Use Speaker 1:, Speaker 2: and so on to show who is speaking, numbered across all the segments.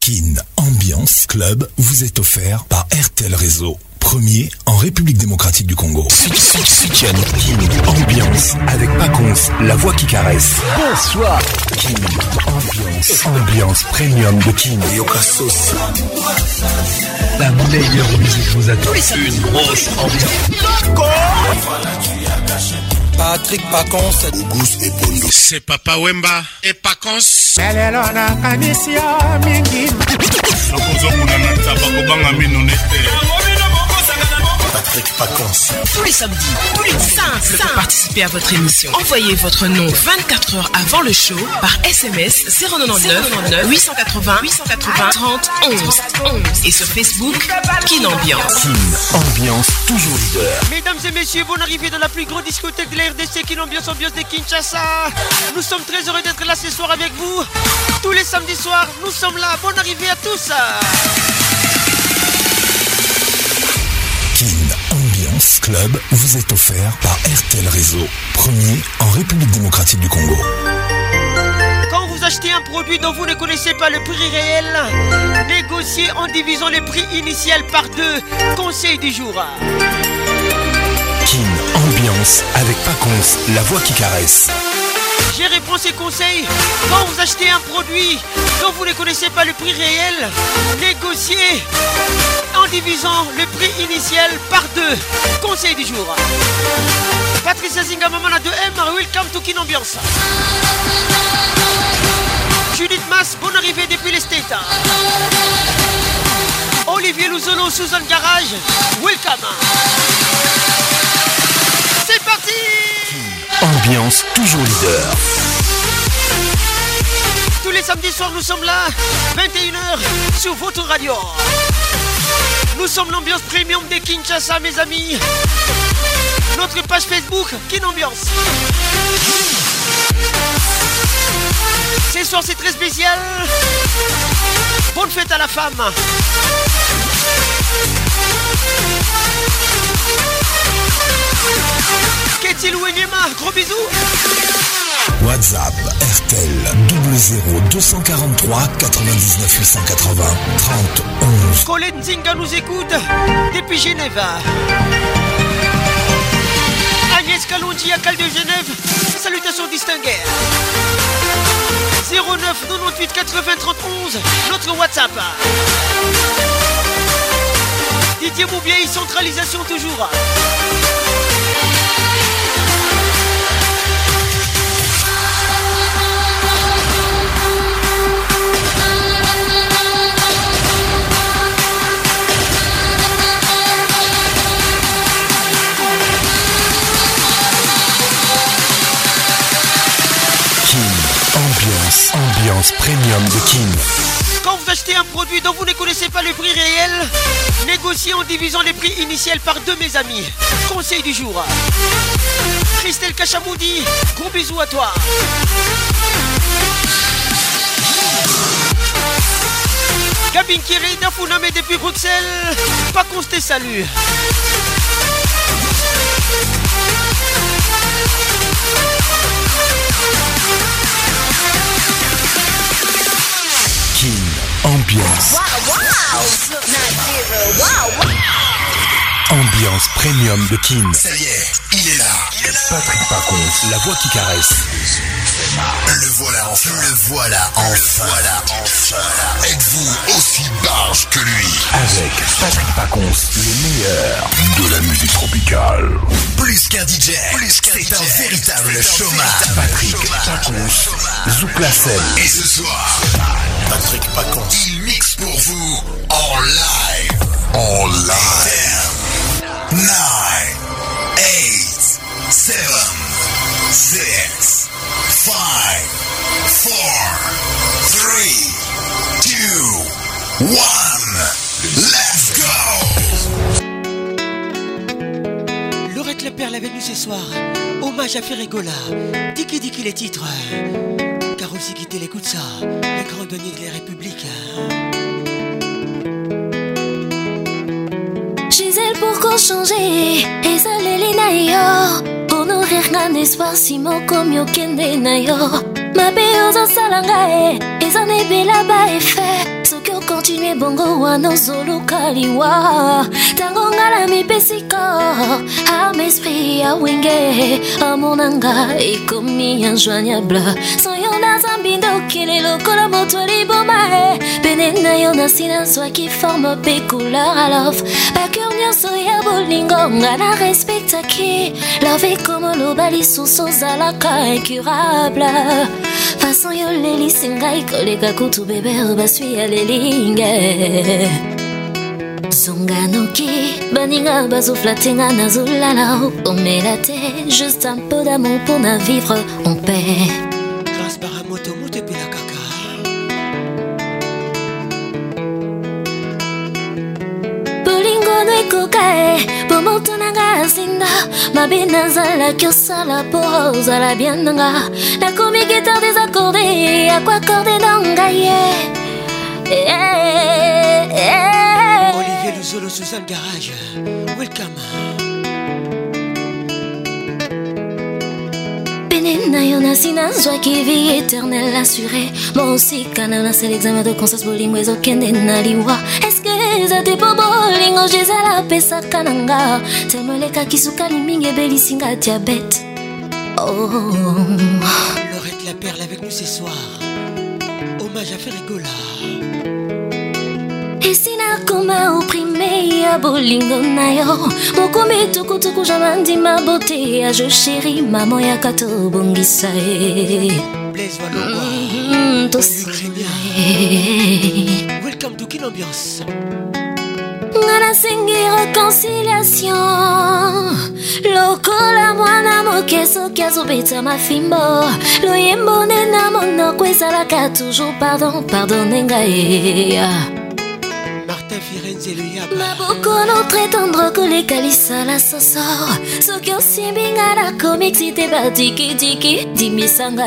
Speaker 1: Kin Ambiance Club vous est offert par RTL Réseau. Premier en République démocratique du Congo. Kin Ambiance avec Paconce, la voix qui caresse. Bonsoir. Kin Ambiance premium de Kin. Yokasos. La meilleure musique vous attend. Une grosse ambiance.
Speaker 2: Patrick Paconce,
Speaker 3: Auguste et Pondo.
Speaker 4: C'est Papa Wemba et Paconce.
Speaker 3: Patrick Paconce.
Speaker 5: Tous les samedis, tous les simples pour participer à votre émission. Envoyez votre nom 24 heures avant le show par SMS 099 880 30 11 et sur Facebook Kin Ambiance.
Speaker 1: Kin Ambiance toujours leader.
Speaker 6: Mesdames et messieurs, bonne arrivée dans la plus grande discothèque de la RDC, Kin Ambiance, ambiance de Kinshasa. Nous sommes très heureux d'être là ce soir avec vous. Tous les samedis soirs, nous sommes là. Bonne arrivée à tous.
Speaker 1: Kin Ambiance Club vous est offert par RTL Réseau. Premier en République démocratique du Congo.
Speaker 6: Quand vous achetez un produit dont vous ne connaissez pas le prix réel, négociez en divisant le prix initial par 2. Conseil du jour.
Speaker 1: Kin Ambiance avec Paconce, la voix qui caresse.
Speaker 6: J'ai répondu ces conseils. Quand vous achetez un produit dont vous ne connaissez pas le prix réel, négociez en divisant le prix initial par 2. Conseil du jour. Patricia Zinga, maman à 2M, welcome to Kin Ambiance. Judith Mas, bonne arrivée depuis les States. Olivier Louzolo, Suzanne Garage, welcome. C'est parti.
Speaker 1: Ambiance toujours leader.
Speaker 6: Tous les samedis soirs, nous sommes là, 21h, sur votre radio. Nous sommes l'ambiance premium de Kinshasa, mes amis. Notre page Facebook, Kin Ambiance. Ce soir, c'est très spécial. Bonne fête à la femme. Qu'est-il ou Enyema, gros bisous.
Speaker 1: WhatsApp RTL 00 243 99 880 30 11.
Speaker 6: Colette Zinga nous écoute depuis Genève. Agnès Kalonji à Cal de Genève, salutations distinguées. 09 98 80 30 11, notre WhatsApp. Didier Moubier, centralisation toujours.
Speaker 1: Ambiance premium de Kin.
Speaker 6: Quand vous achetez un produit dont vous ne connaissez pas le prix réel, négociez en divisant les prix initiaux par 2, mes amis. Conseil du jour. Christelle Kachamoudi, gros bisous à toi. Gabin Kiri d'Afouname depuis Bruxelles, pas qu'on se salue.
Speaker 1: Kin Ambiance. Ambiance premium de Kin.
Speaker 3: Ça y est, il est là.
Speaker 1: Patrick Paconce, la voix qui caresse.
Speaker 3: Le voilà enfin. Êtes-vous aussi barge que lui?
Speaker 1: Avec Patrick Paconce, le meilleur de la musique tropicale.
Speaker 3: Plus qu'un DJ, c'est un véritable showman.
Speaker 1: Patrick Paconce, Zouk la scène.
Speaker 3: Et ce soir, Patrick Paconce, il mixe pour vous en live. 10, 9, 8, 7, 6, 5, 4, 3, 2, 1. Let's go!
Speaker 6: Laurette Le Père, la venue ce soir. Hommage à Ferregola. Diki Diki les titres. Car aussi quitter l'écoute ça. Les grands douaniers de la République.
Speaker 7: Gisèle, pourquoi changer? Et ça l'élina yo. Pour nourrir un espoir si mon comme yo kende na yo. Ma béozo salanga et ça n'est bella ba effet. Ce que ndenge bongo wana ozolukaliwa tango ngala mipesiko ame esprit ya wenge amonanga ekomi injoignable soyo na zambi ndokele lokola moto liboma pene na yo na silence qui forme pe couleur à love bakeur nyonso ya bolingo nga na respectaki love comme lobali suso zalaka incurable façon yo lelisi ngai koleka kutu bebe basui ya lelinge Zonganoki, baninga bazoflatenga nazulala omelate, juste un peu d'amour pour na vivre en paix.
Speaker 6: Grâce Baramoto Moute Pila Kaka.
Speaker 7: Bolingo no ekokae, pomoto nanga zinda, mabina zala kyosala porosa la bienanga, la komi guitare désaccordée, à quoi accorder nanga
Speaker 6: Olivier Luzolo, Suzanne Garage, welcome.
Speaker 7: Benena yona sina joie qui vit éternelle assurée. Moi aussi canana c'est l'examen de conscience bolingo ezokende na liwa. Est-ce que za te bolingo jezala pesa kananga. Temeleka kisuka limingi belisinga diabète. Oh.
Speaker 6: Laurette la perle avec nous ce soir. Hommage à Ferrigola.
Speaker 7: Et sina koma opprimé ya bolingo na yo mokome tukutuku jamandi ma beauté ya je chérie maman ya kato bongisa
Speaker 6: Blaise Walongwa Welcome to Kin Ambiance.
Speaker 7: Ngana sengi réconciliation lokola mwana mokeso kiazobeta mafimbo loyembo nena monoko ezalaka toujours pardonne ngai Maboko no très tendre que les calissa la soso Soki osimbinga la komixite ba tiki dimisanga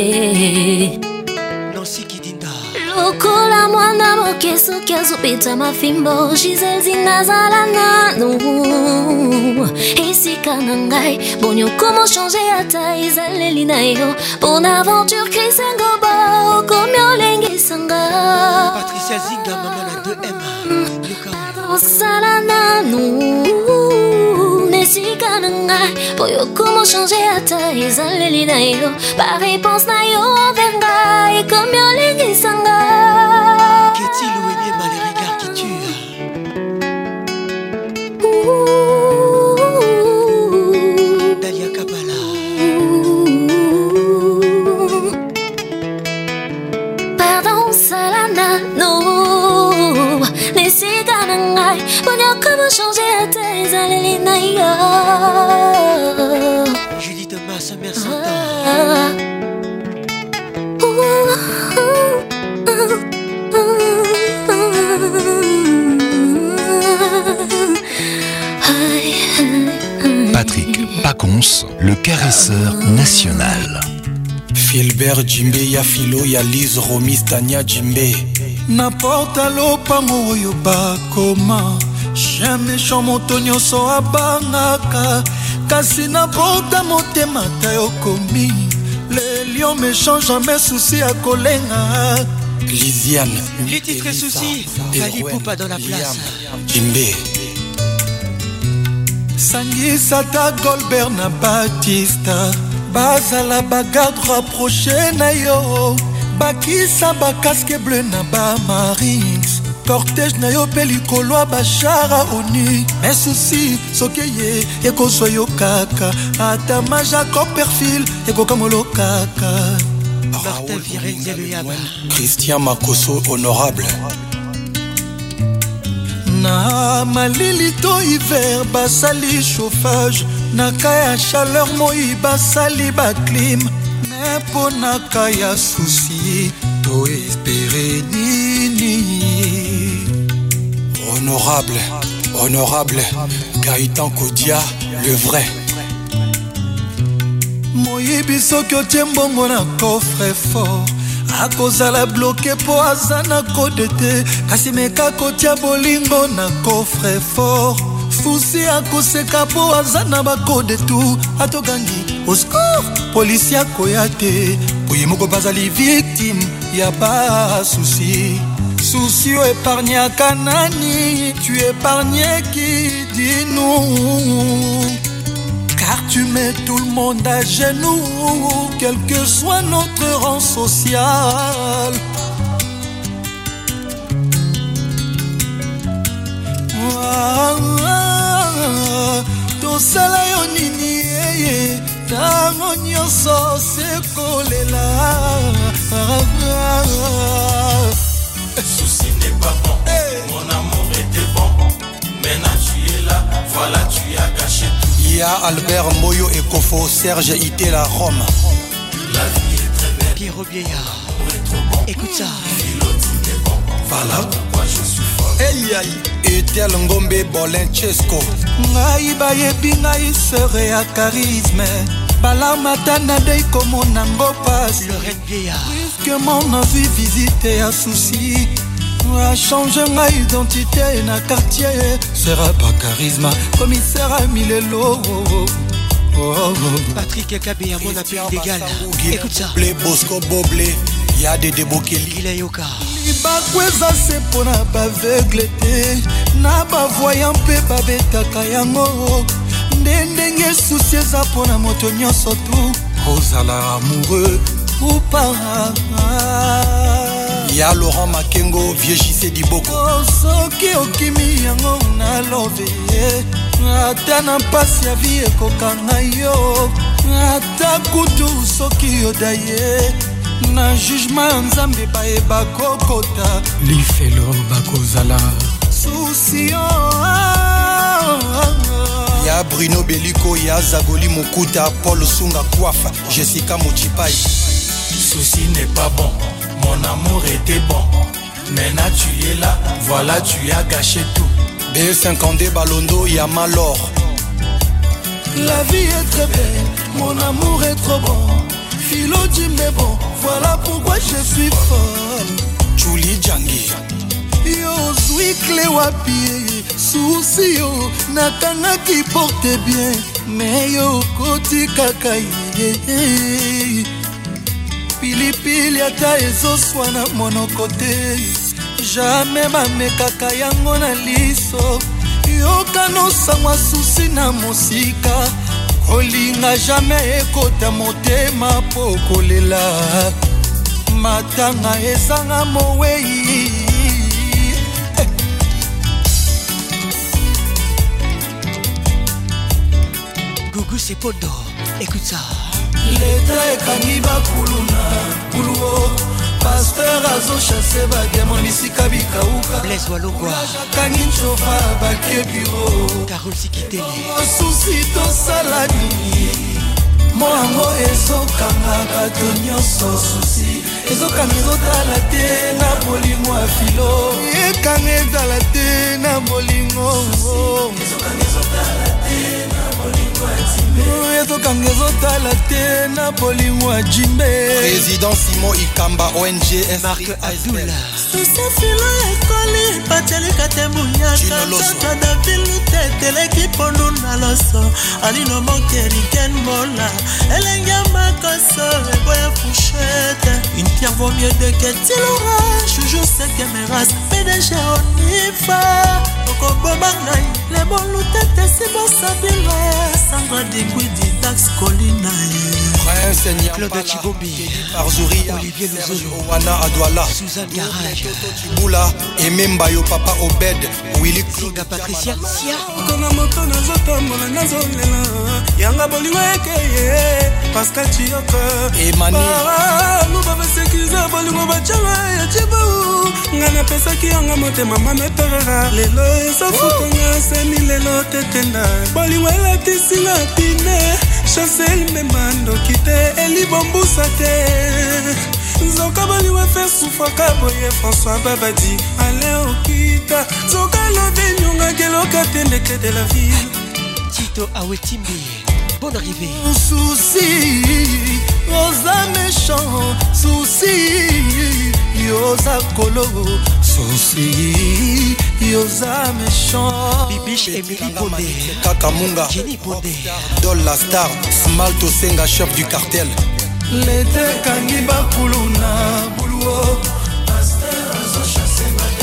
Speaker 6: Nancy Kidinda
Speaker 7: Lokola mwana moke soki azopeta mafimbo Giselle zinazala nanu Esika nangai Bonyo comment changer ata izaleli na yo Bon aventure krisengo ba Okomyo lengi sanga
Speaker 6: Patricia Zinga maman la 2M
Speaker 7: Salana nous Nesika nangai Boyo comment changer ata izaleli na yo Par réponse na yo envers ngai Comme yo lengi sanga
Speaker 6: Qu'est-il ou aimé mal les regards qui tuent Dalia Kabala
Speaker 7: Pardon Salana nous Nesika nangai Boyo comment changer ata izaleli na yo
Speaker 6: Julie Thomas, sa mère s'entend
Speaker 1: Patrick Pacons, le caresseur national.
Speaker 2: Philbert Jimbe, ya Philo, ya Lise, Romis, Tania Jimbe. N'importe lopango oyo bakoma chien méchant moto nyonso abangaka kasi n'importe motema ta yokomi le lion méchant jamais souci à kolenga Lisiane
Speaker 6: les titres soucis Fali Poupa dans la place
Speaker 2: Jimbe Sangisata Goldberg na Batista bazala bagarde rapproché na yo bakisa bakaske bleu na bamarines cortège na yo mpe likolo ya bashara oni me susi soki ye ekozwa yo kaka ata ma jacob perfil ekokangolo kaka
Speaker 6: Martin Firenze le Yaba
Speaker 2: Christian Makoso honorable na malili to hiver basali chauffage na ka ya chaleur moi basali baclim me mpo na ka ya susi to espere nini honorable Gaëtan Kodia le vrai moyibi soki otie mbongo na coffre fort akozala bloke po aza na kode te kasi meka kotia bolingo na coffre fort fusi akoseka po aza na bakode tu atogangi oscour polisi akoya te oye moko bazali victime ya basusi soucieux épargnaka nani? Tu épargnais qui? Dis-nous. Car tu mets tout le monde à genoux, quel que soit notre rang social. Tosala yo nini tango nyonso sekolela.
Speaker 8: Souci n'est pas bon, mon amour était bon. Maintenant tu es là, voilà tu as gâché tout.
Speaker 2: Il y a Albert Moyo et Kofo, Serge Itela Rome.
Speaker 8: La vie est très belle,
Speaker 6: Pierrot Vieillard, écoute ça.
Speaker 2: Voilà
Speaker 8: pourquoi je suis folle.
Speaker 2: Hey aïe. Etel Ngombe Bolenchesco. Ngai bayebi ngai serait à charisme. Balamata na dei comme nango passe.
Speaker 6: Le Red Vieillard.
Speaker 2: Brusquement na vie visiter à souci. A changer ma identité na quartier. Sera pas charisme. Commissaire à Milelo.
Speaker 6: Patrick Kabé à mon appel d'égal. Écoute ça.
Speaker 2: Blé Bosco Boblé. Y'a des débokeli.
Speaker 6: Il est yoka.
Speaker 2: Libakweza se pona baveugle te. Na bavoyant pe babetaka yango. Ndenge souci eza pona moto nyonso tu. Ozala amoureux ou pas. Y'a Laurent Makengo, vieux JC Diboko. Soki okimi yango na love. Ata na mpasi ya vie ekokanga yo. Ata kutu soki yodaye. Na jugement nzambe baeba kokota. Lifelo bakozala soucio. Ya Bruno Beliko, ya Zagoli Mokuta, Paul Sunga Kouafa, Jessica Mochipai.
Speaker 8: Souci n'est pas bon, mon amour était bon. Maintenant tu es là, voilà tu as gâché tout.
Speaker 2: B50 Balondo, ya Malor. La vie est très belle, mon amour est trop bon. Philo dit mais bon, voilà pourquoi je suis folle. Julie Djangi. Yo zwi clé wapi, souci yo, nakanga qui porte bien. Mais yo koti kakaye. Pili pili ata ezo swana mono kote. Jamais bamekaka yango na liso. Yo kano sangwa souci na musika. Kolinga jamais ekota motema po kolela. Matanga ezanga mowei.
Speaker 6: Gougou c'est Podo, écoute ça.
Speaker 2: L'état ekangi bakuluna kuluo. Pasteur azo chasse bagemo bisika bikauka.
Speaker 6: Blaise Walongwa
Speaker 2: kangi nchofa bakie bureau.
Speaker 6: Carole Sikitele.
Speaker 2: Souci tosalani. Moango ezokanga bato nyonso souci. Ezokanga ezotala te na bolingo ya filo. Ekanga ezala te na bolingo. Ezokanga ezotala te na bolingo ya Jimbe. Ezokanga ezotala te na bolingo ya Jimbe. Président Simon Ikamba ONG
Speaker 6: Marc Adoul.
Speaker 9: Sosefilo ekoli patelika te munyaka. Tata David teteleki pondu na loso. Alino mokeriken mola. Elenga makoso eboya fouchette. Une pierre vaut mieux de que Tilora. Joujou c'est que mes races PDG Onifa. Oko bobangai. Les bons loutetes si bon sabile. Sandra Digwidi Dax Colina.
Speaker 2: Prince
Speaker 6: Claude Chibombi.
Speaker 2: Arzouri
Speaker 6: Olivier Lozolo.
Speaker 2: Wana Adwala.
Speaker 6: Suzanne Garage.
Speaker 2: Chibula. Ememba yo papa Obed. Willy
Speaker 6: Singa Patricia Sia.
Speaker 9: Kona moto nazotambola nazolela. Yanga bolingo ekeye. Pascal Chiyoko.
Speaker 2: Emani.
Speaker 9: Luba basekiza bolingo bachanga ya chibu. Ngana pesaki yanga motema mame perera. Lelo esafutanga semi lelo tetenda. Bolingo elatisi na pine. Chancel memando kite elibombusa te. Zoka bolingo fe soufaka boye François Babadi. Ale okita. Zoka lobe nyonga geloka tendeke de la ville.
Speaker 6: Tito Awetimbi. Bonne arrivée.
Speaker 2: Souci, osa méchant. Souci, yosa colo. Souci, yosa méchant.
Speaker 6: Bibiche Emily Bondé.
Speaker 2: Kakamunga.
Speaker 6: Jenny Bondé.
Speaker 2: Dol la star. Smalto Senga, chef du cartel. L'été kangi bakuluna buluo. Pasteur azo chasse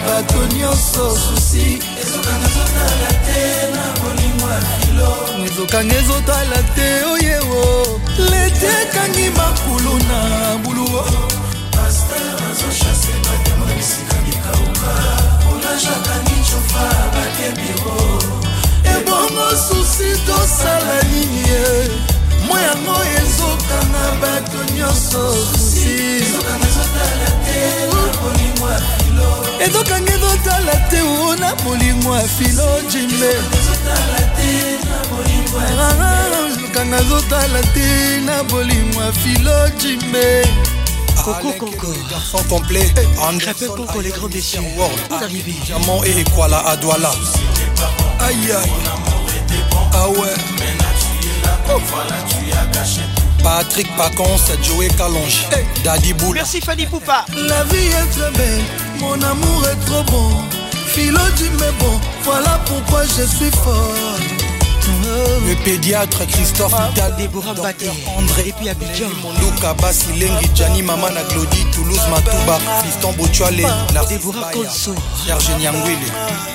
Speaker 2: bato nyonso susi ezokanga ezotala te na bolingo ya filo ezokanga ezotala te oyewo lete ekangi makulu na buluo paster azochase batema bisika bikauka olajakangi chofa bakebiro ebongo susi tosala nini ye moi yango ezokanga bato nyonso susi ezokanga ezotala te na bolingo ya filo ezokanga ezotala te na bolingo ya filo jimbe ezotala te na bolingo ya ezokanga ezotala te na bolingo ya filo jimbe
Speaker 6: Coco Conco,
Speaker 10: garçon complet,
Speaker 6: Crapel Conco, les grands déçus. Vous arrivez.
Speaker 10: Diamant et Equala à Douala.
Speaker 2: Aïe aïe. Ah ouais.
Speaker 10: Patrick Pacons, Joey Calonge, Daddy Boule.
Speaker 6: Merci Fanny Poupa.
Speaker 2: La vie est très belle, mon amour est trop bon. Philo dit mais bon, voilà pourquoi je suis fort.
Speaker 10: Le pédiatre Christophe Hidal,
Speaker 6: Déborah Baté,
Speaker 10: André
Speaker 6: et puis Abidjan,
Speaker 10: Mondoka Basilengi, Gianni Mamana Glody, Toulouse Matouba, Fiston Botuale,
Speaker 6: Déborah Konso,
Speaker 10: Serge Nyangwile.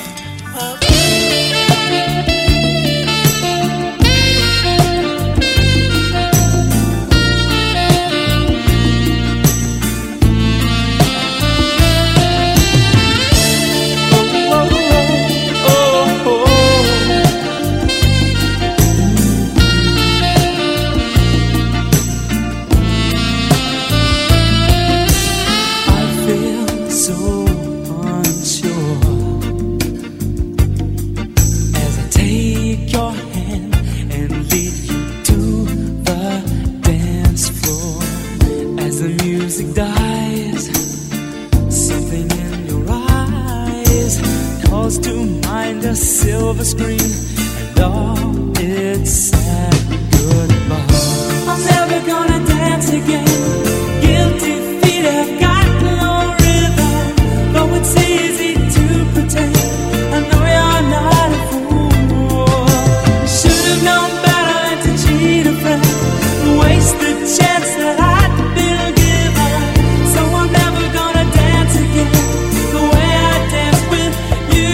Speaker 11: Silver screen and all its sad goodbye. I'm never gonna dance again. Guilty feet have got no rhythm, though it's easy to pretend. I know you're not a fool. Should have known better than to cheat a friend and waste the chance that I'd been given. So I'm never gonna dance again the way I danced with you.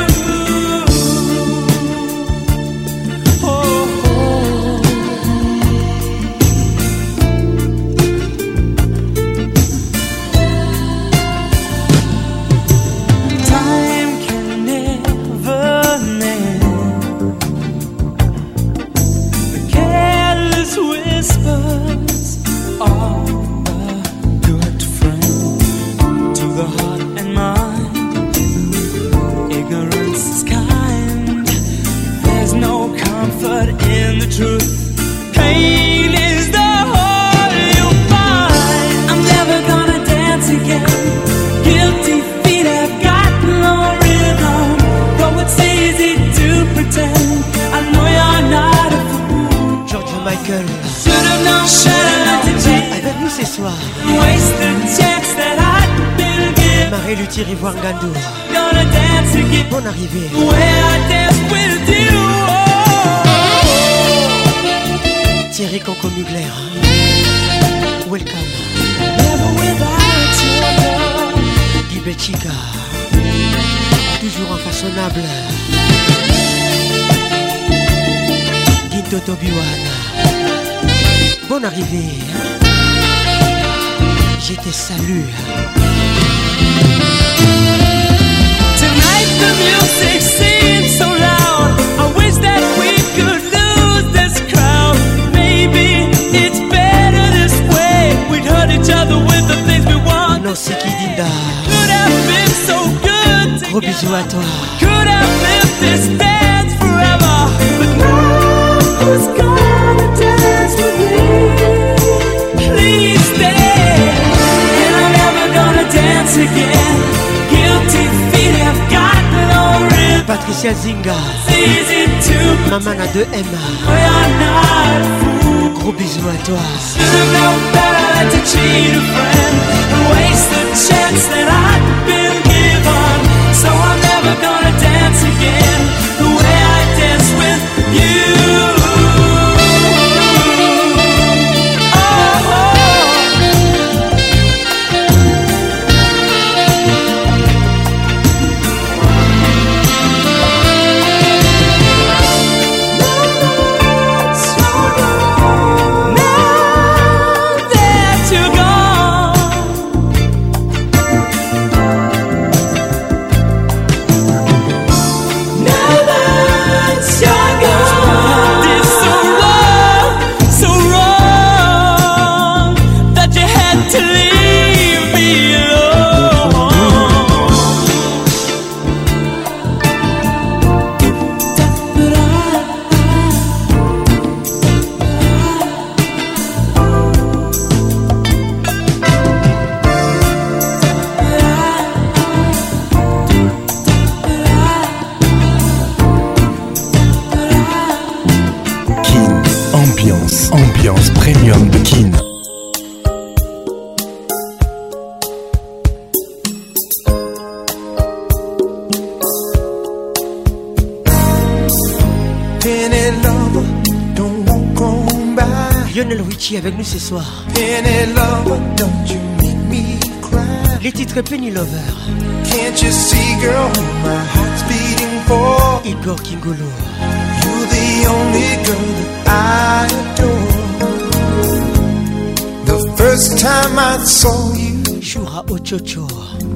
Speaker 6: Marie Thierry Wangando. Bonne arrivée. Thierry Conco Mugler. Welcome. Guy Betchica. Toujours infaçonnable. Guinto Tobiwana. Bonne arrivée. Je te salue.
Speaker 11: Tonight the music seems so loud. I wish that we could lose this crowd. Maybe it's better this way. We'd hurt each other with the things we want.
Speaker 6: Non, c'est qui Dinda.
Speaker 11: Could have been so good.
Speaker 6: Gros bisous à toi.
Speaker 11: Could have lived this dance forever. But now who's gonna dance with me? Please stay. And I'm never gonna dance again. Guilty feet have got no rhythm.
Speaker 6: Patricia Zinga. Maman a 2M. Gros bisous à toi.
Speaker 11: Should've known better than to cheat a friend and waste the chance that I'd been given. So I'm never gonna dance again the way I dance with you.
Speaker 1: Ambiance premium de Kin.
Speaker 6: Lionel Richie avec nous ce soir. Les titres Penny Lover.
Speaker 2: Can't you see, girl, my heart's beating for?
Speaker 6: Igor Kingolo.
Speaker 2: You're the only girl that I adore. The first time I saw you,
Speaker 6: Shura Ochocho.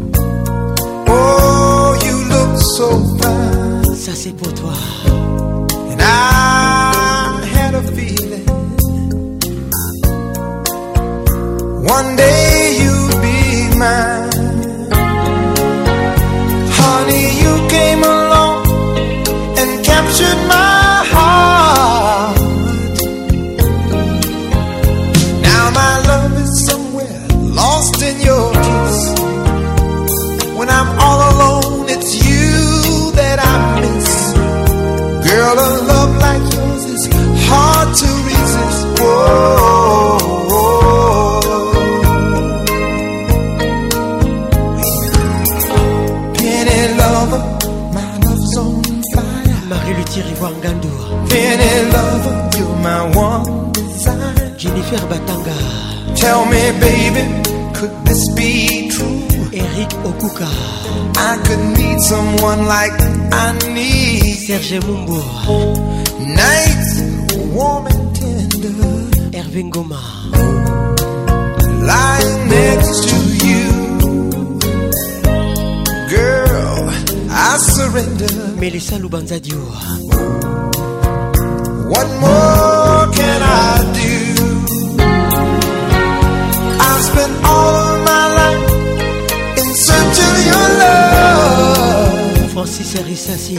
Speaker 2: Oh, you look so fine.
Speaker 6: Ça c'est pour toi.
Speaker 2: And I had a feeling one day you'd be mine. Honey, you came along and captured my heart. Now my love is somewhere lost in your kiss. When I'm all alone, it's you that I miss. Girl, a love like yours is hard to resist. Whoa. Penny lover, you're my one desire.
Speaker 6: Jennifer Batanga.
Speaker 2: Tell me, baby, could this be true?
Speaker 6: Eric Okuka.
Speaker 2: I could need someone like I need
Speaker 6: Serge Mumbo.
Speaker 2: Nights warm and tender.
Speaker 6: Hervé Ngoma.
Speaker 2: Lying next to you. Girl, I surrender.
Speaker 6: Melissa Lubanzadio.
Speaker 2: What more can I do? I've spent all of my life in search of your love.
Speaker 6: Francis Arissassi.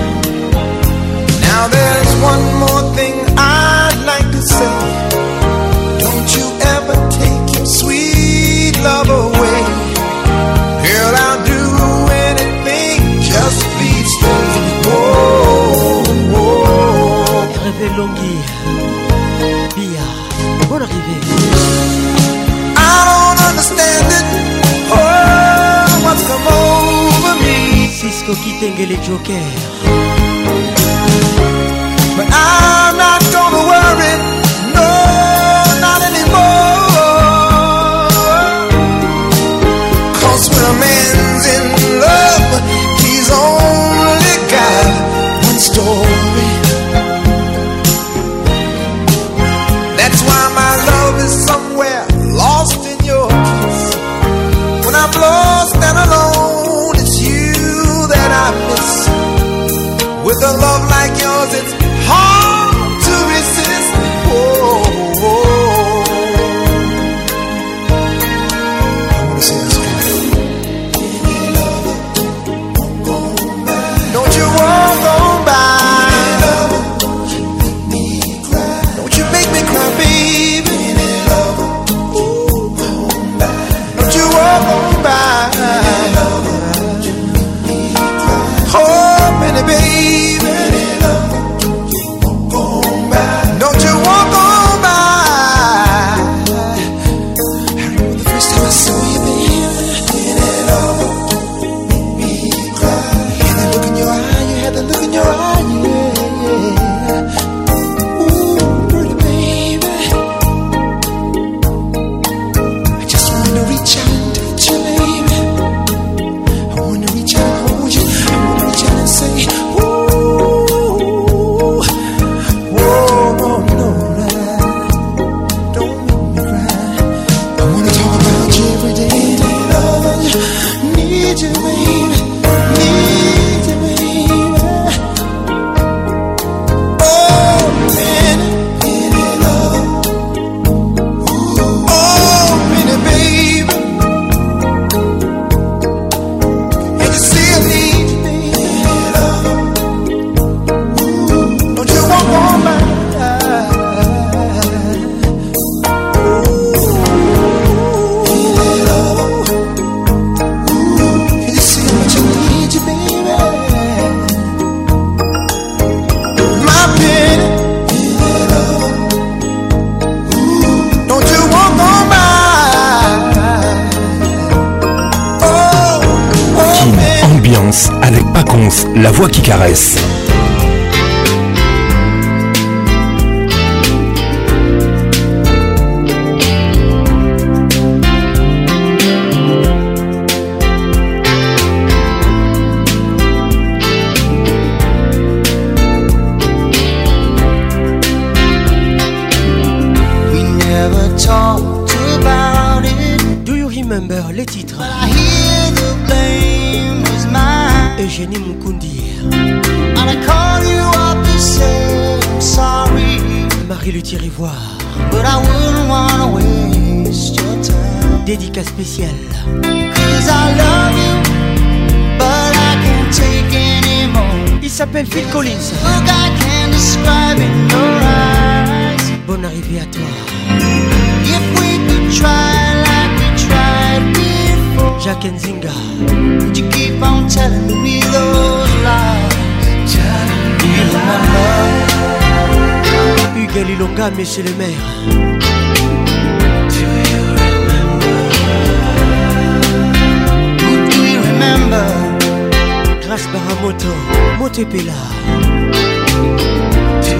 Speaker 2: Now there's one more thing I'd like to say. Don't you ever take your sweet love away. Girl, I'll do anything, just please stay. Oh, oh.
Speaker 6: Hervé Longhi. Bia. Bonne arrivée.
Speaker 2: I don't understand it. Oh, what's come over me?
Speaker 6: Cisco Kitengele Joker.
Speaker 2: But I'm not gonna worry, no, not anymore. 'Cause when a man's in love, he's only got one story. That's why my love is somewhere lost in your kiss. When I'm lost and alone, it's you that I miss.
Speaker 1: Ambiance avec Paconce, la voix qui caresse.
Speaker 6: Les titres Eugénie Mukundi Marie Le Thirivoire dédicace spéciale il s'appelle Phil Collins. Bonne arrivée à toi. Jack Nzinga.
Speaker 12: Would you keep on telling me those lies? Do you remember?
Speaker 6: Hugues Lilonga, monsieur le maire.
Speaker 12: Do you remember? Who do you remember?
Speaker 6: Grâce Baramoto, Motepela.
Speaker 12: Do you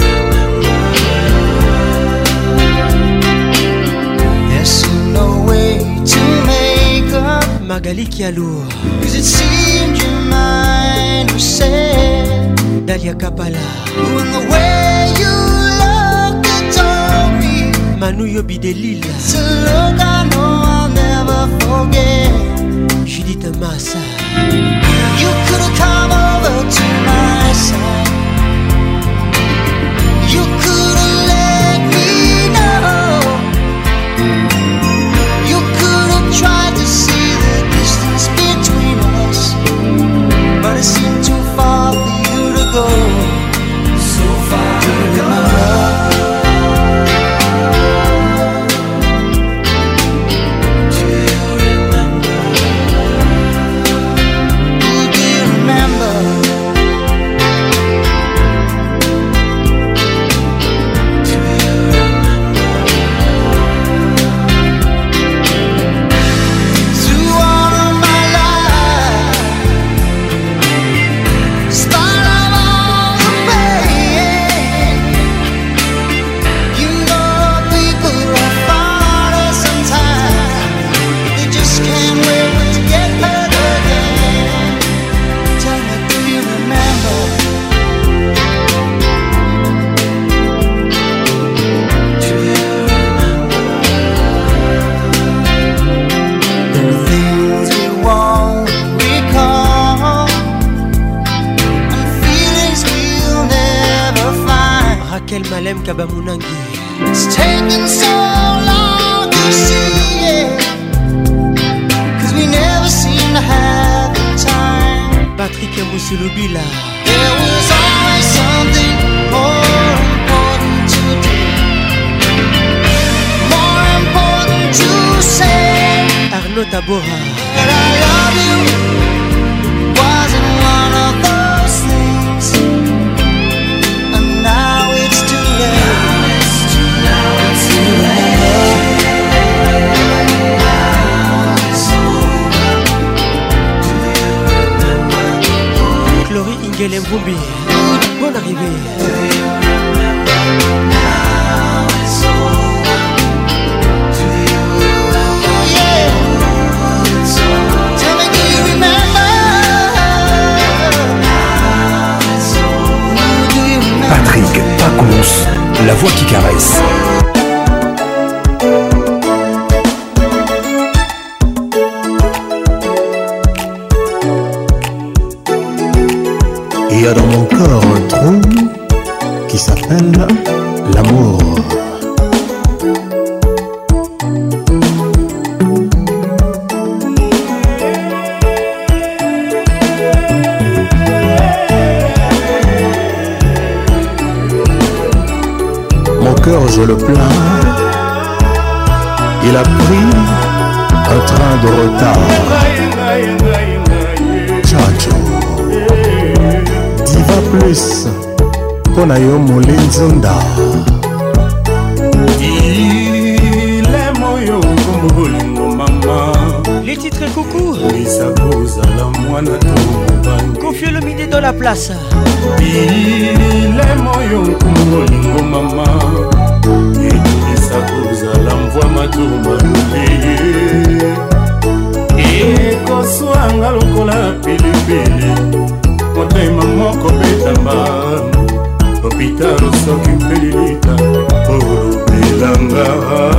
Speaker 12: remember? There's no way to make up.
Speaker 6: Magali Kialou.
Speaker 12: Cause it seemed your mind was set.
Speaker 6: Dalia Kapala.
Speaker 12: When the way you look, it told me.
Speaker 6: Manu Yobi de Lille.
Speaker 12: It's a look I know I'll never forget.
Speaker 6: Judith Massa.
Speaker 12: You could have come over to my side. You could have let me know. You could have tried to see the distance between us, but it seemed too far for you to go. So far to go.
Speaker 6: Malem Kabamunangi.
Speaker 12: It's taken so long to see it, cause we never seem to have the time.
Speaker 6: Patrick Moussoulubila.
Speaker 12: There was always something more important to do, more important to say.
Speaker 6: Arnaud Tabora.
Speaker 12: But I love you wasn't one of those things, and now it's too late. Now it's too late.
Speaker 6: Chloé Ingele Mvumbi. Bonne arrivée.
Speaker 1: Patrick Paconce, la voix qui caresse.
Speaker 13: Il y a dans mon corps un trou qui s'appelle l'amour. Mon cœur, je le plains. Il a pris un train de retard. Chacho. Diva plus Pona yo Molinzunda.
Speaker 8: Il est moyo comme bolingo mama.
Speaker 6: Les titres et coucou. Confiez le midi dans la place.
Speaker 14: Il est moyo kumolingo mama. Edisa kozala mvwa matuma lupeye. Ekoswanga lokola pilipili. Motema moko betamba. Opitalo soki mpelilita. Olupelanga.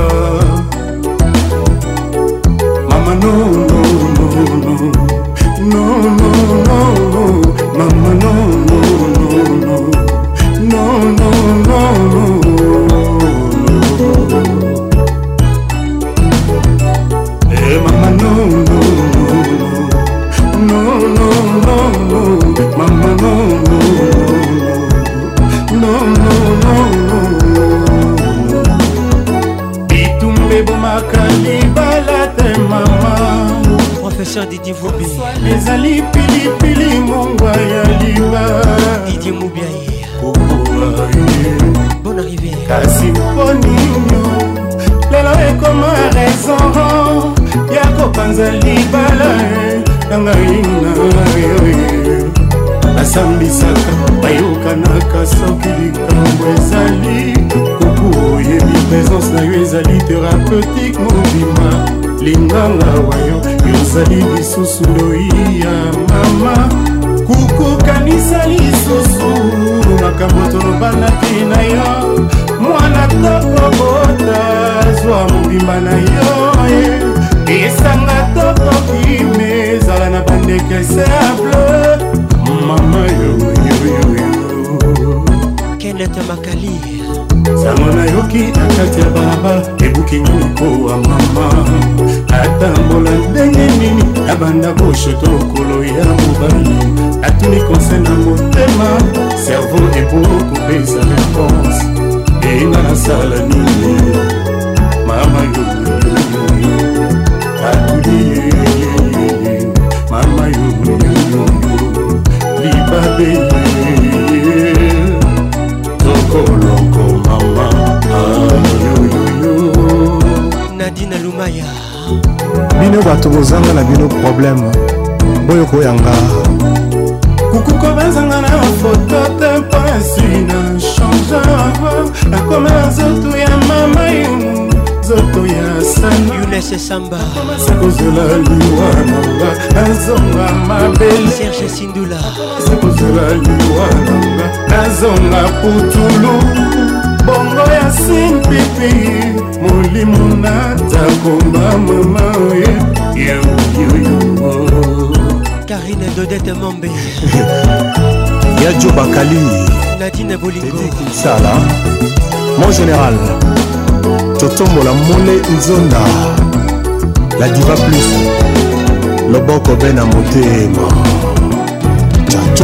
Speaker 14: Mama no no no no. No no no no. Mama no no no no. No no no no. Hey mama no no no. No no no no. Mama no no no. No no no no. Bitumbe bomakali balate mama.
Speaker 6: Professeur Didier Voubi.
Speaker 14: Les ali pili pili mongwa ya liba.
Speaker 6: Didier Moubiaye. Bonne arrivée.
Speaker 14: Kasi poninyo. Lelo ekoma raison. Yako panza libala. Nanga ina yoye. Asambisaka. Bayokanaka soki likambo ezali. Kuku oyebi présence na yo ezali thérapeutique mobima. Linganga wayo yozali lisusu loia mama. Kuku kanisa lisusu makambo tolobanaki na yo. Mwana toko bota zwa mobimba na yo. Esanga toko kime zala na bandeke simple. Mama yo yo yo yo.
Speaker 6: Kenneth Makali.
Speaker 14: Samona yoki akati ya barabara ebuki nyoniko wa mama. Atambola ndenge nini abanda boshoto kolo ya mobali. Atuni conseil na motema cerveau eboko pesa réponse. Inga na sala nini mama yo yo yo. Atuli mama yo yo yo. Libabe Loco mama,
Speaker 6: Nadine Lumaya.
Speaker 13: Bino bato bozanga na bino problème. Boyo koyanga.
Speaker 14: Kuku kobenzanga na photo tempo esina change. Akome zoto ya mama yo, zoto ya sana.
Speaker 6: Younes Samba.
Speaker 14: Sekozela liwananga, azonga mabele.
Speaker 6: Serge Sindula.
Speaker 14: Sekozela liwananga, azonga putulu. Bongo ya simpipi, molimo natakomba mama ye. Yo yo yo.
Speaker 6: Karine Dodette Mombe.
Speaker 13: Yadjo Bakali.
Speaker 6: Nadine Bolingo.
Speaker 13: Sala. Mon général. Totombola Mole Nzonda. La diva plus. Loboko Bena Motema. Chacho.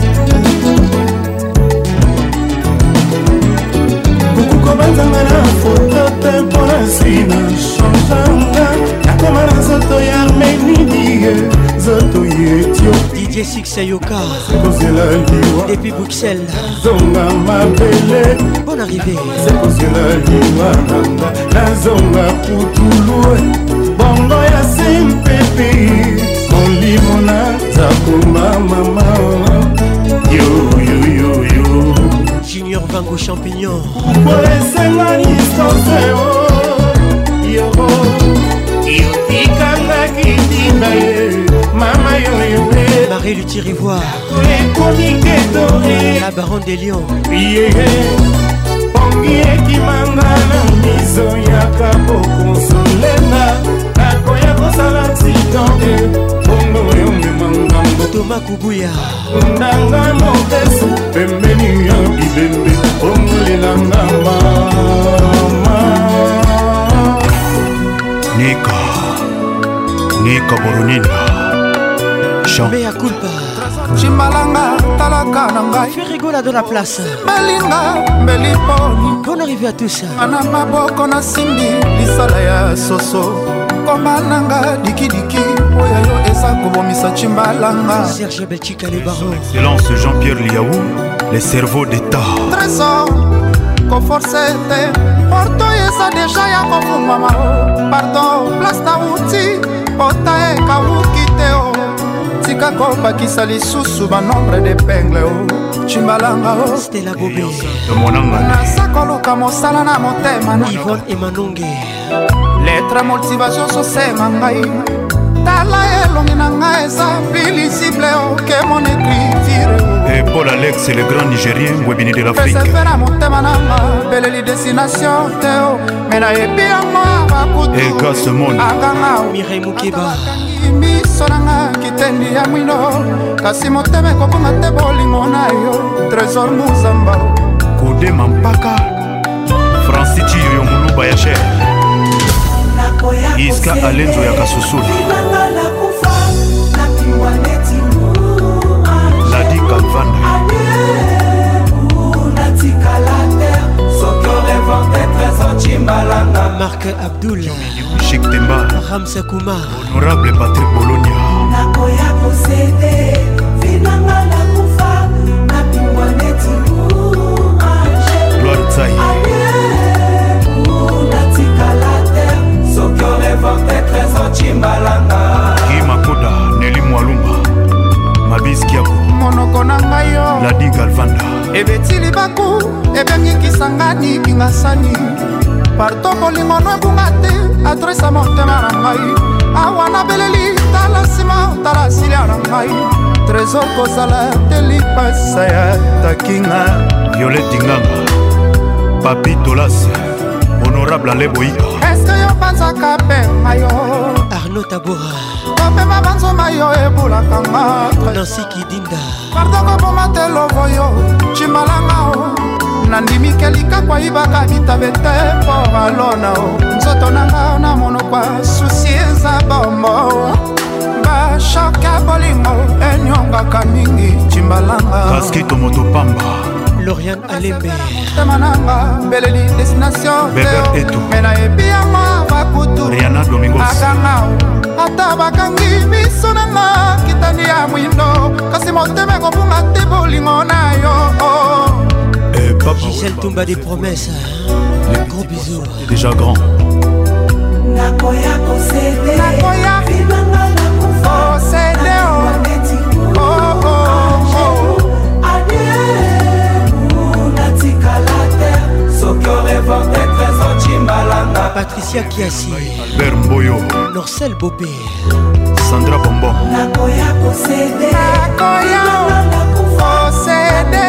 Speaker 14: Kuku banzanga na photo tempo sina changeanga. Nakoma na zoto ya Arménie, zoto ya Ethiopie.
Speaker 6: DJ Six Yoka.
Speaker 14: Sekozela liwa.
Speaker 6: Depuis Bruxelles.
Speaker 14: Zonga mabele.
Speaker 6: Bonne arrivée.
Speaker 14: Sekozela liwa nanga. Nazonga putulu. Bongo ya simpepe. Molimo na zakuma mama. Yo yo yo yo.
Speaker 6: Junior Vango Champignon.
Speaker 14: Kolesenga distance oh. Yo yo tikanga kitinda ye. Mama yo yo.
Speaker 6: Marie Lutirivoire. La Baronne des Lions.
Speaker 14: Pongi ekimanga na miso ya kapo konsolenga. Akoya kosala accidente. Bongo yo memangambo.
Speaker 6: Thomas Kubuya.
Speaker 14: Ndanga mobesu. Pembeni ya bibembe. Bongo lelanga mama.
Speaker 15: Nika Boronina.
Speaker 6: Mea culpa.
Speaker 16: Chimbalanga talaka na ngai.
Speaker 6: Fais rigola dans la place.
Speaker 16: Belinga beliponi.
Speaker 6: Bonne arrivée à tous.
Speaker 16: Ana maboko na simbi lisala ya soso. Komananga dikidiki. Oyayo esa kobomisa chimbalanga.
Speaker 6: Serge Belchika les barons.
Speaker 15: Excellence Jean-Pierre Liaou, les cerveaux d'État.
Speaker 16: Trésor, conforcete. Porto esa deja ya kofumama. Pardon, place na uti. pota ekawuki te o tika kobakisa lisusu banombre d'épingle o chimbalanga o
Speaker 6: Stella Bobé
Speaker 16: naza koluka mosala na motema na
Speaker 6: Yvonne Emanonge
Speaker 16: lettre motivation sosenga ngai tala elongi na ngai eza pilisible oke mon écriture
Speaker 15: et Paul Alex le grand Nigérien Webini de l'Afrique
Speaker 16: pesefe na motema nanga beleli destination te o me nayebi yango bakutu
Speaker 15: Egasemoni
Speaker 16: akanga
Speaker 6: Mireille Mukeba
Speaker 16: miso nanga kitendi ya mwino kasi motema ekobonga te bolingo na yo trésor muzamba
Speaker 15: Kodema mpaka Francis Chiyoyo Muluba ya cher Iska Alenzo ya Kasusuli Ladi Kalvanda
Speaker 6: Marc Abdoul
Speaker 15: Chic Temba
Speaker 6: Ramsa Koumar
Speaker 15: Honorable Patrick Bologna
Speaker 9: nakoya posede vinanga la kufa napingwa neti
Speaker 15: Gloire Tsai Guy Makoda Nelly Mwalumba Mabis Kiako
Speaker 16: monoko na ngai yo
Speaker 15: Ladi Galvanda
Speaker 16: ebetili baku ebengikisangani kingasani parto bolingono ebunga te adresa motema na ngai awa nabeleli tala nsima tala silia na ngai trésor kozala te lipasa ya takinga
Speaker 15: Violette Nganga Papi Tolas Honorable Aleboika
Speaker 16: eske yo banzaka mpe ngai yo
Speaker 6: Arnaud Tabora
Speaker 16: kopema banzoma yo ebulakanga
Speaker 6: Nancy Kidinda
Speaker 16: pardoko boma te lovo yo cimbalanga o nandimi kelika kwa ibaka bitabe te mpo alona o nzoto nanga na monokwa susi eza bombo bashoka bolingo enyongaka mingi cimbalanga
Speaker 15: Kaskito Motopamba
Speaker 6: Lauriane Alembe
Speaker 16: temananga beleli destination
Speaker 15: Beber Eto
Speaker 16: mena ebi yango bakutu
Speaker 15: Rihanna Domingos
Speaker 16: akanga ata bakangi miso nanga kitani ya mwindo kasi motema ekobunga te bolingo na yo
Speaker 6: Gisèle Toumba des promesses gros bisous
Speaker 15: déjà grand
Speaker 9: nakoya posede
Speaker 16: nakoya
Speaker 9: vinanga la kufa
Speaker 16: posede
Speaker 6: Patricia Kiasi
Speaker 15: Albert Mboyo
Speaker 6: Norcel Bopé
Speaker 15: Sandra Bombon
Speaker 9: nakoya posede
Speaker 16: nakoya posede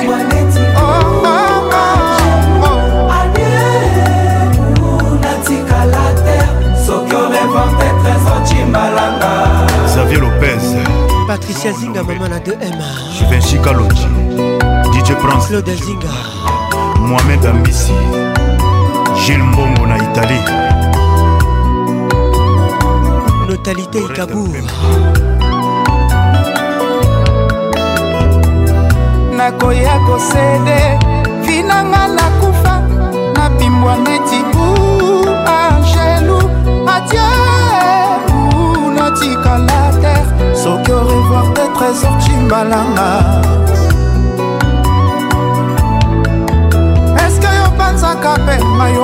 Speaker 15: Xavier Lopez
Speaker 6: Patricia Zinga maman à 2M
Speaker 15: Juvin Chikalonji DJ Prince
Speaker 6: Claude Zinga
Speaker 15: Mohamed Ambissi Gilles Mbongo na Italie
Speaker 6: Notalité Ikabour
Speaker 16: nakoya kosede vinanga nakufa nabimbwa neti angelu adieu natikala terre soki revoir te trésor cimbalanga eske yo panzaka mpe mayo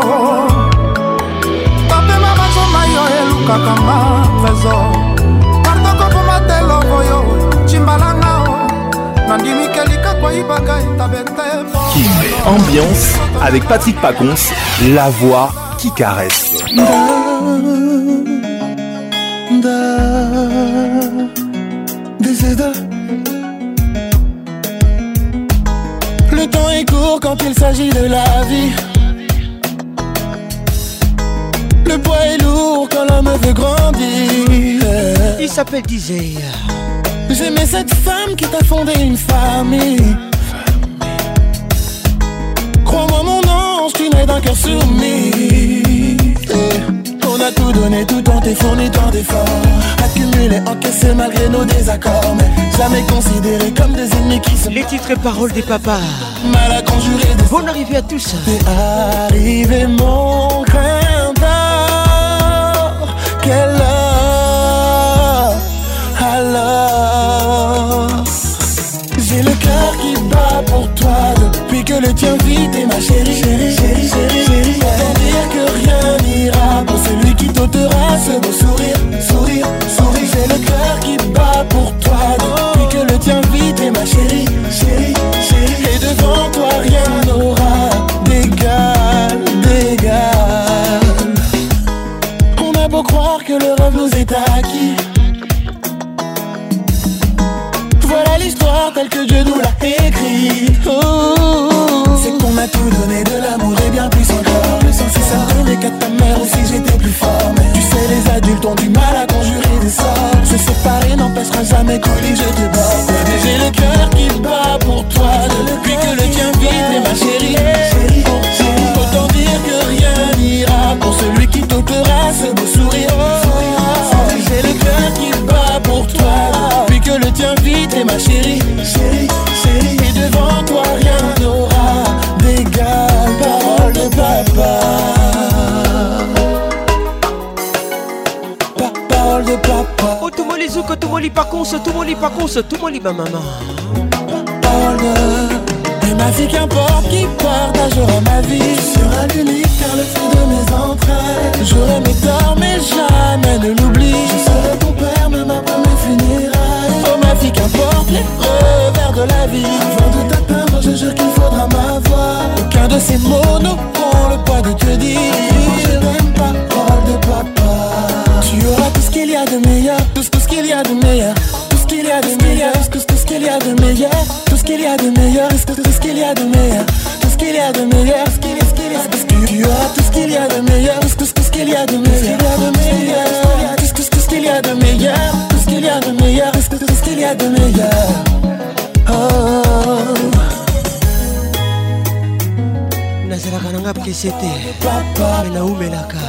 Speaker 16: topema bazoma yo elukakanga trésor partokoboma te lovo yo cimbalanga nandimi kelika kwa ibaka itabete
Speaker 1: King Ambiance avec Patrick Pacons, la voix qui caresse.
Speaker 2: Le temps est court quand il s'agit de la vie. Le poids est lourd quand l'homme veut grandir.
Speaker 6: Il s'appelle DJ.
Speaker 2: J'aimais cette femme qui t'a fondé une famille. Crois-moi mon ange, tu nais d'un cœur soumis. On a tout donné, tout tenté, fourni tant d'efforts. Accumulé, encaissé malgré nos désaccords. Mais jamais considérés comme des ennemis qui se...
Speaker 6: Les titres et paroles des papas.
Speaker 2: Mal à conjurer de...
Speaker 6: Bonne arrivée à tous.
Speaker 2: T'es arrivé mon grain d'or. Quelle heure alors? J'ai le cœur qui bat pour toi depuis que le tien vit et ma chérie, chérie, chérie, chérie, chérie. Autant dire que rien n'ira pour celui qui t'ôtera ce beau sourire, sourire, sourire.
Speaker 6: Tumoli Pacons, Tumoli Pacons, Tumoli ma maman.
Speaker 9: Et ma fille qu'importe qui partagera ma vie. Tu seras l'unique car le fruit de mes entrailles. J'aurai mes torts mais jamais ne l'oublie. Je serai ton père même après mes funérailles. Oh ma fille qu'importe les revers de la vie. Avant de t'atteindre je jure qu'il faudra m'avoir. Aucun de ces mots n'auront le poids de te dire je t'aime pas, parole de papa. Tu auras tout ce qu'il y a de meilleur. Tout ce qu'il y a de meilleur. Tout ce qu'il y a de meilleur. Tout ce qu'il y a de meilleur. Tout ce qu'il y a de meilleur. Tout ce qu'il y a de meilleur. Tout ce qu'il y a de meilleur. Tu auras tout ce qu'il y a de meilleur. Tout ce qu'il y a de meilleur. Tout ce qu'il y a de meilleur. Tout ce qu'il y a de meilleur. Tout ce qu'il y a de meilleur. Oh.
Speaker 6: Nazalaka nanga pkesete. Menaoumelaka.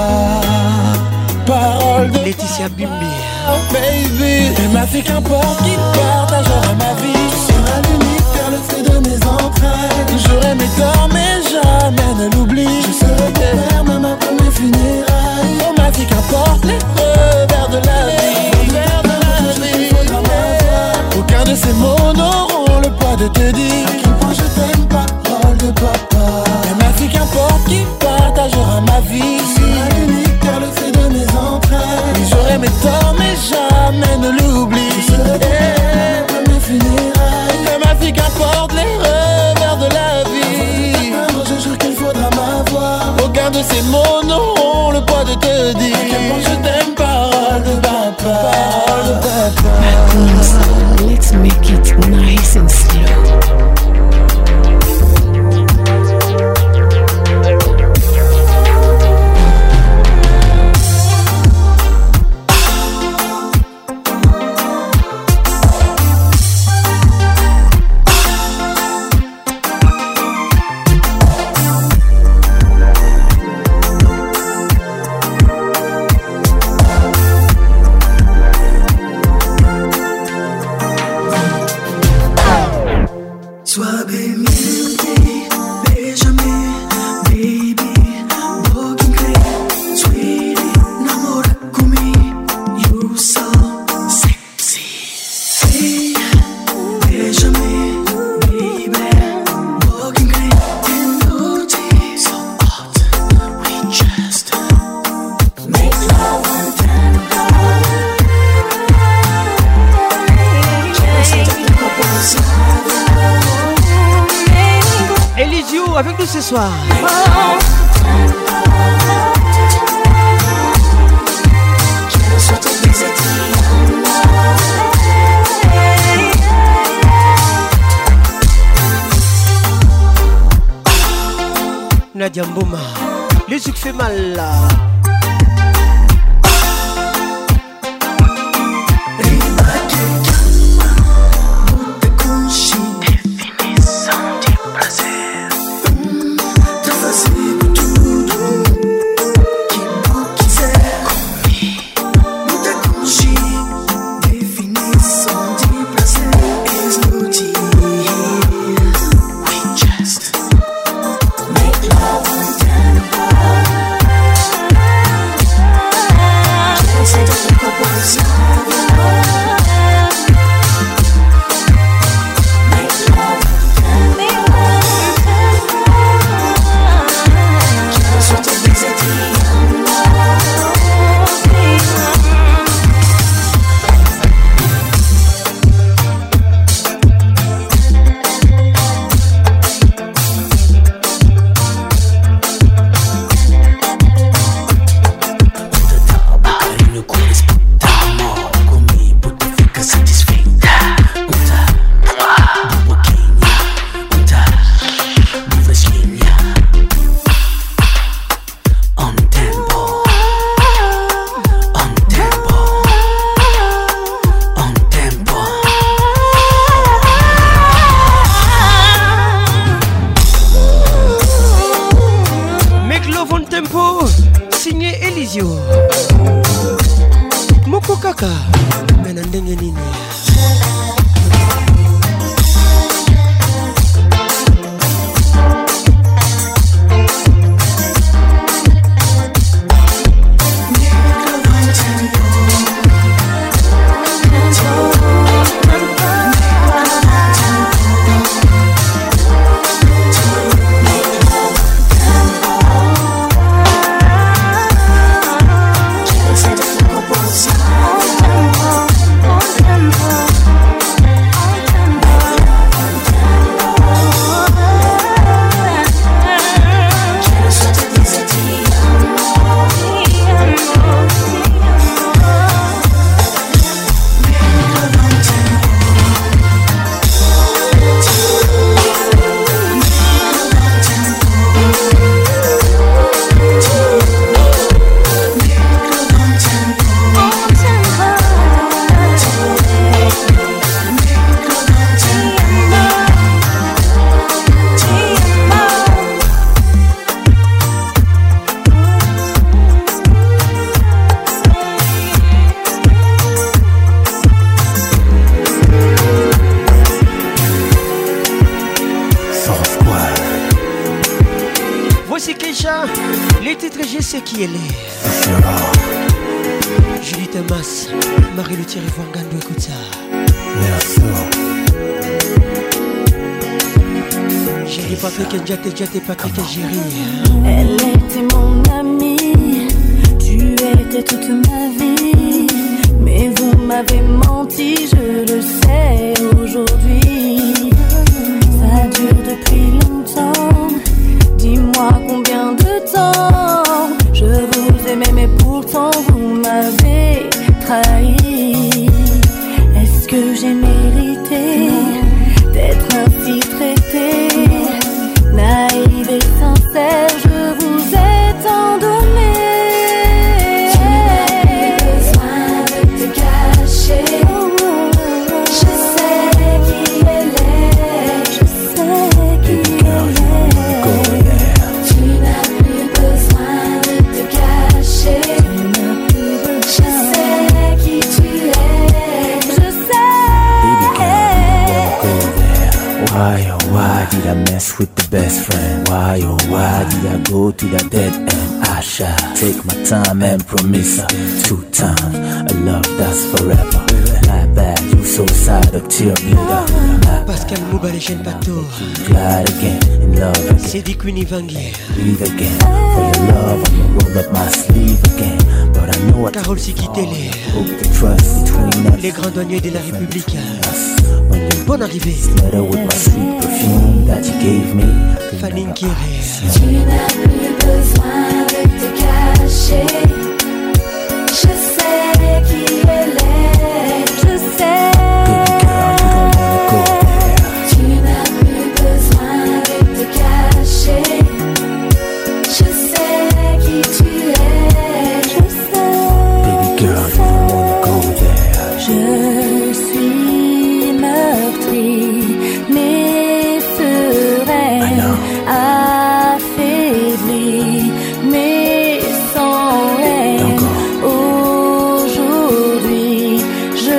Speaker 9: Parole de
Speaker 6: Laetitia Bimbi.
Speaker 9: Oh baby, et ma fille qu'importe qui partagera ma vie. Tu seras l'unique car le fruit de mes entrailles. J'aurai mes torts mais jamais ne l'oublie. Je serai ton père même après mes funérailles. Oh ma fille qu'importe les revers de la vie. Aucun de ces mots n'auront le poids de te dire à quel point je t'aime, parole de papa. Et ma fille qu'importe qui partagera ma vie. Tu seras l'unique car le fruit de mes entrailles. J'aurai mes torts mais jamais ne l'oublie. Je serai ton mes funérailles. Et ma fille qu'importe les revers de la vie. Je jure qu'il faudra m'avoir. Aucun de ces mots n'auront le poids de te dire à quel point je t'aime, parole de papa. Parole de papa.
Speaker 5: Let's make it nice and slow.
Speaker 6: Avec nous ce soir. Nadia Mboma, les yeux fait mal là. Merci Keisha. Les titres, je sais qui elle est. Julie Thomas, Marie Le Thierry Fangando, écoute ça. Jerry Patrick Ndjate Patrick Jerry.
Speaker 7: Elle était mon amie, tu étais toute ma vie. Mais vous m'avez menti, je le sais aujourd'hui. Ça dure depuis longtemps. Dis-moi combien de temps. Je vous aimais mais pourtant vous m'avez trahi. Est-ce que j'ai mérité d'être ainsi traitée? Naïve et sincère, je vous ai tant donné. Tu n'as plus besoin de te cacher. Je sais qui elle est. Je sais qui elle est. Tu n'as plus besoin de te cacher. Je sais qui tu es. Je sais.
Speaker 17: Baby girl, you wanna go there. Why did I mess with the best friend? Why did I go to that dead end? I shall take my time and promise her 2 times a love that's forever. My bad, you so sad of tear bleeder.
Speaker 6: Pascal Mouba, les jeunes bateaux.
Speaker 17: Glad again, in love again.
Speaker 6: C'est dit Queenie Vanguier.
Speaker 17: Breathe again. For your love, I'ma roll up my sleeve again. But I know I
Speaker 6: Carole Sikitele.
Speaker 17: hope the trust between us.
Speaker 6: Les grands douaniers de la République. Bonne arrivée.
Speaker 17: Letter with my sweet perfume that you gave me.
Speaker 6: Fanning Kéré.
Speaker 7: Tu n'as plus besoin de te cacher. Je sais qui elle est. Je sais. Tu n'as plus besoin de te cacher. Je sais qui tu es. Je sais.
Speaker 17: Baby girl, you don't wanna go there.
Speaker 7: Je suis meurtrie, mais sereine, affaiblie, mais sans haine. Aujourd'hui, je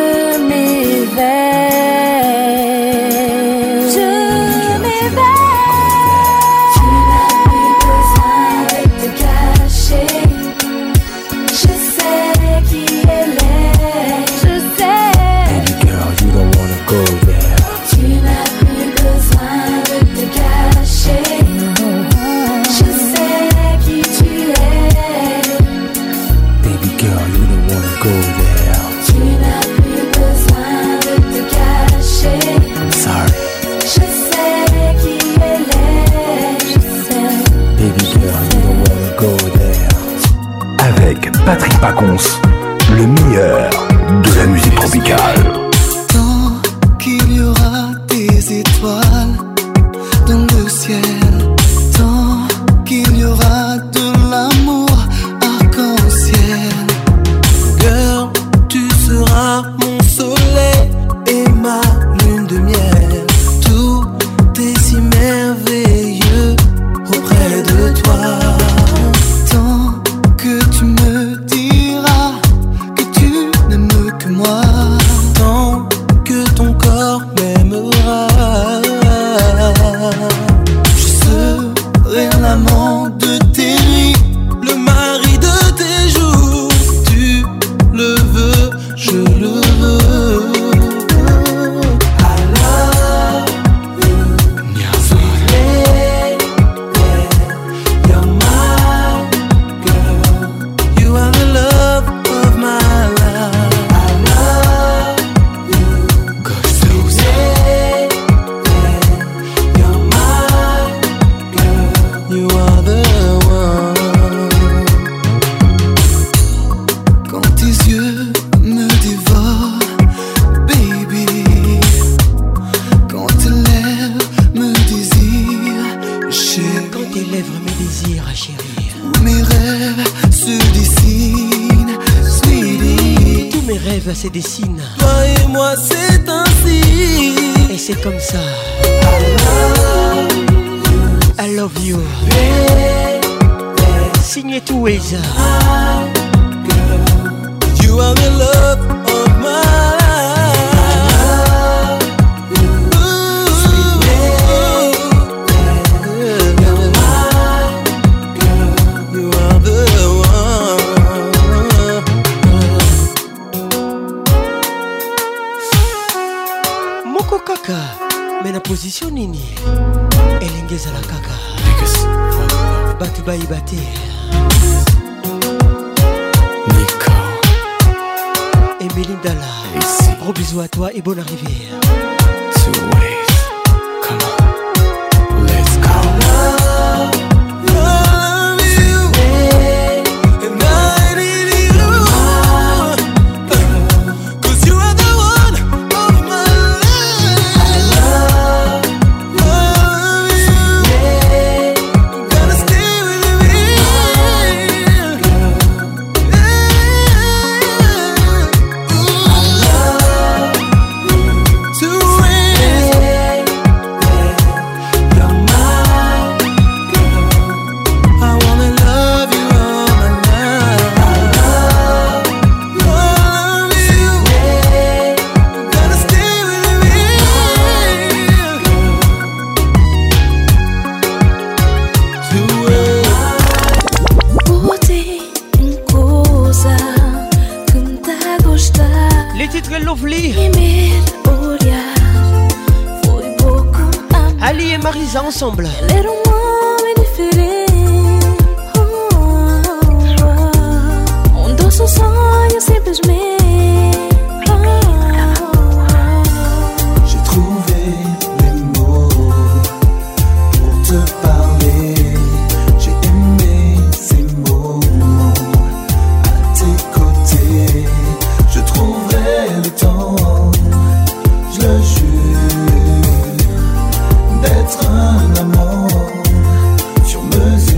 Speaker 7: m'éveille. Je m'éveille. Tu n'as plus besoin de te cacher. Je sais qui elle est. Je sais.
Speaker 17: Baby girl, you don't wanna go there.
Speaker 7: Tu n'as plus besoin de te cacher. Je sais qui tu es.
Speaker 17: Baby girl, you don't wanna go there.
Speaker 7: Tu n'as plus besoin de te cacher.
Speaker 17: I'm sorry.
Speaker 7: Je sais qui elle est. Je sais.
Speaker 17: Baby girl, you don't wanna go there.
Speaker 1: Avec Patrick Pacons, le meilleur de la musique tropicale.
Speaker 2: Tant qu'il y aura des étoiles dans le ciel, tant qu'il y aura de l'amour arc-en-ciel. Girl, tu seras mon soleil et ma lune de miel. Tout est si merveilleux auprès de toi. Tant que tu me diras que tu n'aimes que moi, tant que ton corps m'aimera. Je serai l'amant de tes nuits, le mari de tes jours. Tu le veux, je le veux. I love you, sweet lady. You're my girl. You are the love of my life. I love you, sweet lady. You're my girl. You are the one. Quand tes yeux me dévorent, baby. Quand tes lèvres me désirent, chérie.
Speaker 6: Quand tes lèvres me désirent, chérie.
Speaker 2: Mes rêves se dessinent, sweetie.
Speaker 6: Tous mes rêves se dessinent.
Speaker 2: Toi et moi c'est ainsi.
Speaker 6: Et c'est comme ça. I love you. Signé tout Weza.
Speaker 2: You are the love of my life.
Speaker 6: Batouba Ibate
Speaker 17: Nico
Speaker 6: Emeline Dalla. Gros bisous à toi et bonne arrivée.
Speaker 17: Two ways. Come on. Let's go.
Speaker 6: Ali et Marisa ensemble.
Speaker 7: Um doce sonho simplesmente.
Speaker 18: J'ai trouvé les mots pour te parler. J'ai aimé ces moments à tes côtés. Je trouverai le temps, je le jure, d'être un amant sur mesure.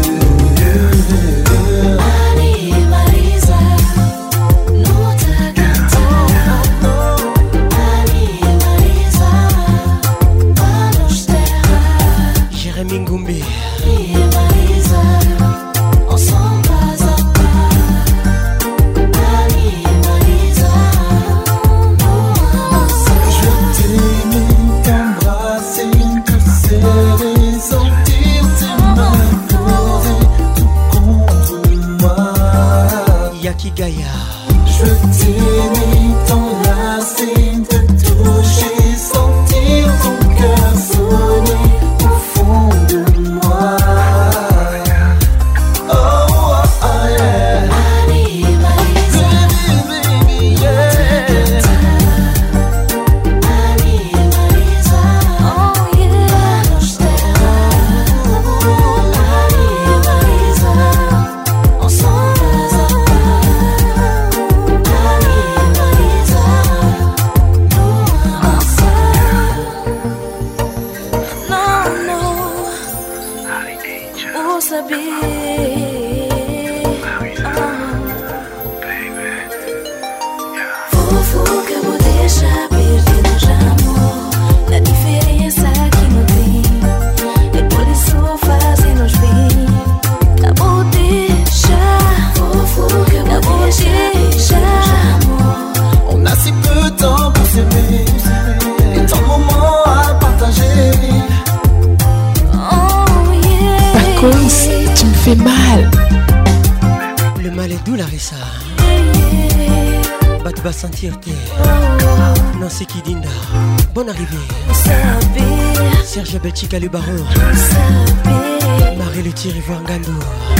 Speaker 7: Ali e Marisa, no te cantar. Ali e Marisa, vamos terra.
Speaker 6: Jérémy Ngumbi.
Speaker 7: Ali e Marisa, ensemble pas à pas. Ali e Marisa,
Speaker 18: Je t'aimais, t'embrasser, te serrer, sentir tes mains poser tout contre moi.
Speaker 6: Yaki Gaia.
Speaker 18: Je t'aimais, t'enlacer, te toucher, sentir ton cœur sonner au fond de moi. Oh, oh, oh yeah.
Speaker 7: Ali e Marisa,
Speaker 18: Baby, yeah.
Speaker 7: Ali e Marisa, oh yeah, vamos terra. Ali e Marisa, ensemble pas à pas. Ali e Marisa, no answer. No, vou saber. Fofoca vou deixar perdido de amor. Na diferença que não tem. É por isso fazemos bem. Acabou deixar. Fofoca vou deixar amor.
Speaker 18: On a si peu de temps pour s'aimer et tant de moments à partager.
Speaker 7: Oh yeah.
Speaker 5: Pacons, tu me fais mal.
Speaker 6: Le mal est doux, Larissa. Batouba Santirte. Nancy Kidinda. Bonne arrivée. Serge Belchica le baron. Marie le Thierry Voangando.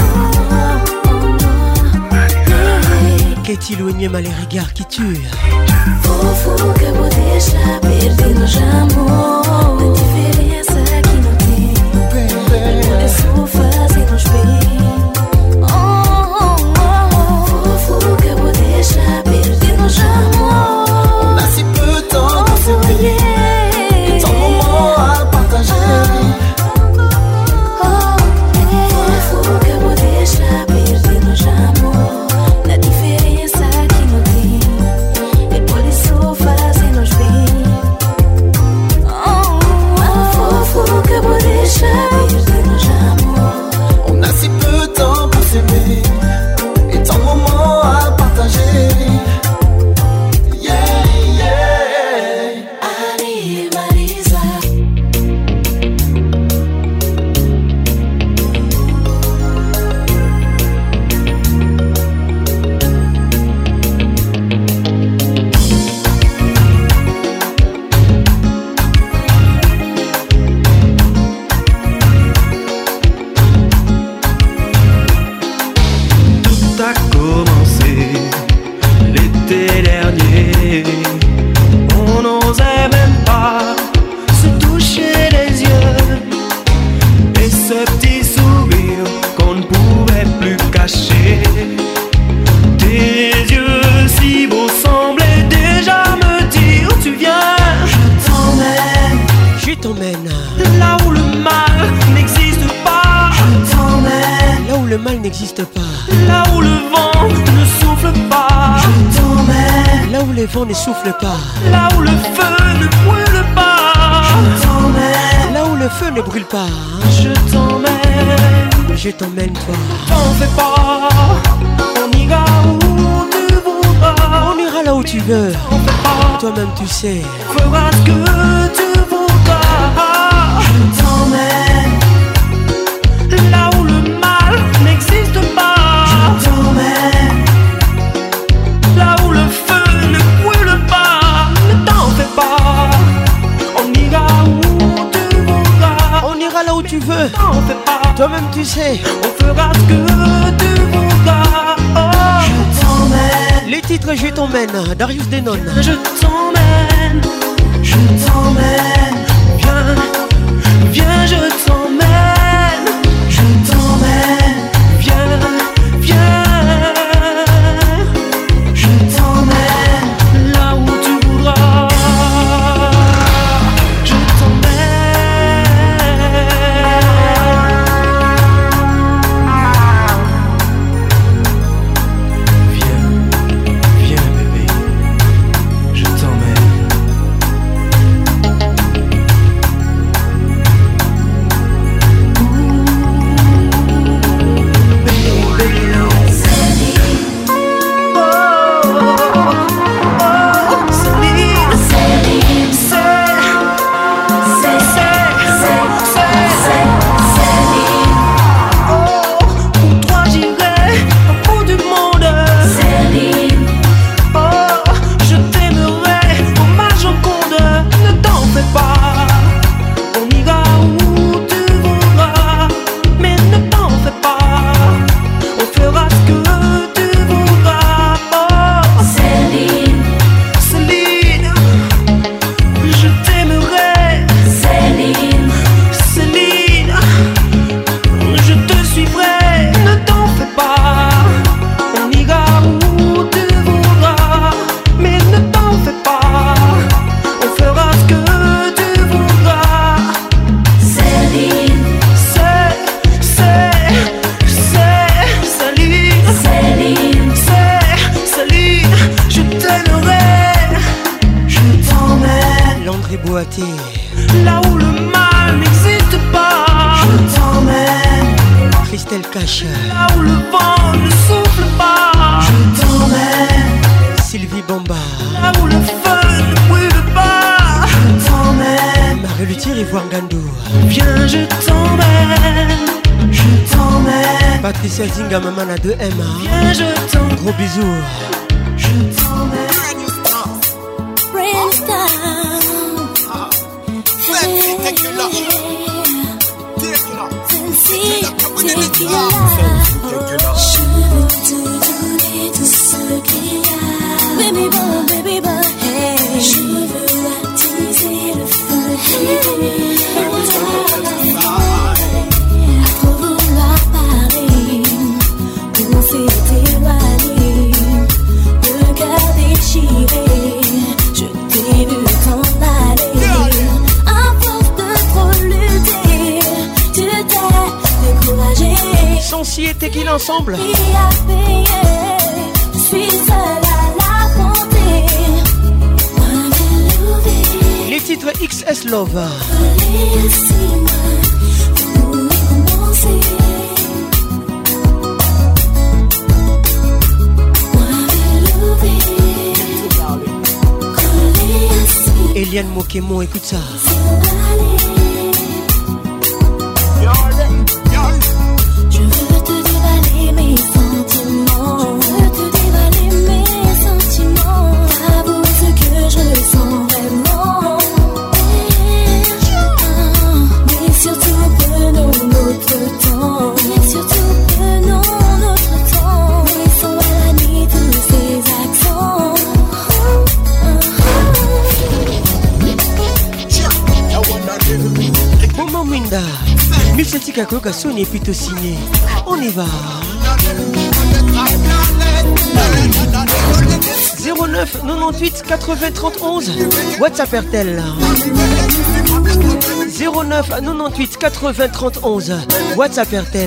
Speaker 6: Katie Louigné mal les regards qui tuent.
Speaker 7: Fofoca vou deixar perdido de amor. Na diferença que não tem. É por isso fazemos bem. Fofoca vou deixar perdido de amor.
Speaker 18: On a si peu de temps pour s'aimer et tant de moments à partager.
Speaker 7: Fofoca vou deixar perdido de amor. Na diferença que não tem. É por isso fazemos bem.
Speaker 11: caché. Tes yeux si beaux semblaient déjà me dire tu viens.
Speaker 6: Je t'emmène
Speaker 11: là où le mal n'existe pas.
Speaker 6: Je t'emmène là où le mal n'existe pas.
Speaker 11: Là où le vent ne souffle pas.
Speaker 6: Je t'emmène là où les vents ne soufflent pas.
Speaker 11: Là où le feu ne brûle pas.
Speaker 6: Je t'emmène là où le feu ne brûle pas.
Speaker 11: Je t'emmène.
Speaker 6: Je t'emmène toi.
Speaker 11: T'en fais pas. On ira où tu voudras.
Speaker 6: On ira là où tu veux. Toi-même tu sais.
Speaker 11: Feras ce que tu voudras.
Speaker 6: Je t'emmène
Speaker 11: là où le mal n'existe pas.
Speaker 6: Je t'emmène
Speaker 11: là où le feu ne brûle pas. Ne t'en fais pas. On ira où tu voudras.
Speaker 6: On ira là où tu veux.
Speaker 11: T'en fais pas.
Speaker 6: Toi-même tu sais.
Speaker 11: On fera ce que tu voudras. Oh.
Speaker 6: Je t'emmène. Les titres Je t'emmène, Darius Denon.
Speaker 11: Je t'emmène.
Speaker 6: Je t'emmène.
Speaker 11: Viens, viens, je t'emmène.
Speaker 6: Je t'emmène.
Speaker 11: Viens, viens.
Speaker 6: Je t'emmène
Speaker 11: là où tu voudras. Je t'emmène. Viens, bébé. Je t'emmène. Là où le mal n'existe pas.
Speaker 6: Je t'emmène.
Speaker 11: Christelle Cache. Là où le vent ne souffle pas.
Speaker 6: Je t'emmène.
Speaker 11: Sylvie Bamba. Là où le feu ne brûle pas.
Speaker 6: Je t'emmène.
Speaker 11: Marie-Luthier Ivoire Gandou. Viens, je t'emmène.
Speaker 6: Je t'emmène.
Speaker 11: Patricia Zinga, maman à 2M. Viens, je t'emmène. Gros bisous.
Speaker 6: Je t'emmène.
Speaker 7: Je veux te donner tout ce qu'il y a. Baby boy, baby boy, hey. Je veux attiser le feu. À trop vouloir parler, on s'est éloigné. Le cœur déchiré, je t'ai vu t'en aller. À force de trop lutter, tu t'es découragé.
Speaker 6: Sancy et Tequila ensemble.
Speaker 7: Je suis seule à l'affronter.
Speaker 6: Les titres XS Love. Eliane Mokemo, écoute ça.
Speaker 7: Je veux te dévaler mes sentiments. Je veux te dévaler mes sentiments. T'avouer ce que je sens vraiment. Mais surtout prenons notre temps. Mais surtout prenons notre temps. Laissons à la nuit tous ces accents.
Speaker 6: Tika Koka Sony est plutôt signé. On y va. 09 98 80 31 WhatsApp RTL. 09 98 80 31 WhatsApp RTL.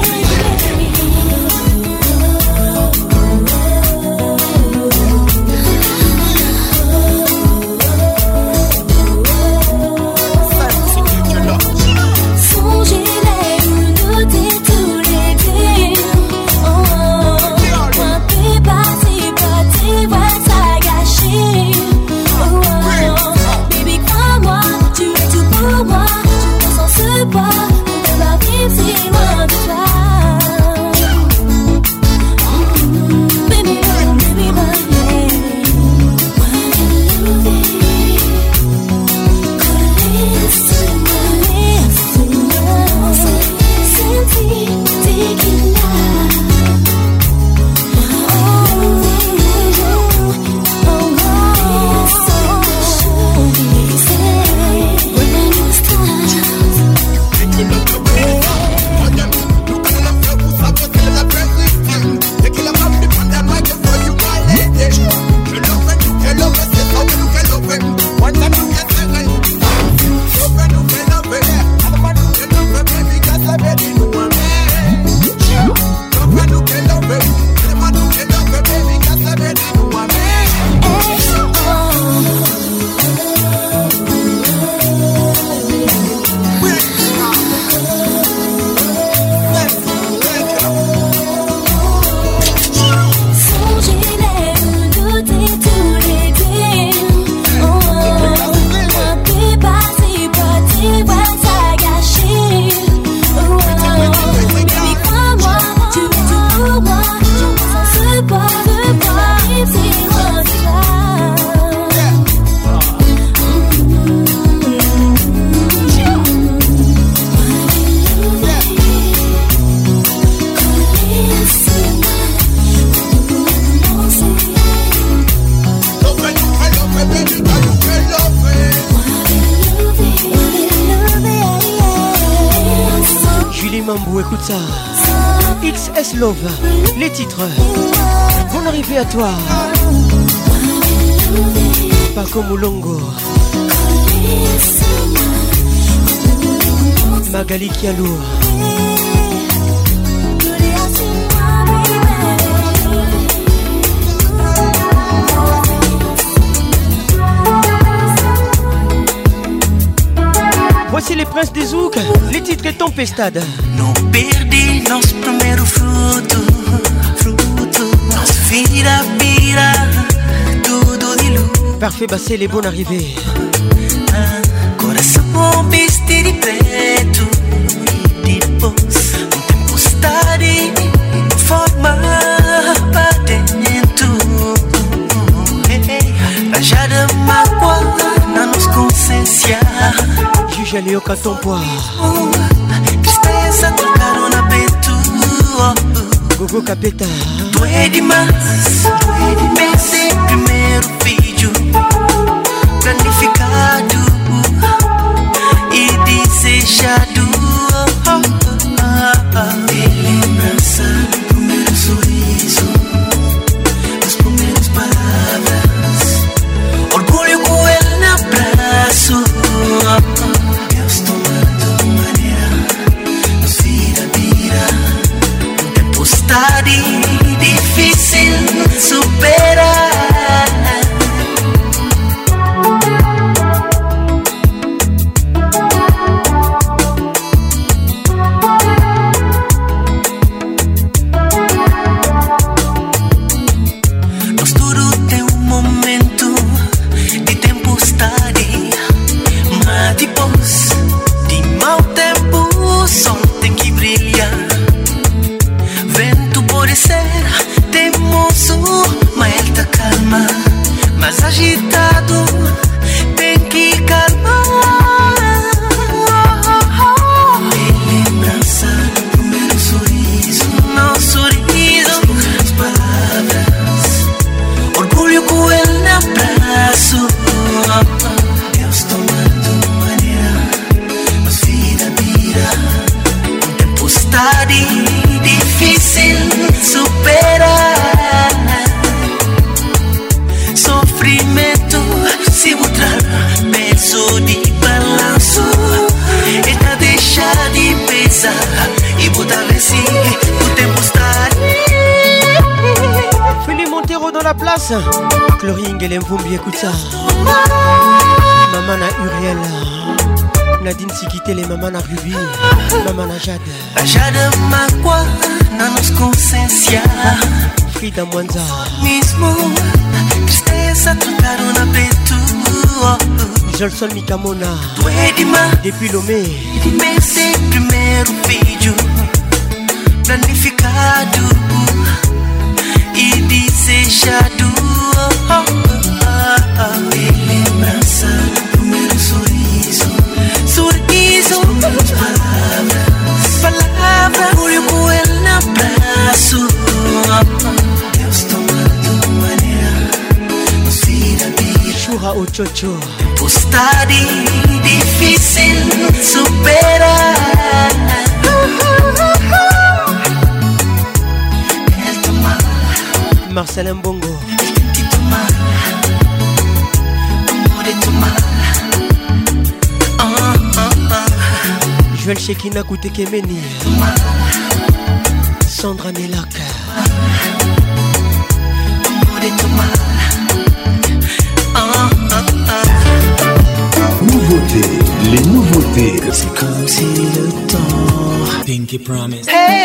Speaker 6: Écoute ça, XS Love, les titres. Bonne arrivée à toi, Paco Moulongo, Magali Kialou. Voici les princes des Zouk, les titres et Tempestade.
Speaker 19: Não perdi nosso primeiro fruto. Nossa vida vira tudo de luz.
Speaker 6: Parfait, Bassé, les bonnes arrivées.
Speaker 19: Coração vestido de preto. E depois tempestade forma pra dentro. Rajada mágoa na nossa consciência.
Speaker 6: Juge Léo Catompoir.
Speaker 19: Tristeza trocaram na peito.
Speaker 6: Gogo Capeta.
Speaker 19: Doe demais. Pensei primeiro vídeo planificado e desejado. E lembrança do primeiro sorriso, das primeiras palavras, orgulho com ele no abraço. Deus tomando maneira, nos vira, tempestade difícil superar. difícil superar. Sofrimento se mostrar peso de balanço. Eta deixa de pesar e botar si o tempo estar.
Speaker 6: Félix Montero dans la place. Chloring et l'Emvumbi, écoute ça. Maman à Uriel. Nadine Sikite, les mamans à Ruby. Maman à Jade.
Speaker 19: Jade Makwa, na nos consciência.
Speaker 6: Frida Mwanza.
Speaker 19: Mismo, tristeza trocaram na peito.
Speaker 6: Jolson Mikamona. Depuis Lomé.
Speaker 19: Esse primeiro vídeo planificado e desejado. Lembrança do primeiro sorriso. Sorriso, palavras, olho com ele no abraço. Deus tomando maneira, nos vira vida.
Speaker 6: Churra o chocho.
Speaker 19: Postade difícil superar. El tomar.
Speaker 6: Marcel Mbongo. Joël Shekina Koutekemeni. Sandra Nelaka.
Speaker 1: Nouveautés, les nouveautés.
Speaker 19: C'est comme si le temps
Speaker 1: Pinky Promise.
Speaker 19: Hey,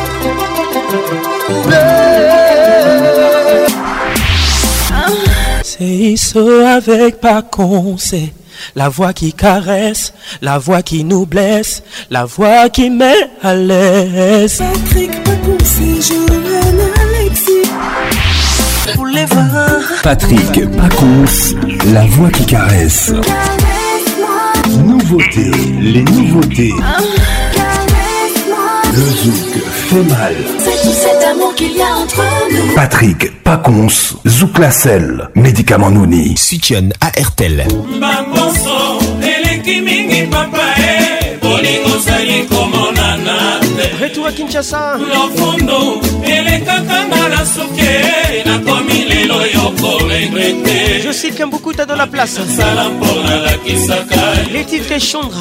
Speaker 20: C'est ça avec Pacon, c'est la voix qui caresse, la voix qui nous blesse, la voix qui met à l'aise.
Speaker 18: Patrick Pacon, c'est Joël Alexis.
Speaker 19: Pour les vents.
Speaker 1: Patrick Pacons, la voix qui caresse. Nouveautés, les nouveautés. Le zouk fait mal.
Speaker 18: C'est tout cet amour qu'il y a entre nous.
Speaker 1: Patrick Pacons, Zouk la selle, médicament Nouni.
Speaker 21: Soutien à RTL.
Speaker 6: Retour à Kinshasa. Je sais qu'il y a beaucoup dans la place. Les titres et Chandra.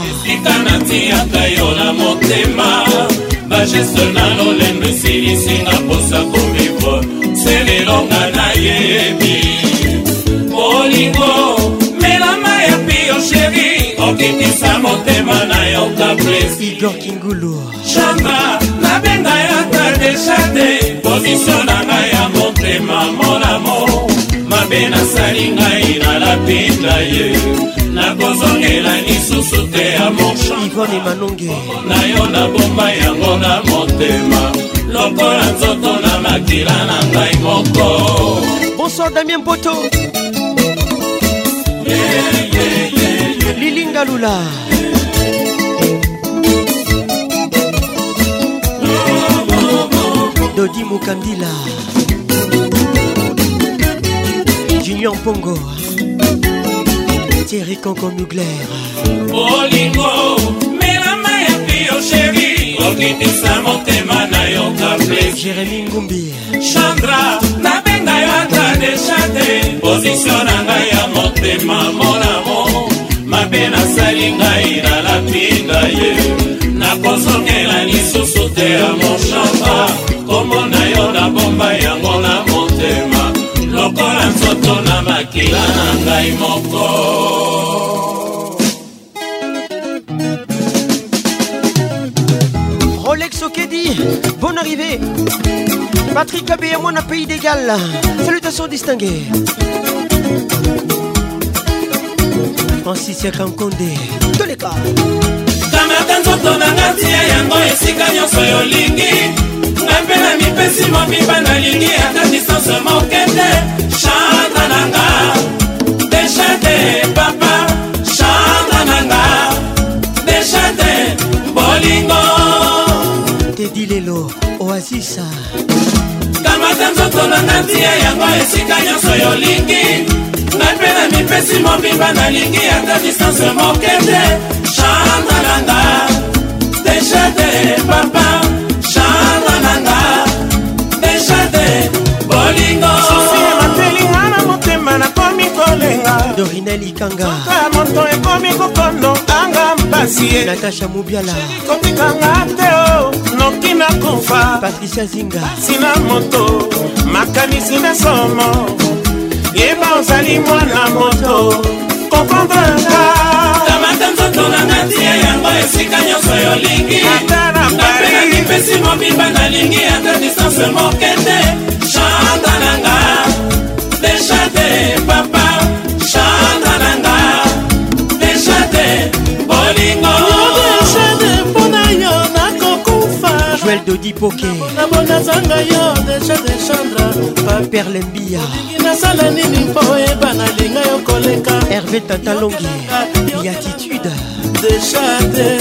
Speaker 6: Igor Kingulu.
Speaker 22: Chandra, na benga ya ta deshate. Position na ngai ya motema mon amour. Mabena sali ngai na la pinda ye. Na kozongela lisusu te ya mon chant.
Speaker 6: Yvonne Manonge.
Speaker 22: Na yo na bomba yango na motema. Lokola nzoto na makila na ngai moko.
Speaker 6: Bonsoir Damien Poto. Lilinga Lula. Dodi Mukandila. Junior Pongo. Thierry Conco Mugler.
Speaker 22: Bolingo, melama ya pio chéri. Okitisa motema na yo kaple.
Speaker 6: Jérémy Ngumbi.
Speaker 22: Chandra, na benga yo ata deshate. Position na ngai ya motema mon amour. Mabe na sali ngai na la pinda ye. Na kozongela lisusu te ya mon chamba. Komo na yo na bomba yango na motema. Lokola nzoto na makila na ngai moko.
Speaker 6: Rolex Okedi, bonne arrivée. Patrick Abé à moi, un pays d'égal. Salutations distinguées. Francis Yakankonde, tous les cas.
Speaker 22: Kamata nzoto na ngatia yango esika nyonso yolingi. Ngape na mipesi mobiba na lingi ata distance mokende. Chandra nanga, deshate papa. Chandra nanga, deshate bolingo.
Speaker 6: Teddy Lelo, Oasis.
Speaker 22: Kamata nzoto na ngatia yango esika nyonso yolingi. Ngape na mipesi mobiba na lingi ata distance mokende. Chandra nanga, deshate papa.
Speaker 6: Daniel Ikanga
Speaker 4: moto ekomi kokondo anga mpasi
Speaker 6: Natasha Mubiala
Speaker 4: kotikanga teo noki na kufa
Speaker 6: Patricia Zinga
Speaker 4: sina moto makanisi na somo yeba ozali mwana moto kokondraka
Speaker 22: tamata nzoto na ngatia yango esika nyonso yolingi napena nipesi mobimba nalingi ata distance mokete chanta nanga deshate papa chanta nanga deshate bolingo
Speaker 9: deshate mpona yo nakokufa
Speaker 6: Joël Dodi Poké
Speaker 9: nabona zanga yo deshate Chandra
Speaker 6: Perle Mbia
Speaker 9: nasala nini mpo eba nalinga yo koleka
Speaker 6: Hervé Tatalongi Beatitude
Speaker 9: deshate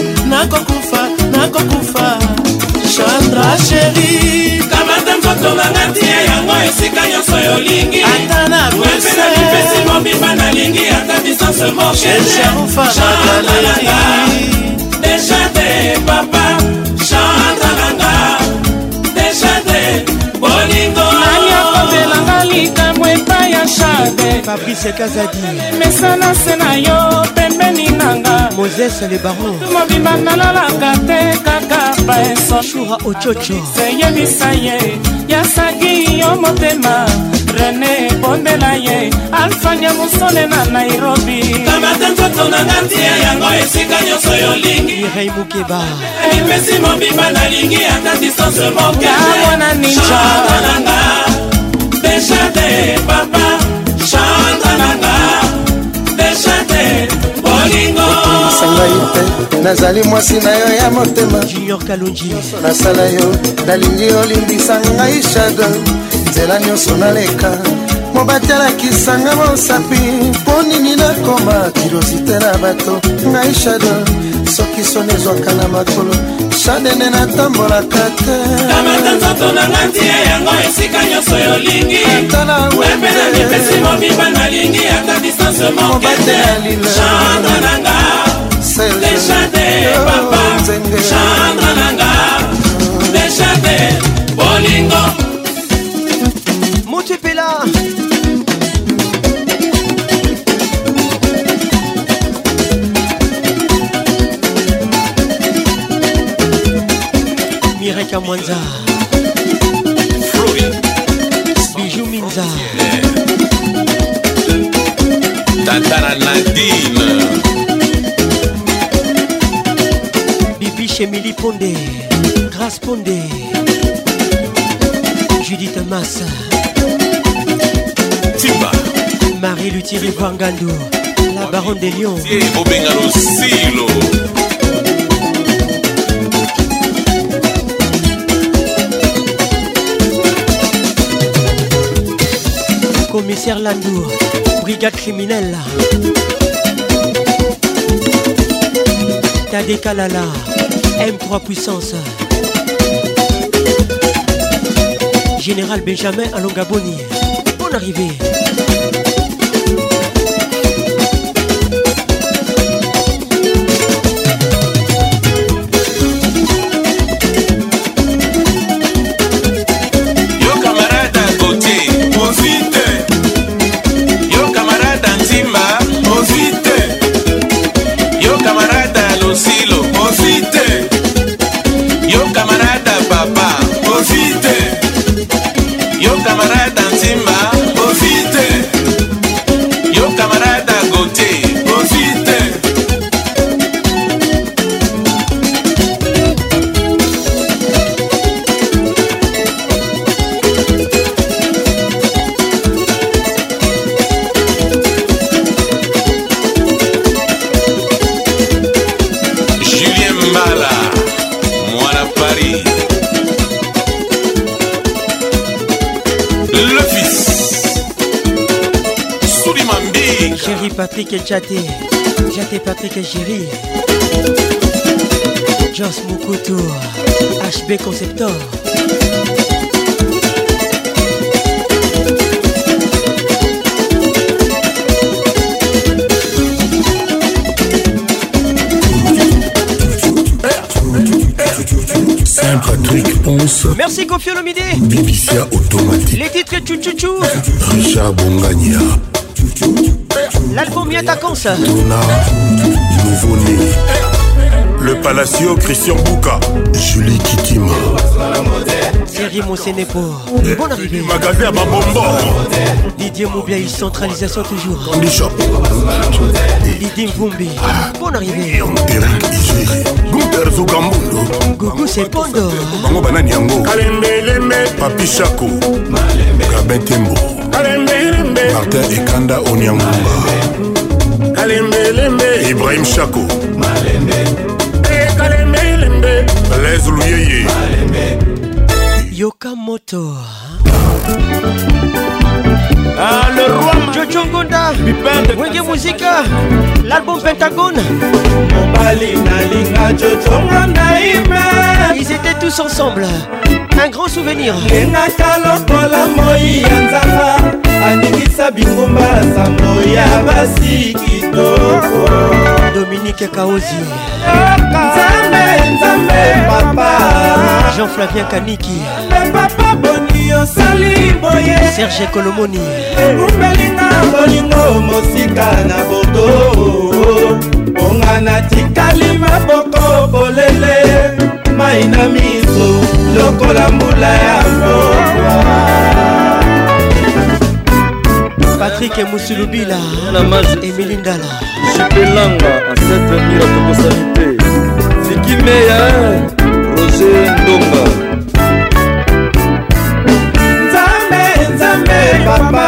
Speaker 9: nakokufa Chandra chéri
Speaker 22: kamata nzoto nanga tia yango esika nyonso yolingi
Speaker 9: ata na
Speaker 22: wepena mipesi mobimba nalingi ata distance mokete Chandra nanga deshate papa Chandra nanga deshate bolingo
Speaker 9: nani akobelanga likambo epai ya Shade
Speaker 6: Fabrice Kazadi
Speaker 9: mesana se na yo pembeni nanga
Speaker 6: Moses le baron
Speaker 9: mobimba nalalaka te kaka baeso
Speaker 6: Shura Ochocho
Speaker 9: seyebisa ye yasaki yo motema René bondela ye Alfania Musone na Nairobi
Speaker 22: kamata nzoto nanga tia yango esika nyonso yolingi
Speaker 6: Mireille Mukeba
Speaker 22: mipesi mobimba nalingi ata distance mokete
Speaker 9: mwana ninja
Speaker 22: Chanta nanga deshate papa Chanta nanga deshate bolingo
Speaker 21: sangai te nazali mwasi na yo ya motema
Speaker 6: Junior Kalonji
Speaker 21: nasala yo nalingi olimbisa ngai Shado nzela nyonso naleka mobatelakisanga mosapi mpo nini nakoma kirosite na bato ngai Shado soki soni ezwaka na makolo Shade nde natambolaka te
Speaker 22: kamata nzoto nanga tia yango esika nyonso yolingi wepena mipesi mobimba nalingi ata distance mokete Chandra nanga deshate papa Chandra nanga deshate bolingo
Speaker 6: Montepela Mireka Mwanza Bijou Minza
Speaker 22: Tatara Nadine
Speaker 6: Bibi Chemili Pondé Grace Pondé Judith Massa
Speaker 22: Timba
Speaker 6: Marie Luthier Bangando La Baronne des Lions
Speaker 22: Obengalo Silo
Speaker 6: Commissaire Landour Brigade criminelle Tadé Kalala M3 Puissance Général Benjamin Alongaboni Bonne arrivée Patrick et Jaté Patrick et Géry Joss Mukutu HB Conceptor
Speaker 1: Saint-Patrick Ponce.
Speaker 6: Merci Kofi Olomide.
Speaker 1: Bibicia automatique.
Speaker 6: Les titres Tchouchouchou.
Speaker 1: Richard Bongania.
Speaker 6: L'album Miatakons.
Speaker 3: Nouveau-né. Le Palacio, Christian Bouka. Julie Kitima.
Speaker 6: Thierry Monsenepo. Bonne arrivée.
Speaker 3: Magasin à Babombo.
Speaker 6: Didier Moubiaï, centralisation toujours. Didier Mvumbi. Bonne arrivée.
Speaker 3: Eric Ijiri. Gunther Zugambundo.
Speaker 6: Gougou c'est Pondo.
Speaker 3: Bango Banani Yango. Kalembe. Papi Chako. Gabin Tembo. Martin Ekanda Onyangumba. Ibrahim Chako. Les Louyeye.
Speaker 6: Yokamoto.
Speaker 22: Le roi
Speaker 6: Jojo Ngonda. Wenge Musica. L'album Pentagone. Ils étaient tous ensemble. Un grand souvenir. Dominique Kaozi. Jean-Flavien Kaniki. Serge Kolomoni.
Speaker 22: Ongana tikali maboko bolele maina miso lokola mbula ya mboka.
Speaker 6: Patrick Moussoulubila. Emily Ndala.
Speaker 10: Chipelanga ancêtre mira tokosalite Zikimeya Roger Ndonga.
Speaker 22: Nzambe papa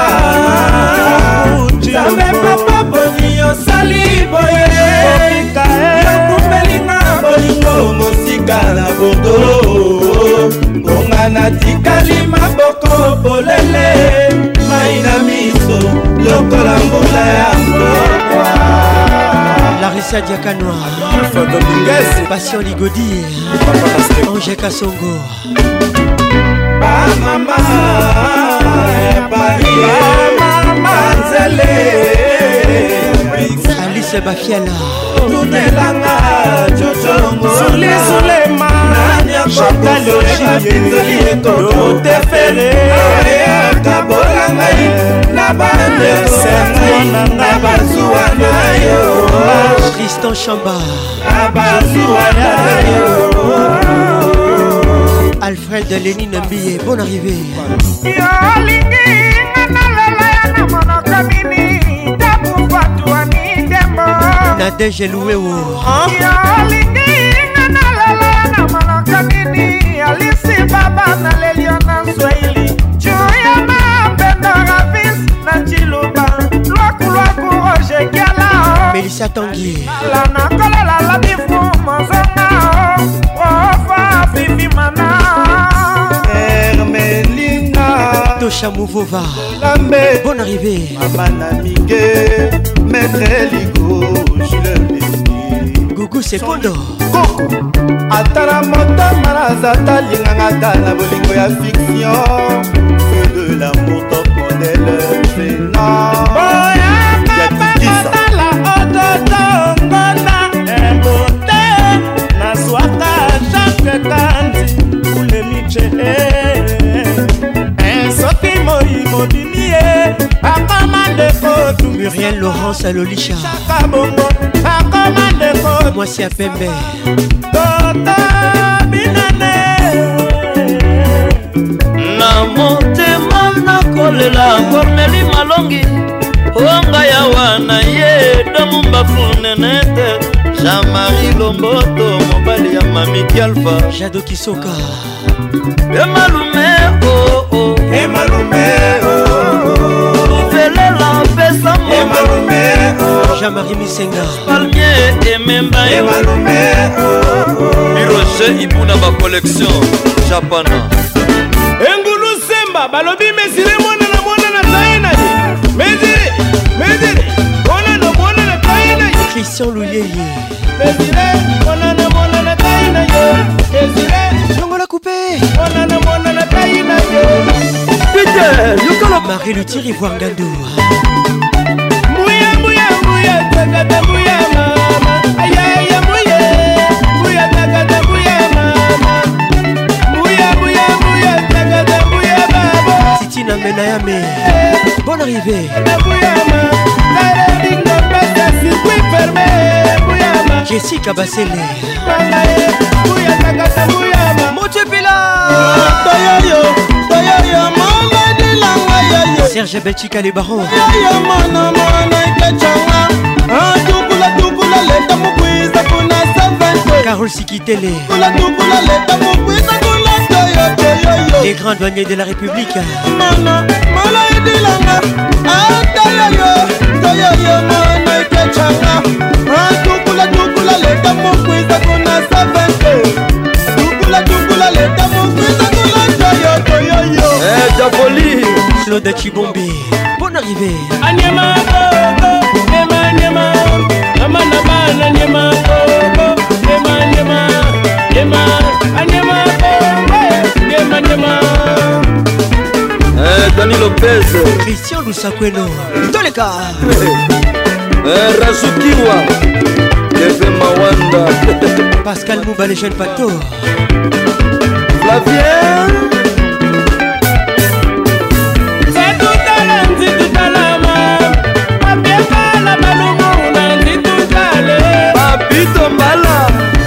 Speaker 22: Nzambe papa boni osali boye yokumbelinga bolingo mosika na bodo ngongana tikali maboko bolele maina miso lokola mbula ya mboka.
Speaker 6: Larissa Diakanoa. Passion Ligodi. Angé Kassongo.
Speaker 22: Mama Banzele
Speaker 6: Alice Bafiala.
Speaker 22: Tunelanga Jojongo Sulema Chantal Oshibinzoli Etote Fere Kabolanga Nabande Nabazuana yo
Speaker 6: Tristan Chamba.
Speaker 22: Nabazuana yo
Speaker 6: Alfred Lénine Mbie, bonne arrivée. Nadège Louéo. Mélissa Tanguy.
Speaker 22: Hermelina
Speaker 6: Tosha Mouvova. Bonne arrivée.
Speaker 22: Mamana Miguel Maître Ligo Jules
Speaker 6: Gougou c'est Pondo.
Speaker 22: Coco Atala Mota Marazata Lingangata la bolingo ya fiction. Feu de l'amour top modèle Fena Yatitisa Ododo Ngona Mbote Naswaka Jacques Kandi Ule Miche Soki Moi Mobimie Akamande Kotu
Speaker 6: Muriel Laurence Alolicha. Moi c'est à Pembe.
Speaker 22: Tota Binane
Speaker 10: Na motema nakolela Corneli Malongi Onga ya wana ye Domumba Funenete Jean-Marie Lomboto Mobali ya Mamiki Alpha
Speaker 6: Jado Kisoka
Speaker 10: Emalume oh oh
Speaker 22: Emalume oh
Speaker 10: Velela pesa
Speaker 22: Emalume oh
Speaker 6: Jean-Marie Misenga
Speaker 10: Palmier et Memba
Speaker 22: Emalume oh
Speaker 10: Hiroche Ibuna ba collection Japana
Speaker 22: Engulu Semba balobi mesire mwana na taina Mesire mwana na taina
Speaker 6: Christian Louyeye
Speaker 22: Mesire mwana na taina Mesire
Speaker 6: Chongo la coupé
Speaker 22: mwana na taina
Speaker 6: Peter Yokolo Marie le Thierry Voangandou.
Speaker 22: Mouya takata mouya mama Ayaya mouya takata mouya mama Mouya takata mouya baba
Speaker 6: Titi Christina Menayame. Bonne arrivée. Jessica Bassele. Motepela. Serge Belchika les barons. Carole Sikitele. Les grands douaniers de la République.
Speaker 10: Japoli
Speaker 6: Claude Chibombi. Bonne arrivée.
Speaker 22: Anyama Ema Nyama Amana Nyama Ema Anyama Ema
Speaker 10: Dani Lopez
Speaker 6: Christian Lusakweno. Dans les cas
Speaker 10: Razukiwa Kevin Mawanda
Speaker 6: Pascal Mouba les jeunes pato
Speaker 10: Flavien Papito Mbala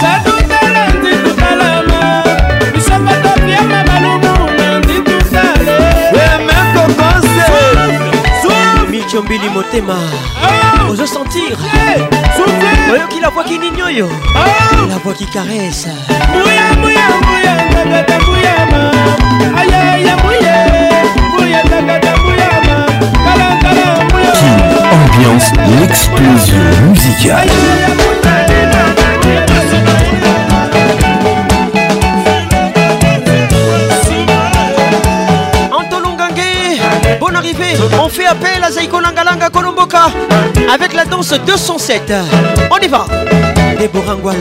Speaker 6: Michombili Motema. Ose sentir voyons qui la voix qui n'ignore. La voix qui caresse.
Speaker 1: Ambiance, l'explosion musicale.
Speaker 6: Bonne arrivée. On fait appel à Zaiko Langalanga Kolomboka avec la danse 207. On y va. Déborah Ngwala.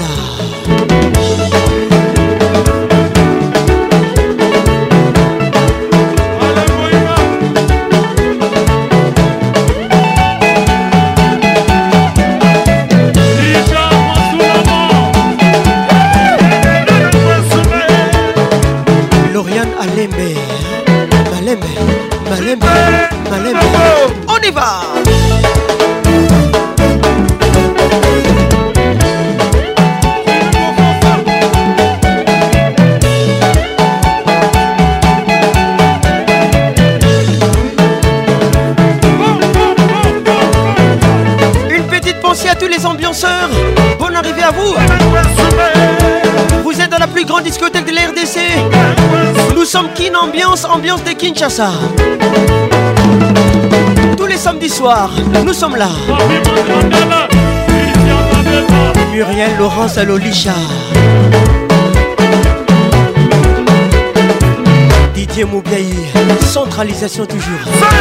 Speaker 6: Lauriane Alembe. Malembe. On y va. Une petite pensée à tous les ambianceurs. Bonne arrivée à vous. Vous êtes dans la plus grande discothèque de la RDC. Nous sommes Kin Ambiance de Kinshasa. Tous les samedis soirs, nous sommes là. Muriel Laurence Alolisha. Didier Moubiaï. Centralisation toujours.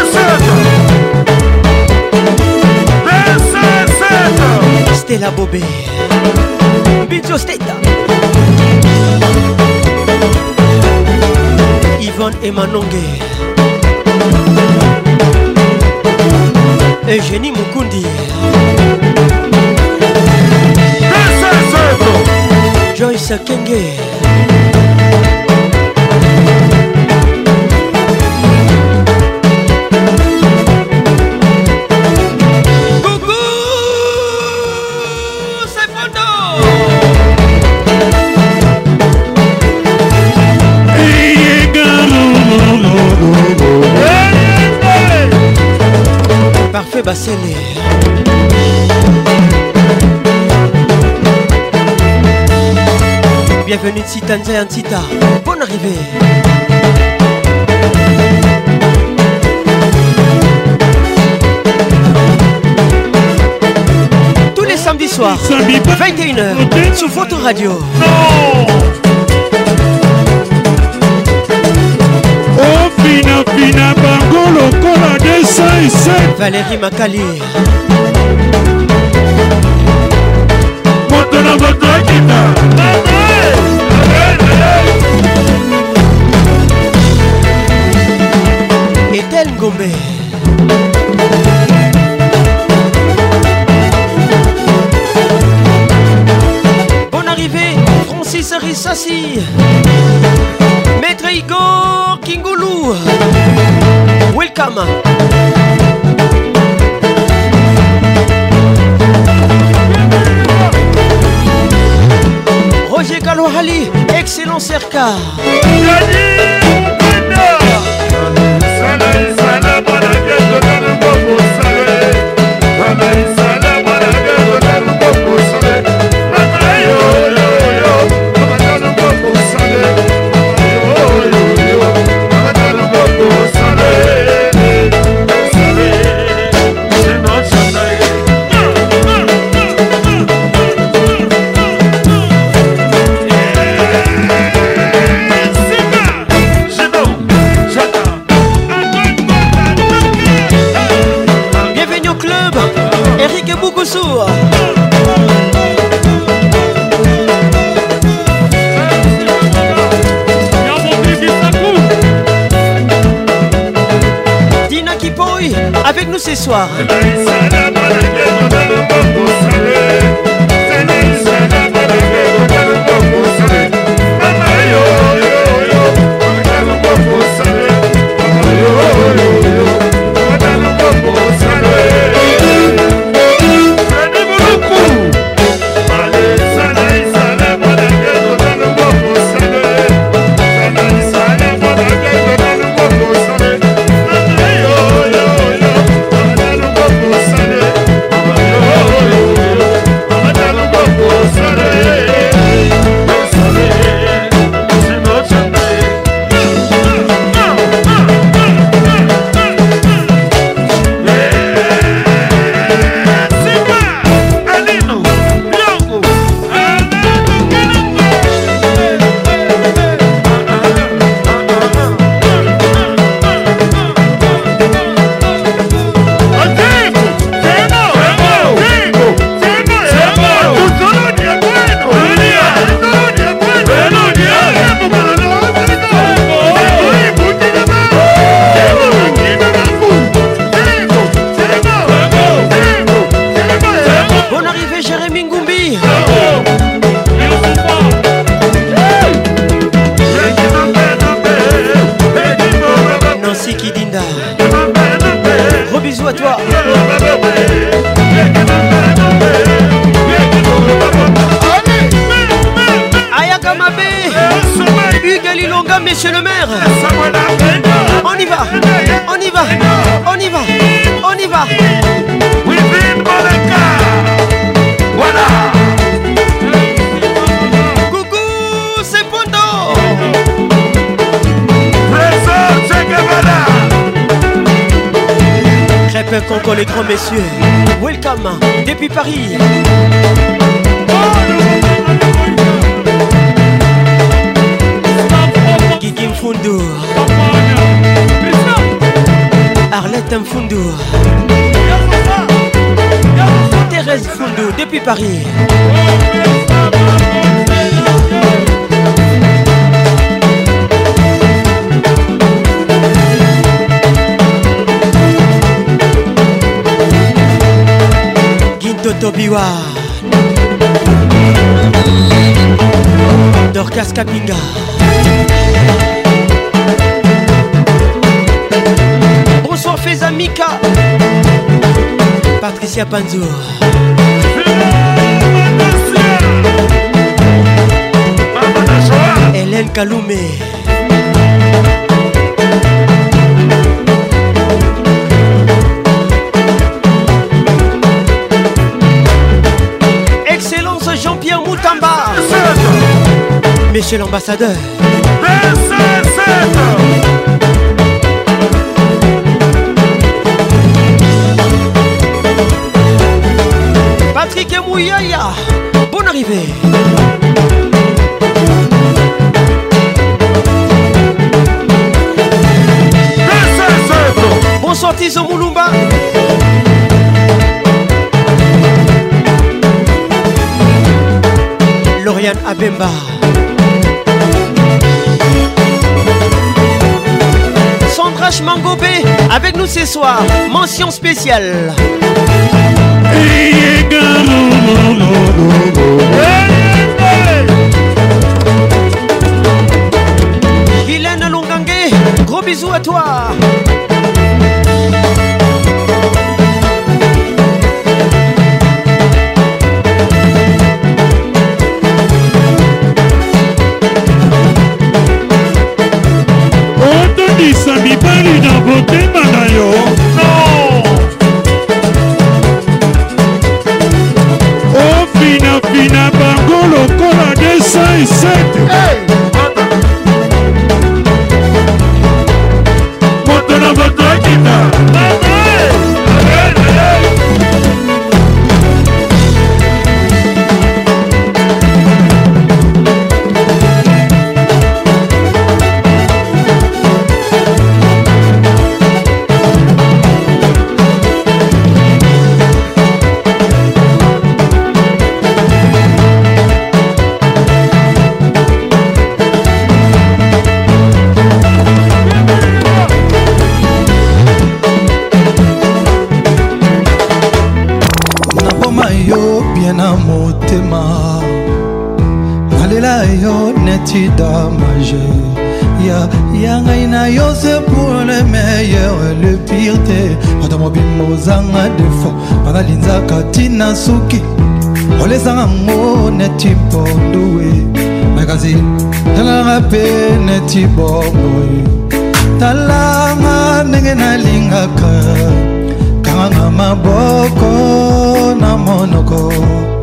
Speaker 6: Stella Bobé. Bidio Steta. Yvonne Emanongue. Eugénie Mukundi. Joyce Kenge. Parfait Bassele. Bienvenue de Sitanza et Antita. Bonne arrivée. Tous les samedis soirs 21h sur votre radio.
Speaker 14: Fina Bangolo Kola D5
Speaker 6: Valérie Makali
Speaker 14: Montana Botakita
Speaker 6: Etel Ngombe Bonne arrivée Francis Rissassi Maître Igor Kingoulou welcome. Roger Galohali, excellent Serka. Dina Kipoy avec nous ce soir. Monsieur le maire, on y va, on y va, on y va, on y va. Voilà. Coucou, c'est Pondo. Crêpe Conco, les grands messieurs. Welcome depuis Paris. Gigi Mfundu, Arlette Mfundu, Thérèse Mfundu depuis Paris. Ginto Tobiwa, Dorcas Kapinga. Bonsoir Fezamika, Patricia Panzo, Hélène Kaloumé, Excellence Jean-Pierre Moutamba, Monsieur l'ambassadeur. Patrick Mouyaya, bonne arrivée. Bonsoir Tizo Moulumba. Lauriane Abemba. Sandra Mangobé avec nous ce soir. Mention spéciale. Guylaine Longangue, gros bisous à toi.
Speaker 2: neti damage ya ngai na yo c'est pour le meilleur et le pire te ata mobimba ozanga défaut banalinzaka tina suki olezanga ngo neti ponduwe makasi talanga pe neti bongoe talanga ndenge nalingaka kanga maboko na monoko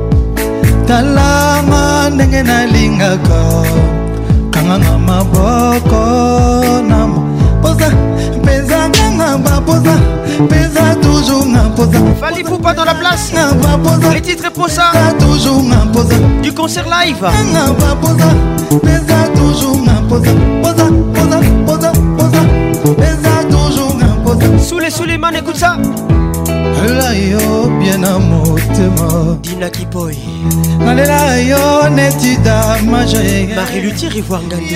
Speaker 2: talanga ndenge nalingaka kanga maboko na posa pesa kanga baposa pesa toujours na posa
Speaker 6: Fali Poupa dans la place. Les titres pour ça
Speaker 2: toujours na posa
Speaker 6: du concert live
Speaker 2: kanga baposa pesa toujours na posa posa posa posa posa pesa toujours na posa
Speaker 6: sous les man écoute ça
Speaker 2: la yo bien à motema
Speaker 6: Dina Kipoy
Speaker 2: Nalela yo neti damage
Speaker 6: Marie Luthier Ivoire Ngandi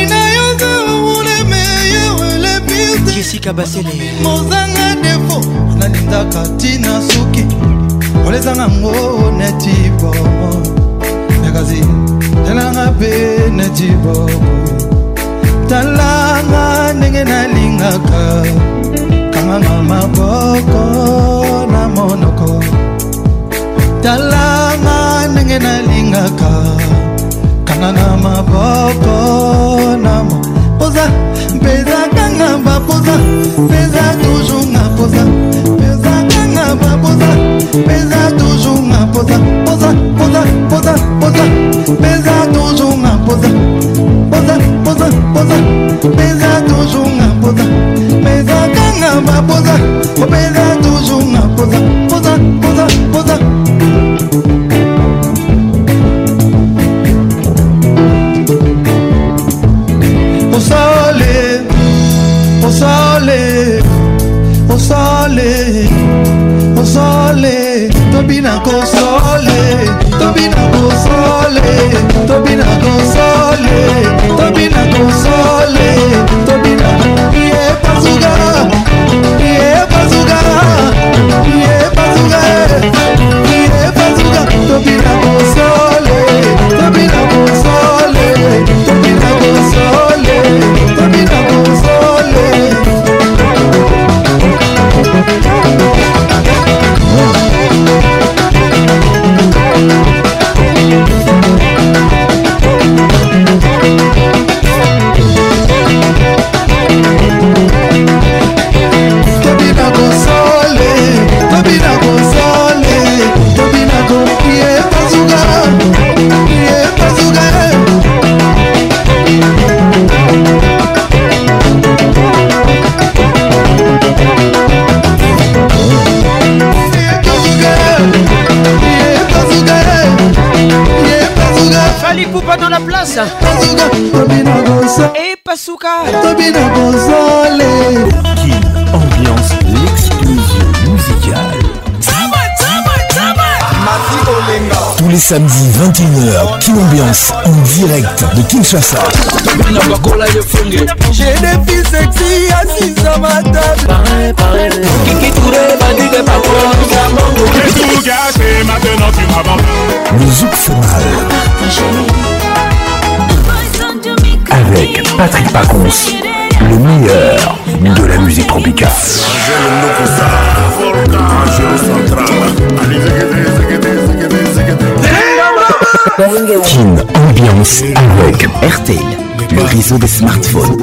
Speaker 6: Jessica Basele
Speaker 2: Mozanga defo Nalindaka tina suki Olezanga ngo neti bomo Nagazi Talanga pe neti bomo Talanga nenge nalingaka Kanga maboko na monoko Talanga nenge nalingaka Kanga maboko na mo Posa, pesa kanga ba posa Pesa toujours na posa Pesa kanga ba posa Pesa toujours na posa Posa, posa, posa, posa Pesa toujours na posa Posa, posa, posa Pesa toujours na posa Pesa kanga ba posa Pesa toujours na posa Posa, posa, posa O sole, tobina console, tobina console, tobina console, tobina console, tobina ie pazuga, ie pazuga, ie pazuga, ie pazuga, tobina console, tobina console, tobina console, tobina console.
Speaker 6: Fali Poupa dans la place et Pasuka
Speaker 1: Kin Ambiance, l'explosion musicale. Tous les samedis 21h, Kin Ambiance en direct de Kinshasa.
Speaker 2: J'ai des filles sexy assises à ma table. Kiki Touré m'a dit de pas
Speaker 3: tout gâché, maintenant tu m'abandonnes.
Speaker 1: Le Zouk Femal avec Patrick Pacons, le meilleur de la musique tropicale. Kin Ambiance avec RTL, le réseau des smartphones.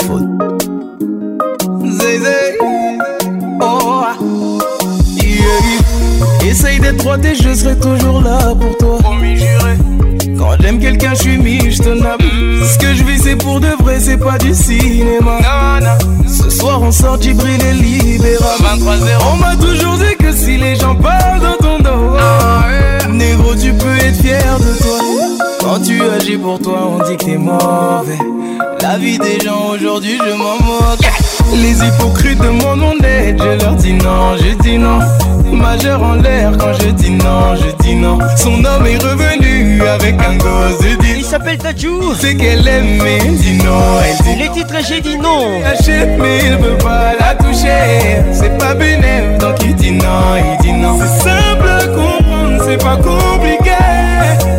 Speaker 9: Essaye d'être droit et je serai toujours là pour toi. Quand j'aime quelqu'un, je suis mis, je te nappe. Ce que je vis, c'est pour de vrai, c'est pas du cinéma. Ce soir, on sort Djibril et Libérable. On m'a toujours dit que si les gens parlent dans ton dos, négro, tu peux être fier de toi. Quand tu agis pour toi, on dit que t'es mauvais. La vie des gens aujourd'hui, je m'en moque. Les hypocrites demandent mon aide, je leur dis non, je dis non. Majeur en l'air quand je dis non, je dis non. Son homme est revenu avec un gosse de 10.
Speaker 6: Il s'appelle Tadjou.
Speaker 9: C'est qu'elle aime mais elle dit non, elle dit
Speaker 6: les titres j'ai dit non.
Speaker 9: Achète mais il veut pas la toucher. C'est pas bénéf donc il dit non, il dit non. C'est simple à comprendre, c'est pas compliqué. Tant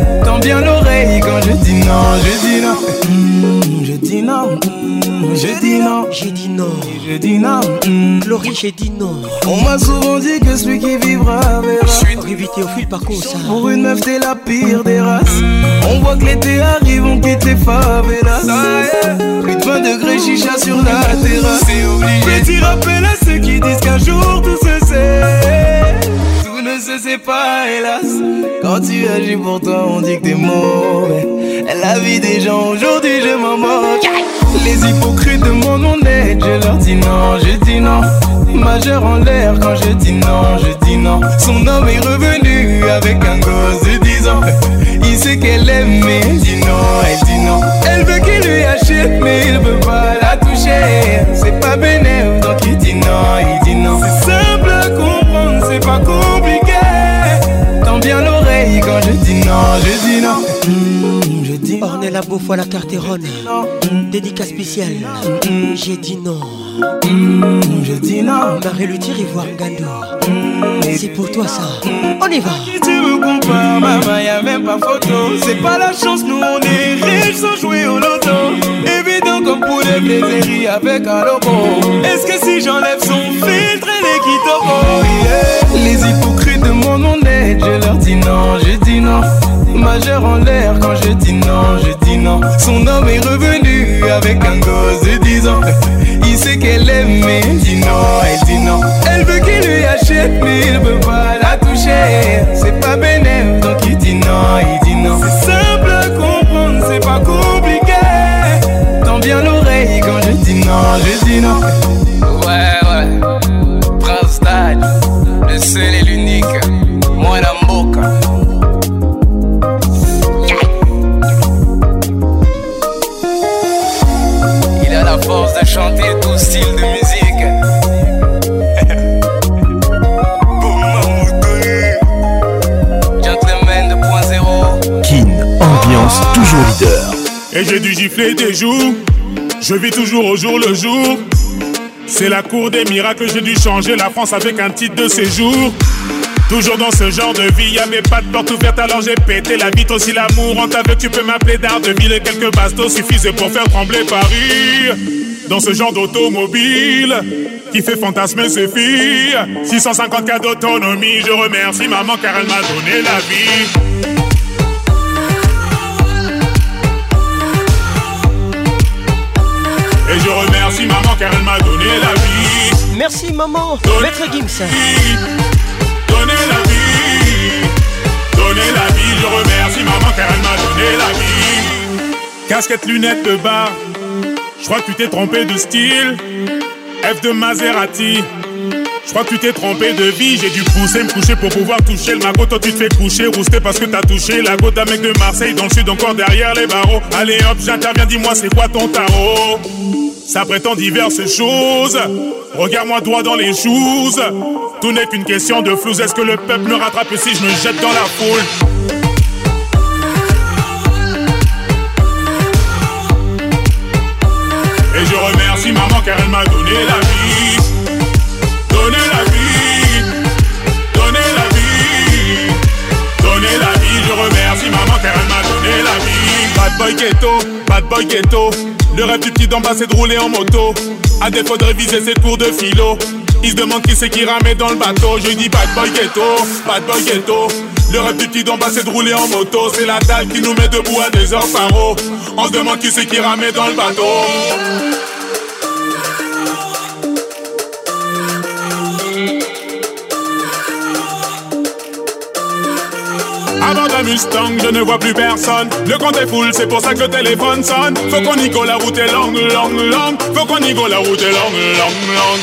Speaker 8: bien l'oreille quand je dis non, je dis non. Je dis non, je dis non.
Speaker 6: J'ai dit non,
Speaker 8: je dis non.
Speaker 6: Laurie, j'ai dit non.
Speaker 8: On m'a souvent dit que celui qui vivra verra.
Speaker 6: Je suis évité au fil par ça.
Speaker 8: Pour une meuf t'es la pire des races. On voit que l'été arrive, on quitte les favelas. Plus de 20 degrés chicha sur la terrasse. C'est obligé. Petit rappel à ceux qui disent qu'un jour tout se sait. Tout ne se sait pas hélas. Quand tu agis pour toi on dit que t'es mauvais. La vie des gens aujourd'hui je m'en moque. Les hypocrites demandent mon aide, je leur dis non, je dis non. Majeur en l'air quand je dis non, je dis non. Son homme est revenu avec un gosse de 10 ans. Il sait qu'elle aime mais elle dit non, elle dit non. Elle veut qu'il lui achète mais il veut pas la toucher. C'est pas bénéf donc il dit non, il dit non. C'est simple à comprendre, c'est pas compliqué. Tends bien l'oreille quand je dis non, je dis non.
Speaker 6: Ornella Beaufoy la Carterone. Dédicace spéciale. J'ai dit non.
Speaker 8: Je dis non.
Speaker 6: Marie-Luthier Ivoire Ngando. C'est pour toi ça. On y va.
Speaker 8: Si tu me compares, maman, y'a même pas photo. C'est pas la chance, nous on est riches sans jouer au loto. Évident comme pour les plaiséries avec un logo. Est-ce que si j'enlève son filtre, elle est kitoko, yeah. Les hypocrites demandent mon aide, je leur dis non, je dis non. Majeur en l'air quand je dis non, je dis non. Son homme est revenu avec un gosse de 10 ans. Il sait qu'elle aime mais elle dit non, elle dit non. Elle veut qu'il lui achète mais il veut pas la toucher. C'est pas bénéf donc il dit non, il dit non. C'est simple à comprendre, c'est pas compliqué. Tends bien l'oreille quand je dis non, je dis non. Ouais, Prince Dad, le seul et l'unique. Moi la moka. La force de chanter tout style de musique. Gentleman 2.0.
Speaker 1: Kin, ambiance toujours leader.
Speaker 3: Et j'ai dû gifler des jours. Je vis toujours au jour le jour. C'est la cour des miracles, j'ai dû changer la France avec un titre de séjour. Toujours dans ce genre de vie, y'avait pas de porte ouverte alors j'ai pété la vitre. Aussi l'amour, on t'avait, tu peux m'appeler d'Ardeville. Et quelques bastos suffisaient pour faire trembler Paris. Dans ce genre d'automobile qui fait fantasmer ses filles. 650 cas d'autonomie, je remercie maman car elle m'a donné la vie. Et je remercie maman car elle m'a donné la vie.
Speaker 6: Merci maman, Maître Gims.
Speaker 3: Donner la vie, je remercie maman car elle m'a donné la vie. Casquette, lunettes de bar, je crois que tu t'es trompé de style. F de Maserati, je crois que tu t'es trompé de vie. J'ai dû pousser, me coucher pour pouvoir toucher le magot. Toi tu te fais coucher, rouster parce que t'as touché la goutte d'un mec de Marseille dans le sud, encore derrière les barreaux. Allez hop, j'interviens, dis-moi c'est quoi ton tarot. Ça prétend diverses choses. Regarde-moi droit dans les choses. Tout n'est qu'une question de flouze. Est-ce que le peuple me rattrape si je me jette dans la foule? Et je remercie maman car elle m'a donné la vie. Donné la vie. Donné la vie. Donné la vie. Je remercie maman car elle m'a donné la vie. Bad boy ghetto, bad boy ghetto. Le rêve du petit d'en bas c'est de rouler en moto. À défaut de réviser ses cours de philo, il se demande qui c'est qui ramait dans le bateau. Je dis bad boy ghetto, bad boy ghetto. Le rêve du petit d'en bas c'est de rouler en moto. C'est la dalle qui nous met debout à des heures par eau. On se demande qui c'est qui ramait dans le bateau. Avant la Mustang, je ne vois plus personne. Le compte est full, c'est pour ça que le téléphone sonne. Faut qu'on y go, la route est longue, longue, longue. Faut qu'on y go, la route est longue, longue, longue.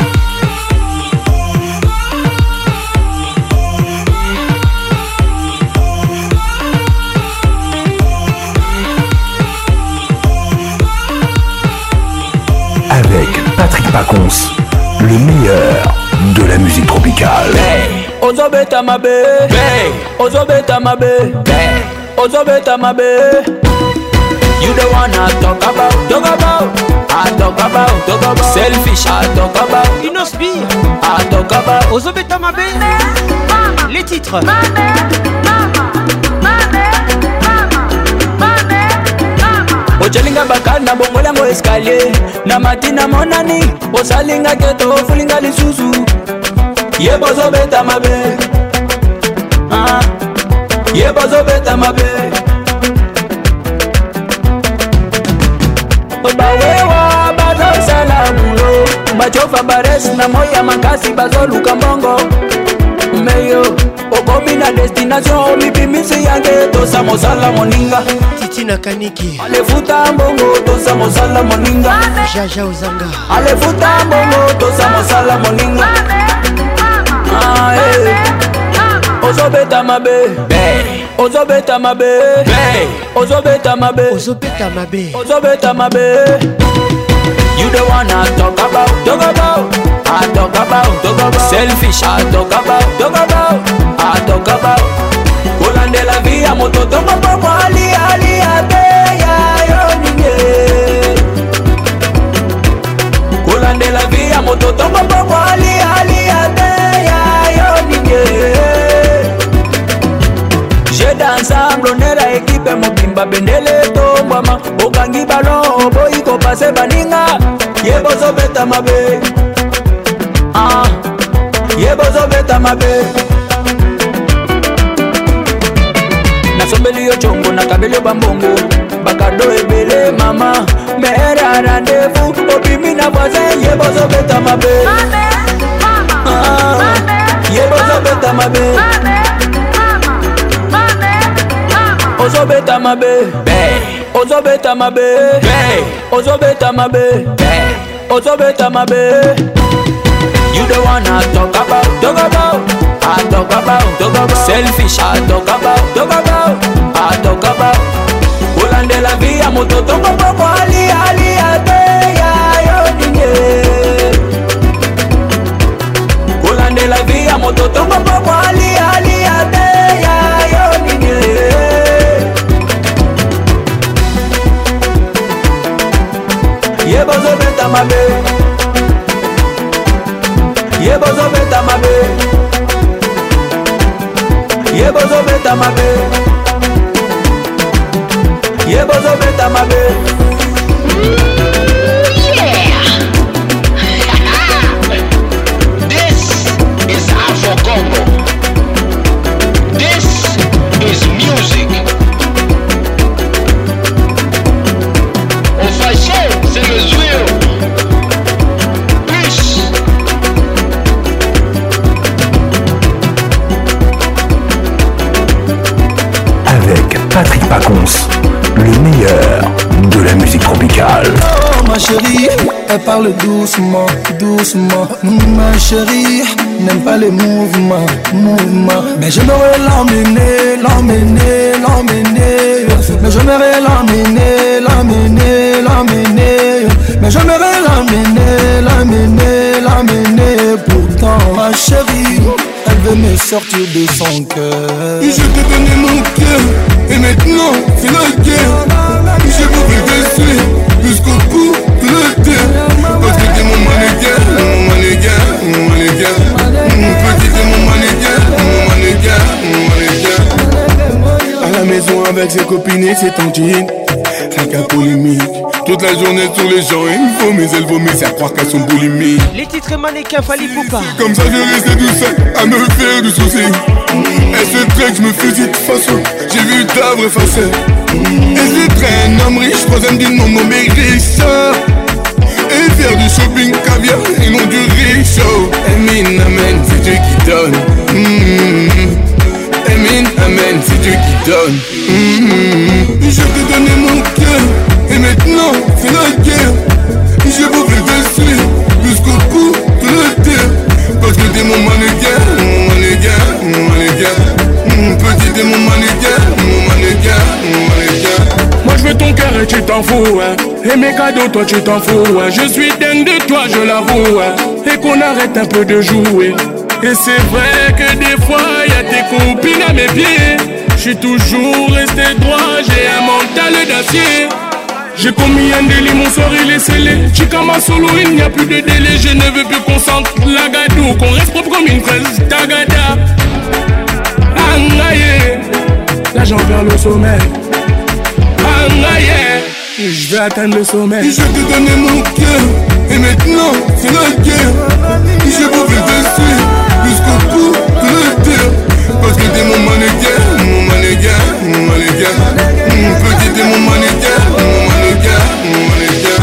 Speaker 1: Avec Patrick Pacons, le meilleur de la musique tropicale.
Speaker 10: Hey. Ozobeta mabe, hey. Ozobeta mabe, hey. Ozobeta mabe. You the one I talk about, I talk about. Selfish, I talk about.
Speaker 6: Inosbi,
Speaker 10: I talk about.
Speaker 6: Ozobeta mabe. Les titres.
Speaker 10: ochelinga bakali na bongolango escalier na matina monani osalinga keto ofulinga lisusu yebozobeta mabe yebozobeta mabe bawewa bazosala bulo bachofa bares na moya makasi bazoluka mbongo meyo okomi na destination mipimisi yange tosa mosala moninga
Speaker 6: Titina Kaniki
Speaker 10: alefuta mbongo tosa mosala moninga
Speaker 6: Jaja Uzanga
Speaker 10: alefuta mbongo tosa mosala moninga ozobeta mabe ozobeta mabe ozobeta mabe
Speaker 6: ozobeta mabe
Speaker 10: ozobeta mabe you the one I talk about I talk about selfish I talk about I talk about Kolande la vie moto tongo popo ali ate ya yo ninge Kolande la vie moto tongo popo ali ate ya yo ninge J'ai d'ensemble on est la équipe mobimba bendele tombama okangi ballon boy ko passer baninga yebozo beta mabe yebozo beta mabe nasombeli yo chongo na kabelo bambongo bakado ebele mama mera rendez-vous obimi na voisin yebozo beta mabe yebozo beta mabe ozobeta mabe ozobeta mabe ozobeta mabe ozobeta mabe you the one I talk about I talk about selfish I talk about I talk about Kolande la vie moto tongo popo ali ate ya yo ninge Kolande la vie moto tongo popo ali ate ya yo ninge Yebozo beta mabe Yebozo beta mabe Yebozo beta mabe Yebozo beta mabe
Speaker 12: This is Afro Congo. This is music. Au fashion, c'est le joueur. Plus.
Speaker 1: Avec Patrick Pacons, le meilleur de la musique tropicale.
Speaker 21: Oh ma chérie, elle parle doucement, doucement. Ma chérie, n'aime pas les mouvements, mouvements. Mais j'aimerais l'emmener, l'emmener, l'emmener. Mais j'aimerais l'emmener, l'emmener, l'emmener. Mais j'aimerais l'emmener, l'emmener, l'emmener. Pourtant ma chérie, elle veut me sortir de son cœur.
Speaker 13: Je t'ai donné mon cœur, et maintenant c'est la guerre. Je voudrais te suivre jusqu'au bout de la terre. Parce que t'es mon mannequin, mon mannequin, mon mannequin. Petit t'es mon mannequin, mon mannequin, mon mannequin. À la maison avec ses copines et ses tantines, rien qu'un polémique. Toute la journée sur les gens, il faut mais elle vomit, c'est à croire qu'elles sont boulimiques.
Speaker 6: Les titres mannequins Fali Poupa.
Speaker 13: Comme ça je restais tout seul à me faire du souci. Elle se traite, je me fusille de façon. J'ai vu ta vraie facette. Elle se traîne, homme riche, troisième dit non, non mais riche. Et faire du shopping caviar et non du riche. Amen, amen, c'est Dieu qui donne. Amen, amen, c'est Dieu qui donne. Je t'ai donné mon cœur. Et maintenant, c'est la guerre. Je voudrais te suivre jusqu'au bout de la terre. Parce que t'es mon mannequin, mon mannequin, mon mannequin. Petit t'es mon mannequin, mon mannequin, mon mannequin.
Speaker 14: Moi je veux ton cœur et tu t'en fous, hein. Et mes cadeaux, toi tu t'en fous, hein. Je suis dingue de toi, je l'avoue, hein. Et qu'on arrête un peu de jouer. Et c'est vrai que des fois, y'a tes copines à mes pieds. Je suis toujours resté droit, j'ai un mental d'acier. J'ai commis un délit, mon sort il est scellé. Chikama solo, il n'y a plus de délai. Je ne veux plus qu'on sente la gadou, qu'on reste propre comme une fraise. Tagada, Angaye, la jambe vers le sommet. Angaye, Je vais atteindre le sommet.
Speaker 13: Je te donnais mon cœur, et maintenant c'est la guerre. J'ai beau te suivre jusqu'au bout de la terre. Parce que t'es mon mannequin, mon mannequin, mon mannequin. Petit t'es mon mannequin, mon mannequin, mon mannequin.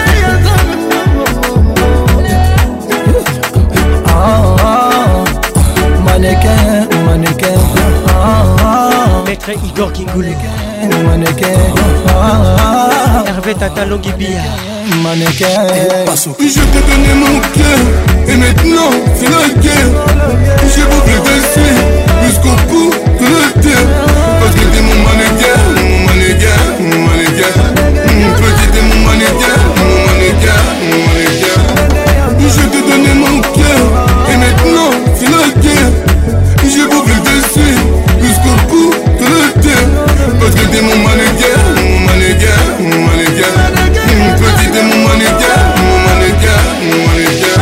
Speaker 21: Mannequin, mannequin.
Speaker 6: Maître Igor Kingoulou.
Speaker 21: Mannequin.
Speaker 6: Hervé Tata Longibia.
Speaker 21: Mannequin.
Speaker 13: Je t'ai donné mon cœur, et maintenant c'est la guerre. J'ai beau te suivre jusqu'au bout de la terre. Parce que t'es mon mannequin, mon mannequin, mon mannequin. Petit t'es mon mannequin, mon mannequin, mon mannequin. Je t'ai donné mon cœur, et maintenant c'est la guerre. J'ai beau te suivre jusqu'au bout de la terre. Parce que t'es mon mannequin, mon mannequin, mon mannequin. Petit t'es mon mannequin, mon mannequin, mon mannequin.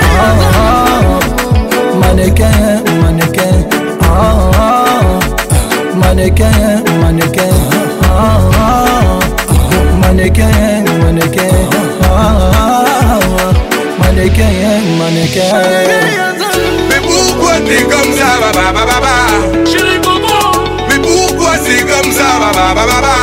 Speaker 21: Mannequin, mannequin. Mannequin, mannequin. Mannequin, mannequin. Mannequin, mannequin.
Speaker 13: Mais pourquoi t'es comme ça, baba, baba?
Speaker 22: Chérie Bobo.
Speaker 13: Mais pourquoi c'est comme ça, baba, baba?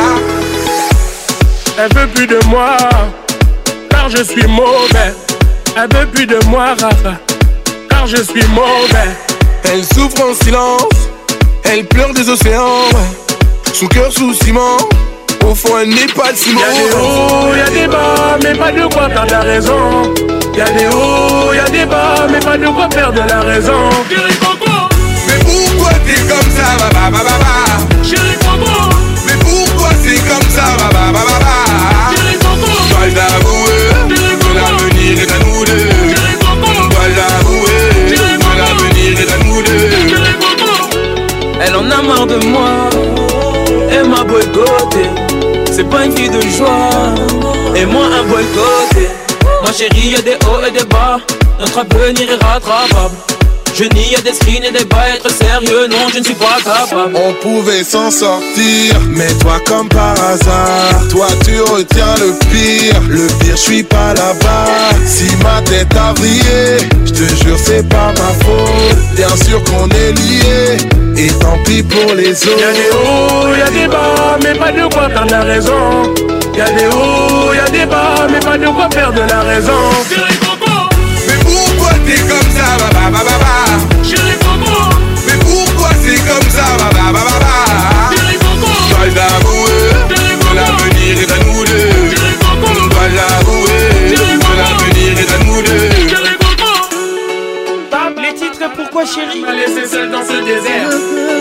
Speaker 14: Elle veut plus de moi, car je suis mauvais. Elle veut plus de moi, Rafa, car je suis mauvais.
Speaker 13: Elle souffre en silence, elle pleure des océans. Son cœur sous ciment, au fond elle n'est pas de ciment.
Speaker 14: Y'a des hauts, y'a des bas, mais pas de quoi perdre la raison. Y'a des hauts, y'a des bas, mais pas de quoi perdre la raison.
Speaker 22: Chérie Bobo.
Speaker 13: Mais pourquoi t'es comme ça, baba, baba, baba?
Speaker 22: Chérie Bobo.
Speaker 13: Mais pourquoi c'est comme ça, baba, baba, baba?
Speaker 22: Chérie Bobo.
Speaker 13: Dois l'avouer, que l'avenir est à nous deux.
Speaker 22: Chérie Bobo.
Speaker 13: Dois l'avouer, que l'avenir est à nous deux.
Speaker 22: Chérie Bobo.
Speaker 20: Elle en a marre de moi, elle m'a boycotté. C'est pas une fille de joie, et moi un boycotté. Ma chérie, y'a des hauts et des bas, notre avenir est rattrapable. Je nie à des screens et des bas, être sérieux, non, je ne suis pas capable.
Speaker 13: On pouvait s'en sortir, mais toi comme par hasard, toi tu retiens le pire. Le pire, je suis pas là-bas. Si ma tête a brillé, je te jure c'est pas ma faute. Bien sûr qu'on est liés, et tant pis pour les autres.
Speaker 14: Y'a des hauts, y'a des bas, mais pas de quoi perdre la raison. Y'a des hauts, y'a des bas, mais pas de quoi perdre la raison.
Speaker 22: Chérie Bobo.
Speaker 13: Mais pourquoi t'es comme ça, baba, baba, baba?
Speaker 22: Chérie Bobo.
Speaker 13: Mais pourquoi c'est comme ça, baba, baba, baba?
Speaker 22: Chérie Bobo.
Speaker 13: Dois l'avouer, que l'avenir est à nous deux.
Speaker 22: Chérie Bobo.
Speaker 13: Dois l'avouer, que l'avenir est à nous deux.
Speaker 22: Chérie Bobo.
Speaker 6: Les titres pourquoi chérie?
Speaker 14: m'a laissé seul dans ce désert.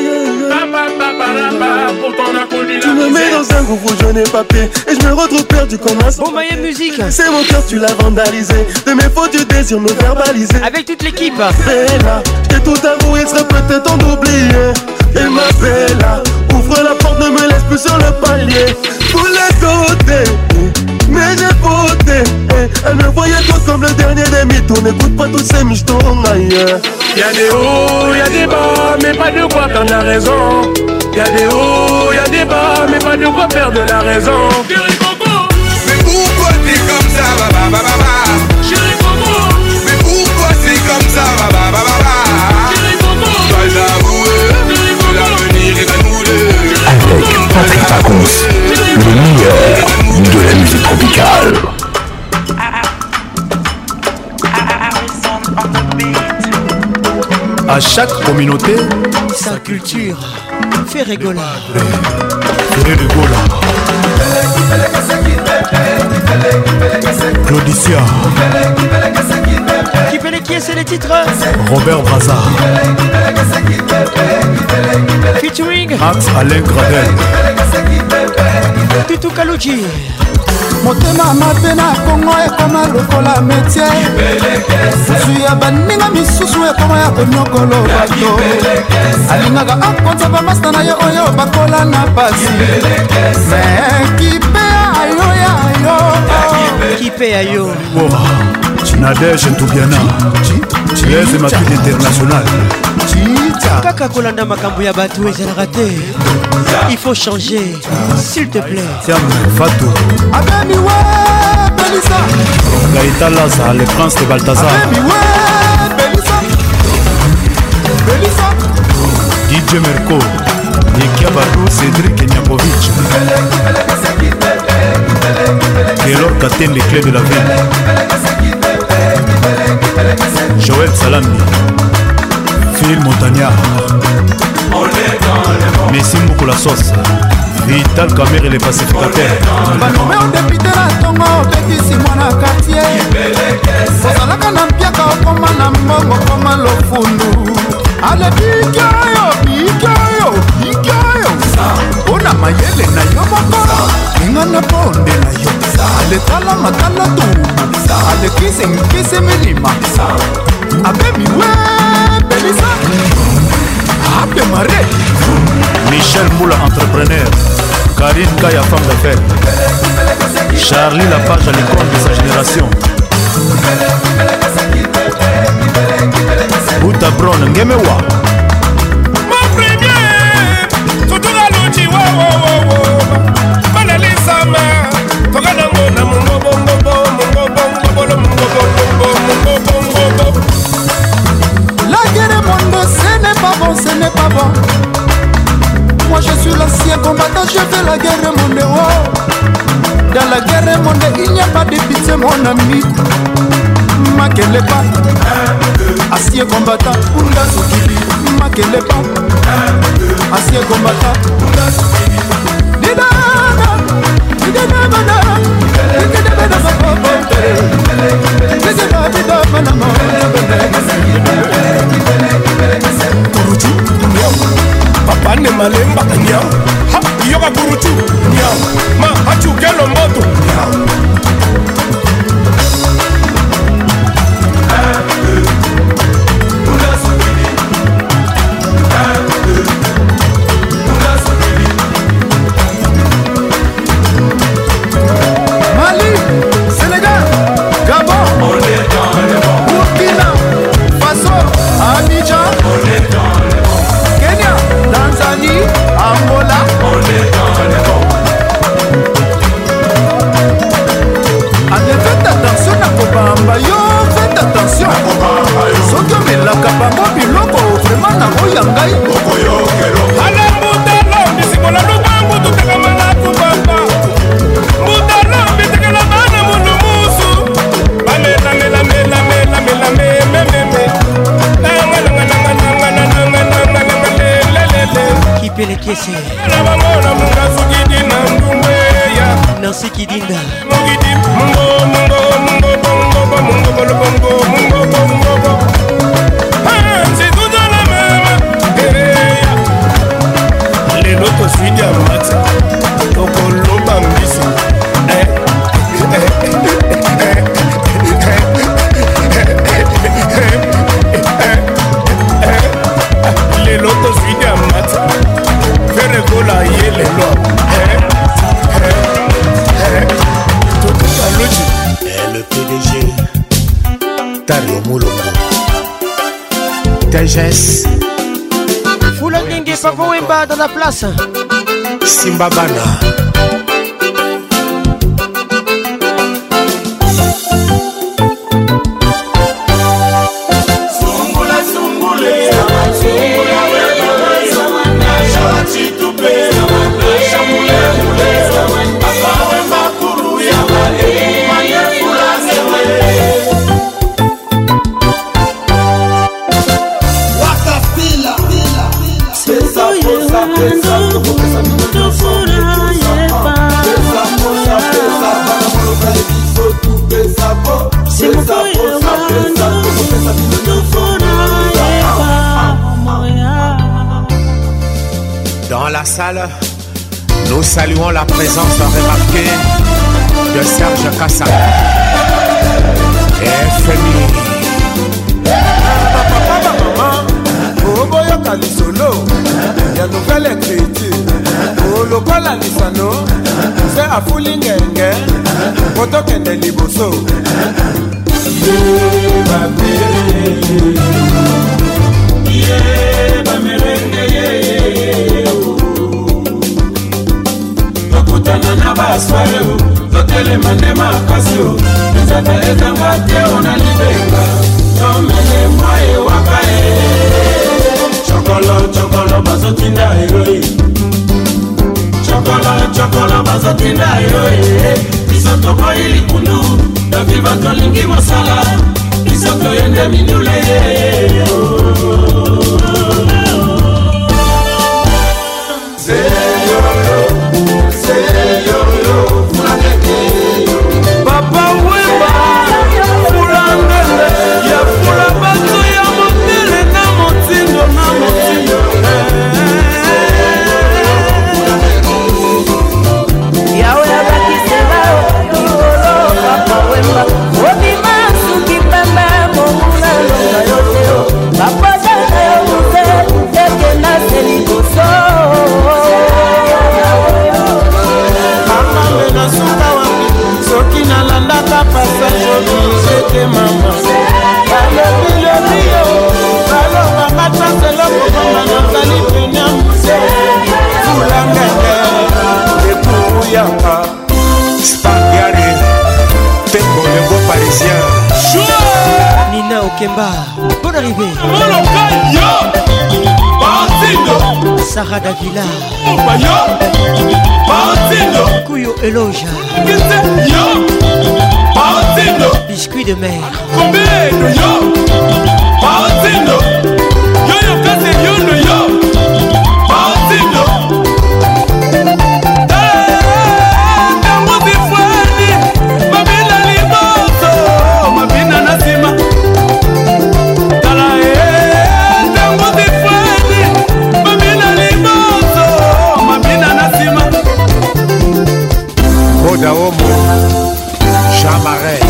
Speaker 14: Pourtant on a connu la
Speaker 8: Tu me mets dans un groupe où je n'ai pas pied, et je me retrouve perdu comme un
Speaker 6: Bon Maya Musique.
Speaker 8: C'est mon cœur, tu l'as vandalisé. De mes fautes, tu désires me verbaliser.
Speaker 6: Avec toute l'équipe.
Speaker 8: Bella, j'ai tout avoué, il serait peut-être temps d'oublier. Et ma Bella, ouvre la porte, ne me laisse plus sur le palier. Tous les côtés, mais j'ai voté. Elle me voyait tout comme le dernier des mythos. N'écoute pas tous ces michetons ailleurs.
Speaker 14: Y'a des hauts, y'a des bas, mais pas de quoi perdre la raison. Y'a des hauts, y'a des bas, mais pas de quoi perdre la raison.
Speaker 22: Chérie Bobo.
Speaker 13: Mais pourquoi t'es comme ça, baba, baba, baba?
Speaker 22: Chérie Bobo.
Speaker 13: Mais pourquoi c'est comme ça, baba, baba, baba?
Speaker 22: Chérie Bobo.
Speaker 13: Dois l'avouer, que l'avenir est à nous deux.
Speaker 1: Avec Patrick Pacons, le meilleur de la musique tropicale.
Speaker 15: À chaque communauté,
Speaker 6: sa culture. Fais rigoler.
Speaker 15: Fais rigoler. Claudicia.
Speaker 6: Qui est, c'est les titres.
Speaker 15: Robert Braza.
Speaker 6: Featuring
Speaker 15: Max Alain Gradel.
Speaker 6: Tutu Kaluji.
Speaker 2: motema mabe na kongo ekoma lokola metie zwi ya baninga misusu ekoma ya konyokolo bato alingaka akonza bamasta na ye oyo bakola na pasi me kipe ayo ya yo
Speaker 6: kipe ayo
Speaker 15: Nadège Ntoubiana Blaise Makine International
Speaker 6: Kaka kolanda makambo ya bato ezalaka te. Il faut changer, s'il te plaît.
Speaker 15: Tiens, Fatou
Speaker 2: Abemi ouais, Belisa
Speaker 15: Gaïta Laza, le prince de Balthazar
Speaker 2: Abemi ouais, Belisa Belisa
Speaker 15: DJ Merco Nikia Badou, Cédric Nyakovic Kélor Katen, les clés de la ville Joël Salami Phil Montagnard Messi Moukou la sauce Vital Kamer et les pacificateurs
Speaker 2: Banome au député la tongo Betisi mwana quartier Ozalaka na mpiaka okoma na mbongo koma lofundu Ale bikyoyo Ona mayele na yo moko Inga na bonde na yo Ale tala matala tubu Ale kise milima Abemi we Belisa Abe mare
Speaker 15: Michel Moula entrepreneur Karine Kaya femme d'affaires Charlie Lapage à l'icône de sa génération Bouta Brown Ngemewa
Speaker 16: Mon premier Tutu la luchi wo wo wo wo Manalisa ma Toka na ngona mungo bongo bongo
Speaker 2: La guerre monde ce n'est pas bon Moi je suis l'ancien combattant, je fais la guerre monde oh. Dans la guerre monde il n'y a pas de pitié mon ami Makele pas ancien combattant Punda Sokili Makele pas ancien combattant Punda Sokili
Speaker 16: Kuruchu Papa ne malemba nyam Ha yoga kuruchu nyam Ma hachu kelo moto nyam
Speaker 2: Mali, Sénégal, Gabon, Burkina Faso, Abidjan, Kenya, Tanzanie, Angola. Allez, faites attention à Kobamba, yo, faites attention. Soki omelaka bango biloko vraiment na oyangai.
Speaker 16: Alambutelo, misikola lubangu tutekama na kubamba. Mutelo, bitekela bana mundu musu. Bamela mela mela mela mela meme. Nanga nanga nanga nanga nanga nanga nanga lelele.
Speaker 6: Kipe les kiesi.
Speaker 16: Na bangona munga sugidi na ndumbeya.
Speaker 6: Nancy Kidinda.
Speaker 16: Mugidi mungo mungo mungo bongo mungo bolo bongo mungo bongo. C'est tout dans la même. Les lotos suivis à max. Tokolo bambisi. Les lotos suivis à max. Faire gola yé les lots.
Speaker 17: Le PDG Tario Moulongo TGS
Speaker 6: Foulangenge Pavo Wemba dans la place
Speaker 17: Simbabana Dans la salle, nous saluons la présence remarquée de Serge Kassa et FMI.
Speaker 2: Oboyoka lisolo ya nouvelle écriture olokola lisano se afuli ngenge kotokende liboso
Speaker 22: ye bamerenge tokutana na basware totelema nde makasi ezata ezanga te ona libenga tomele mwaye waka chokolo bazotinda eroe chokolo bazotinda eroe biso tokoyi likundu toviva tolingi mosala biso toyende mindule
Speaker 8: Papa Wemba fulangele ya fula bato ya motele na motindo
Speaker 5: yawe abakisela likolo Papa Wemba obima suki pembe mongula longa yoteo Papa jana yo mute ekenda selikoso
Speaker 8: Amambe na suka wapi soki nalandaka passage oblige mama balobilobiyo balobanga tanselo kobamba nazali pene muse fulangele ekuyaka
Speaker 17: Spangiari Tembo le beau parisien
Speaker 6: Nina Okemba, bonne arrivée. Sarah Davila Kuyo Eloja Biscuit de mer
Speaker 17: Daomo, Jean Marais.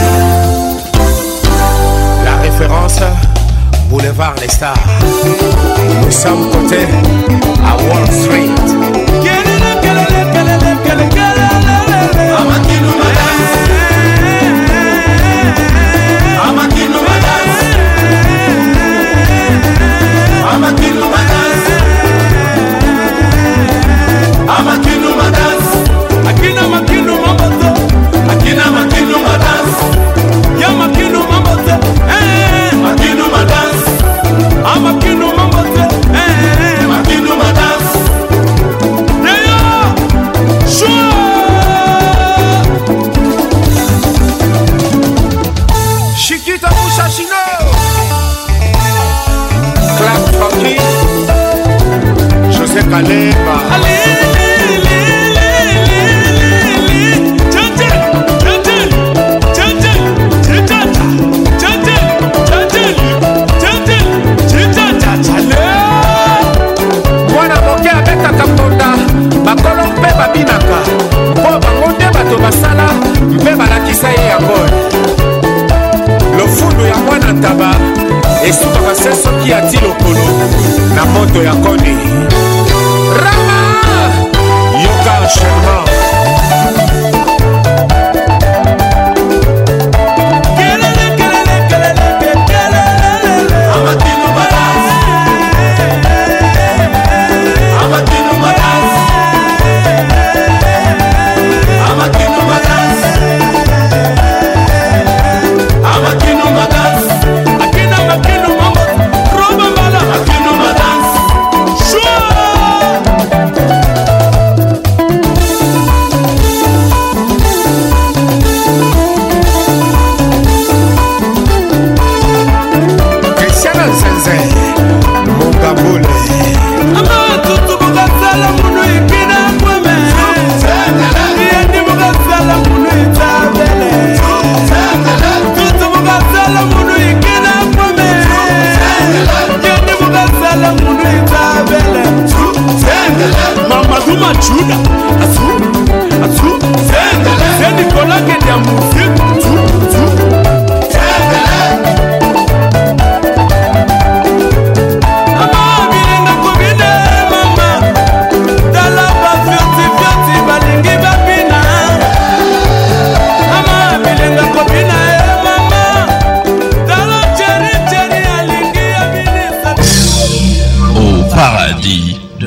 Speaker 17: La référence, Boulevard Les Stars. Nous sommes côté à Wall Street.
Speaker 8: Chiquita Mouchachino
Speaker 17: Clap Funky José Kaleba mwana moke abetaka mponda bakolo mpe babinaka mpo bango nde bato basala mpe balakisa ye yango lofundu ya mwana ntaba esukaka se soki ati lokolo na moto ya koni rama yoka enchaînement
Speaker 8: Sure!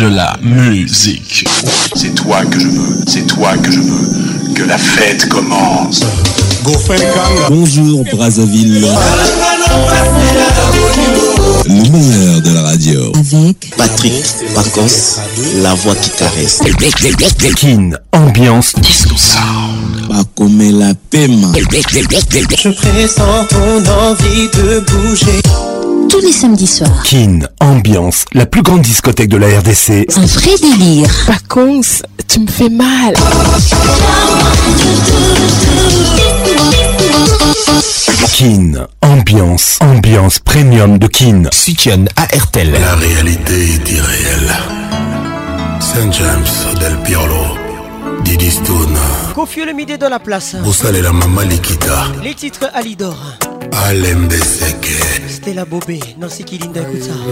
Speaker 1: de la musique.
Speaker 7: C'est toi que je veux, c'est toi que je veux. Que la fête commence.
Speaker 11: Bonjour Brazzaville. Le meilleur de la radio.
Speaker 23: Avec Patrick Pacos, la voix qui caresse.
Speaker 1: Kin, ambiance disco sound.
Speaker 23: Pas comme la paiement.
Speaker 9: Je pressens ton envie de bouger.
Speaker 23: Tous les samedis soirs.
Speaker 1: Kin, ambiance, la plus grande discothèque de la RDC.
Speaker 23: Un vrai délire.
Speaker 24: Pacons, tu me fais mal.
Speaker 1: Kin, ambiance premium de Kin. Sukian à RTL.
Speaker 7: La réalité est irréelle. Saint James del Piolo, Didi Stone,
Speaker 6: Kofi Olomide dans la place.
Speaker 7: Boussal et la Mama Likita,
Speaker 6: Les titres Alidor,
Speaker 7: Alembe Seke,
Speaker 6: Stella Bobé, Nancy Kilinda, écoute ça.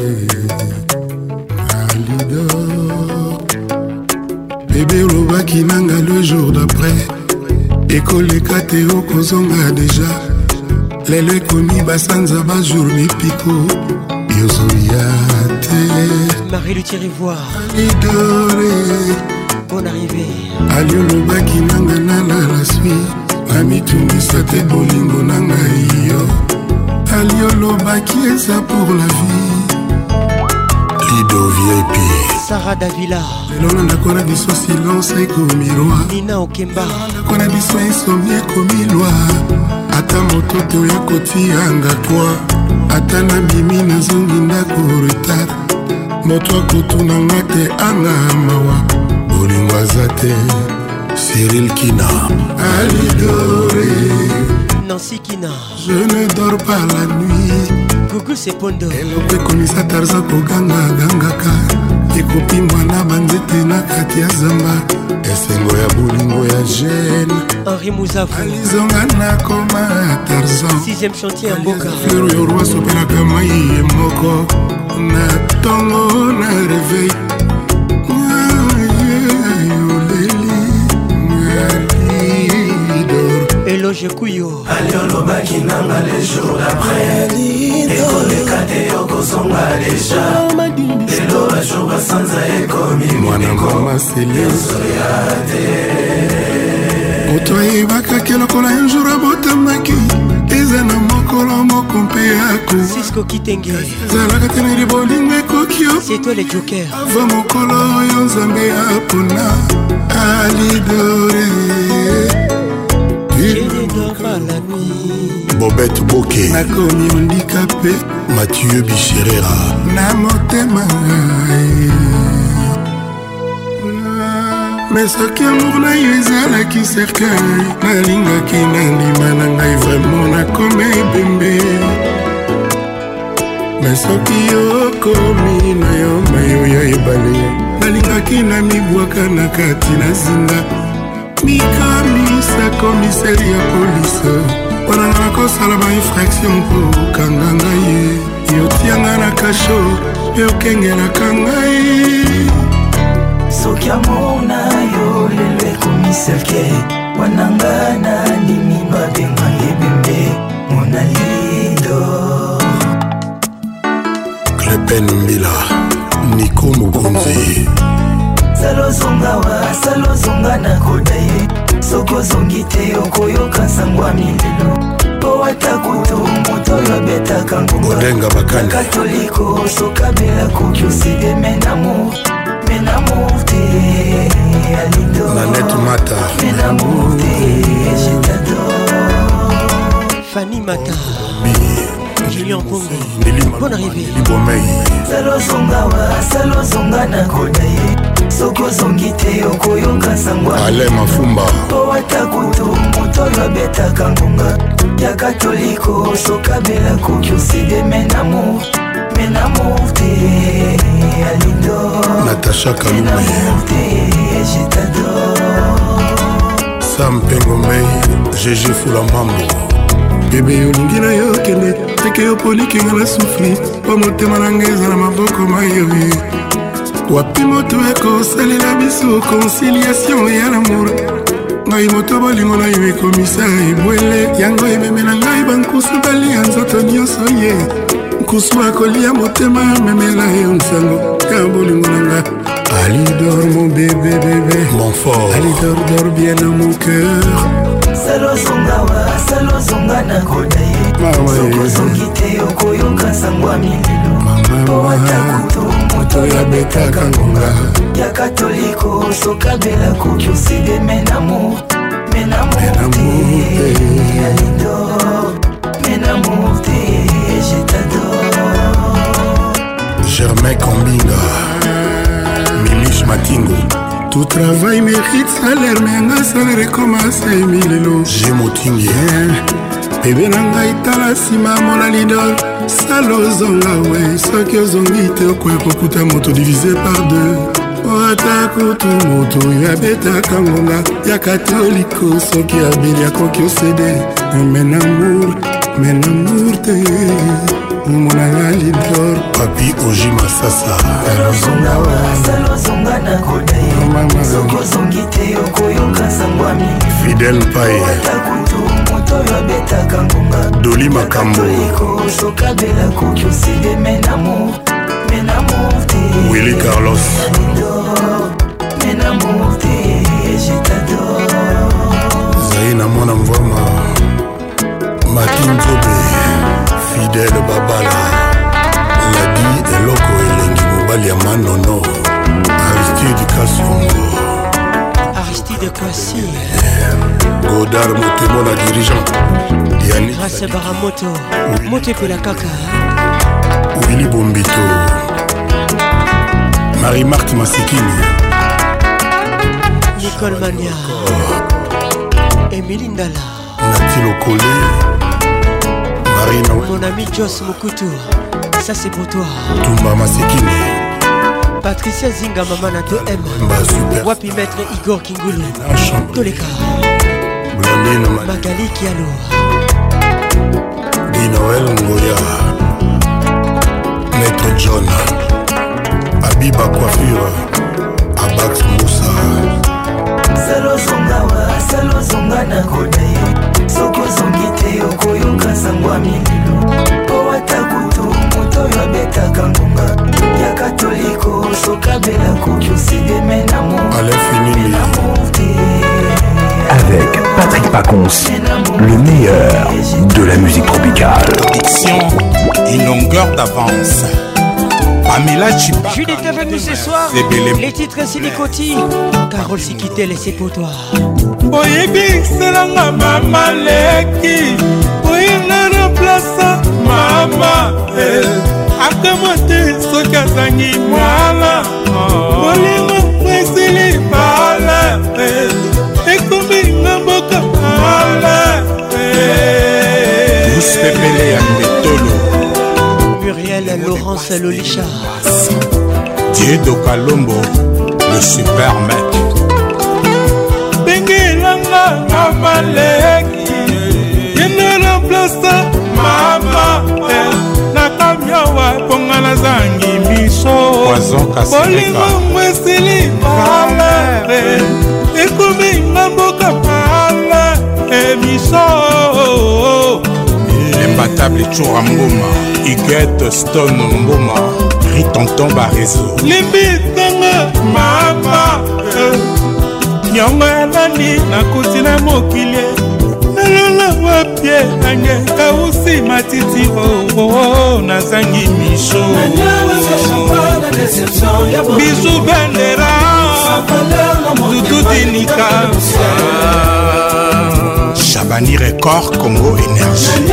Speaker 7: Alidor, bébé Olobaki Nanga le jour d'après. École Kateo Kozonga déjà. Lelo ekomi basanza bajour mipiko yozoyate.
Speaker 6: Marie le Thierry-Voir,
Speaker 7: Alidore,
Speaker 6: bonne arrivée.
Speaker 7: aliolobaki nanga nala la sui amitungisa te bolingo nanga iyo. Aliolobaki eza pour la vie. Lido VIP,
Speaker 6: Sarah Davila,
Speaker 7: lelo ndako na biso silence ekomi roi.
Speaker 6: Nina Okemba,
Speaker 7: ndako na biso insomnie ekomi loi. Ata mototo ya kotianga toi. Ata na bimi nazongi ndako retard. Moto akotunanga te anga mawa. Bolingo aza te Cyril Kina. Alidore,
Speaker 6: Nancy Kina,
Speaker 7: je ne dors pas la nuit.
Speaker 6: Gugu Sepondo,
Speaker 7: eloko ekomisa Tarzan koganga gangaka. Ekopi mwana banzete na kati ya zamba. Esengo ya bolingo ya jeune.
Speaker 6: Henri Mouzavu,
Speaker 7: alizonga na koma Tarzan.
Speaker 6: 6e chantier à Mboka.
Speaker 7: Fleur yo roi sopelaka mai ye moko. Na tongo na réveil.
Speaker 6: Eloge Kuyo,
Speaker 9: Aliolobaki nanga les jours d'après. École Kateo Kozonga déjà. Lelo bajour basanza ekomi
Speaker 7: mwana mama sele moto ayebaka kelokola un jour abotamaki. Eza na mokolo moko mpe yako
Speaker 6: Cisco Kitenge,
Speaker 7: ezalaka te na libolingo ekoki yo.
Speaker 6: c'est toi les jokers.
Speaker 7: ava mokolo oyo nzambe apona. Alidore,
Speaker 6: Je ne dors pas la nuit.
Speaker 7: Bobette Boke, nakomi handicapé. Mathieu Bichirera, na motema ngai. Mais soki amour na yo ezalaki cercueil, nalingaki nandima na ngai vraiment nakoma ebembe. Mais soki okomi na yo mayo ya ebale, nalingaki na mibwaka na kati na zinga. Mikamisa komiseri ya polise, wana nga nakosala ba infraction mpo okanga ngai. Yotianga na kasho, yokengelaka ngai.
Speaker 9: soki amour na yo lelo ekomi selke. Wananga na ndimi babenga ebembe. Mona Lido,
Speaker 7: Klepen Mbila, Nico Mugunzi.
Speaker 9: salozonga na koda ye. Soko zongi te okoyoka sango ya milelo. Po ata kutu moto oyo abetaka ngonga.
Speaker 7: Odenga bakani
Speaker 9: Katoliko sokabela koki oside menamour te. Alido,
Speaker 7: Nanette Mata,
Speaker 9: menamour te, je t'adore.
Speaker 6: Fanny Mata, Julien Pongo, bonne arrivée.
Speaker 7: Libomei,
Speaker 9: salozonga na koda ye. Soko zongi te okoyoka sango ya
Speaker 7: Ale Mafumba,
Speaker 9: po ata kutu moto oyo abetaka ngonga. Ya katoliko sokabela koki oside menamour te. Alido,
Speaker 7: Natacha Kalume,
Speaker 9: menamour te, je t'adore.
Speaker 7: Sam Pengomei, GG Fulamambo. Bebe olingi na yo kende, teke yo polikinga na sufri. Po motema na ngai eza na maboko mayoye. Wapi moto ekosalela biso conciliation ya l'amour. Ngai moto bolingo na yo ekomisa ebwele. Yango ememela ngai bankusu balia nzoto nyonso ye. Nkusu akolia motema memela yo nsango ya bolingo na nga. Ali dort mon bébé, bébé, mon fort. Ali dort bien dans mon cœur.
Speaker 9: Salo zonga na kodaye. Soko zongite okoyoka sangwa mililo. Owatakuto moto ya betaka ngonga. Ya katoliko sokabela koki oside menamour. Menamour te, Alidor. Menamour te, je t'adore.
Speaker 7: Germain Kombinga, Milish Matingo. Tout travail mérite salaire, mais un salaire commence à Emilelo. J'ai motingé, bébé nanga itala sima mola lidol. Salo zonga we, soki ozongi te okwe kokuta moto divisé par deux. Oata kutu moto ya beta kangonga, ya katoliko soki abili ya koki osede. Menamour te. Monanga lidor papi oji masasa
Speaker 9: Salo zonga na kodaye. Soko zongite okoyoka sangwa mili.
Speaker 7: Fidel Paye
Speaker 9: Watakutu moto ya betaka ngonga.
Speaker 7: Doli Makambo
Speaker 9: Katoliko sokabela koki oside menamour. Menamour te,
Speaker 7: Willy Carlos
Speaker 9: Menamour te, je t'adore.
Speaker 7: Zaina mwana mvoma Matinzobe Fidèle Babala Ladi Eloko Elengi Mobali ya Manono Aristide Kasongo
Speaker 6: Aristide Kwasi
Speaker 7: Godard Motemo la dirigeant Yannick
Speaker 6: Grâce Baramoto Mote Pela Kaka
Speaker 7: Willy Bombito Marie-Marthe Masikini
Speaker 6: Nicole Mania Émilie Ndala
Speaker 7: Natilo Kolé Marina
Speaker 6: mon ami Joss Mokutu, ça c'est pour toi.
Speaker 7: Tumba Masikini
Speaker 6: Patricia Zinga Mamana 2M Wapi Maître Igor Kingulu Toleka Magali Kialo
Speaker 7: Di Noël Ngoya Maître John Abiba Coiffure Abax Moussa
Speaker 9: Salo zonga na kodaye. Soko zongite okoyoka sangwa mililo. Owatakutu moto ya betaka ngonga. Ya katoliko sokabela koki oside menamour. Menamour te.
Speaker 1: Avec Patrick Pacons, le meilleur de la musique tropicale.
Speaker 3: Diction, une longueur d'avance. Pamela Chiba.
Speaker 6: Juliette est avec nous ce soir. Les titres Silicoti. Carole Sikitele, c'est pour toi.
Speaker 16: Boyebi selanga mama leki. Boyina na place mama. Akamote soka zangi mwala. Bolingo mwesili bala. Ekumbi ngamboka bala.
Speaker 3: Tous pepele ya Mbetolo.
Speaker 6: Muriel Laurence Lolicha.
Speaker 3: Diego Kalombo, le super mec.
Speaker 16: Bengelanga mama leki. Yena place mama. Nakamyawa pongala zangi miso.
Speaker 3: Poison Kaseleka.
Speaker 16: Bolingo mwesili bala. Ekumi ngamboka bala. Miso.
Speaker 3: L'imbattable Choura Mboma, Iguette Stone Mboma, Ritonton Barezo.
Speaker 16: Limbitanga mama. Nyongo ya nani nakuti na mokili. Nalala wapye nange kausi matiti nazangi misho. Bisu bendera Dudu Dinika
Speaker 3: Chabani Record Congo Énergie.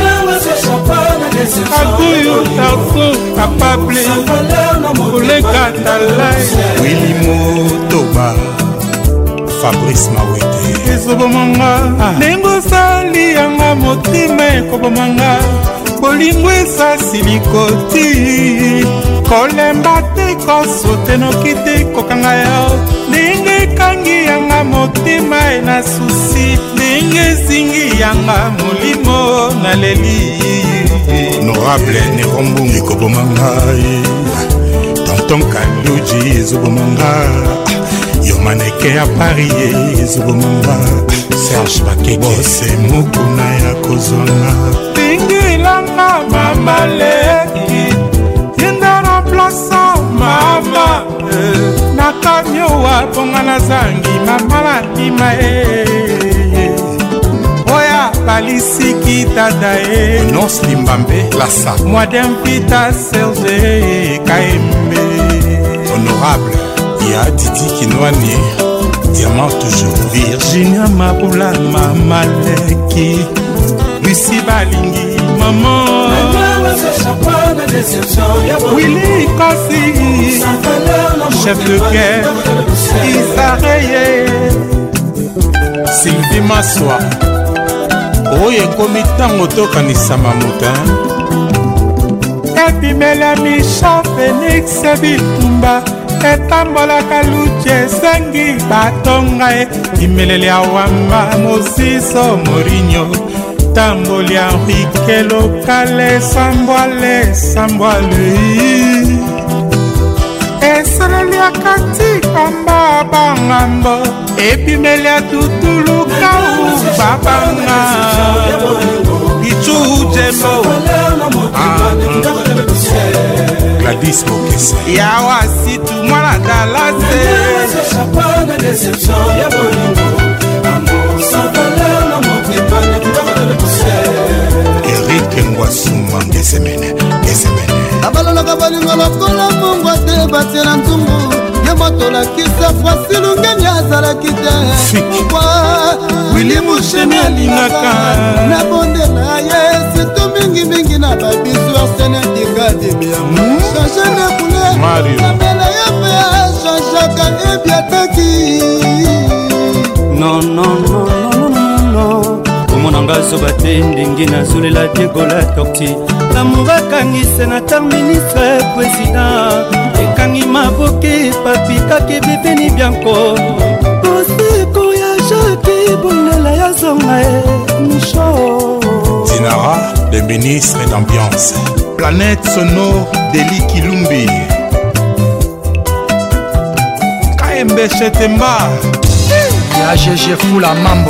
Speaker 16: Akuyo Tarso Kapable Oleka Talai
Speaker 3: Willy Motoba Fabrice Mawete.
Speaker 16: Ezobomanga Nengo sali yanga motima ekobomanga. Bolingo esasi likoti. Kolemba te kosote noki te kokanga yo. Ndenge kangi yanga motima ena susi. Ndenge zingi yanga molimo na leli.
Speaker 3: Honorable Nerombungi Kobomangai Tonton Kaluji Zubomanga Yomaneke ya Paris Zubomanga Serge Bakeke Bose Mukuna ya Kozona
Speaker 16: Tingi langa mama leki. Yenda na plaza mama. Naka
Speaker 3: mponga nazangi mamala bima oya balisiki tata
Speaker 7: Nonce Limbambe Lassa
Speaker 3: Modem Pita Serge Kaembe
Speaker 7: Honorable Ya Didi Kinwani Diamant toujours
Speaker 3: Virginia Mabula Mamaleki Lucie Balingi Maman Willy Kossi Chef de guerre Isareye
Speaker 7: Sylvie Massoa Oye ekomi ntango tokanisa mamuta
Speaker 3: epimela Micha Félix Bitumba etambolaka luti esengi batonga imeleli awamba Mosiso Morinho tamboli Henrique Lokale sambwale eseleli akati kamba bangambo epimeli atutulukau babanga Pichu Jembo
Speaker 7: Gladys Mokese
Speaker 3: Yawa situ mwana dalase
Speaker 7: Eric Ngwasuma Ngesemene
Speaker 21: abalolaka balingo lokola mongwa te batiela nzungu ye moto lakisa fasilungeni azalaki te
Speaker 3: Willy Mushemi alingaka
Speaker 21: na bondela ye sito mingimingi na babisu arsene dikademiamo change ne koule na bela ye pe changeaka ebiataki
Speaker 4: non omonanga zoba te ndenge nazolela diegola torti lamour akangise na tar ministre président ekangi maboke papikaki bibeni bianco koseko ya jaki bondela ya zonga micho
Speaker 7: Dinara, le ministre d'ambiance
Speaker 3: Planète sonore Deli Kilumbi Kaembe Chetemba
Speaker 2: ya GG Fula Mambo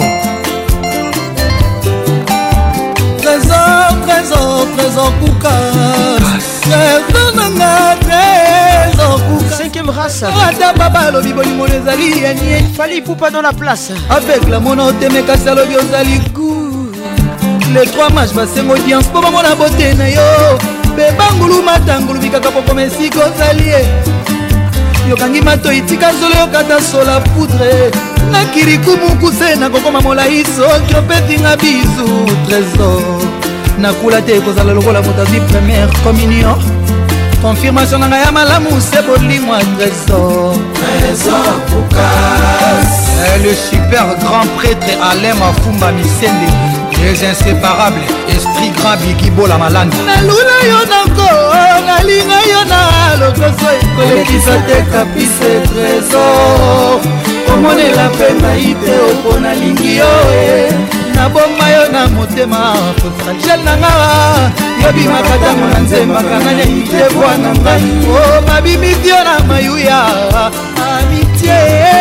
Speaker 2: Trésor Kouka Trésor nanga Trésor Kouka
Speaker 6: 5e race
Speaker 2: Ata papa lobi bolingo ezali yanye
Speaker 6: Fali Poupa dans la place
Speaker 2: avec la mono temekasi alobi ozali goût les 3 matchs basengo audience po bamona bote na yo bebangulu matangulu bikaka pokoma esika ozali yokangi mato itika zolo yokata sola poudre na kirikumuku se nakokoma molai soki opetinga bizu trésor nakula te ekozala lokola moto azwi première communion confirmation na ngai ya malamu se bolingwa trésor Poukas le super grand prêtre Alain Mafumba Misende les inséparables esprit grand bikibola malanda nalula yo nako nalinga yo na lokoso ekolekisa te kapise trésor omonela mpe ngai te opo nalingi yo naboma yo na motema fragile na nga yobimaka ntango na nzembaka nani amite bwana ngai o babimisi yo na mayuya amitié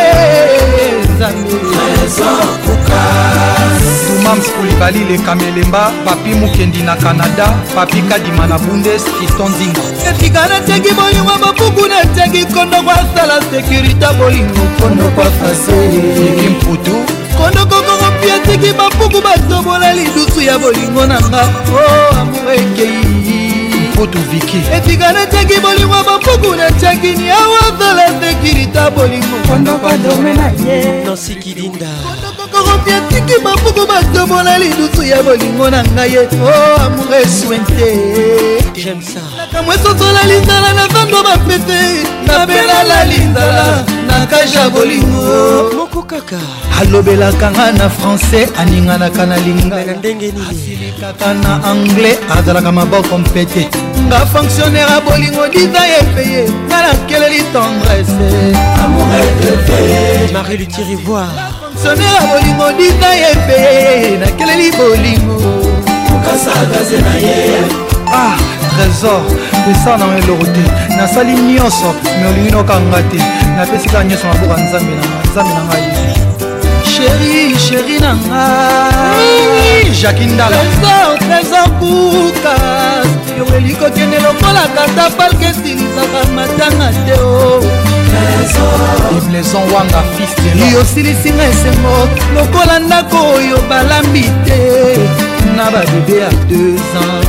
Speaker 2: Dumams Koulibaly le Kamelemba papi mukendi na Canada papi kadima na Bundes Fiston Zinga etikana teki bolingo bapuku na teki kondo kwa sala sécurité bolingo kondo kwa fase kimputu kondo kokoko pia teki bapuku batobola lidusu ya bolingo na nga o amuekei Poto Viki etikana teki bolingo bapuku na teki ni awazala sécurité bolingo kondo kwa domena ye
Speaker 6: Nancy Kilinda
Speaker 2: kokopia tiki bapuku batobola lidusu ya bolingo na ngai ye o amour eswente
Speaker 6: j'aime ça
Speaker 2: nakamwe sosola linzala na zando bapete nabelala linzala na kaja bolingo
Speaker 6: moko kaka
Speaker 2: alobelaka nga na français aninganaka na lingala
Speaker 6: ndenge nini
Speaker 2: kaka na anglais azalaka maboko mpete nga fonctionnaire a bolingo diza ye peye nga nakeleli tendresse amour etete
Speaker 6: Marie Luthier Ivoire
Speaker 2: fonctionnaire a bolingo diza ye peye nakeleli bolingo okasagaze na ye trésor esa na eloko te nasali nyonso me olingi nokanga te napesika nyonso maboka nzambe na ngai chéri na ngai Jacques Ndala trésor Poukas yo elikokende lokola kata palke esilisaka matanga te o
Speaker 10: ibleson wanga fistelo yosilisinga esengo lokola ndako oyo balambi te na babebe ya 2 ans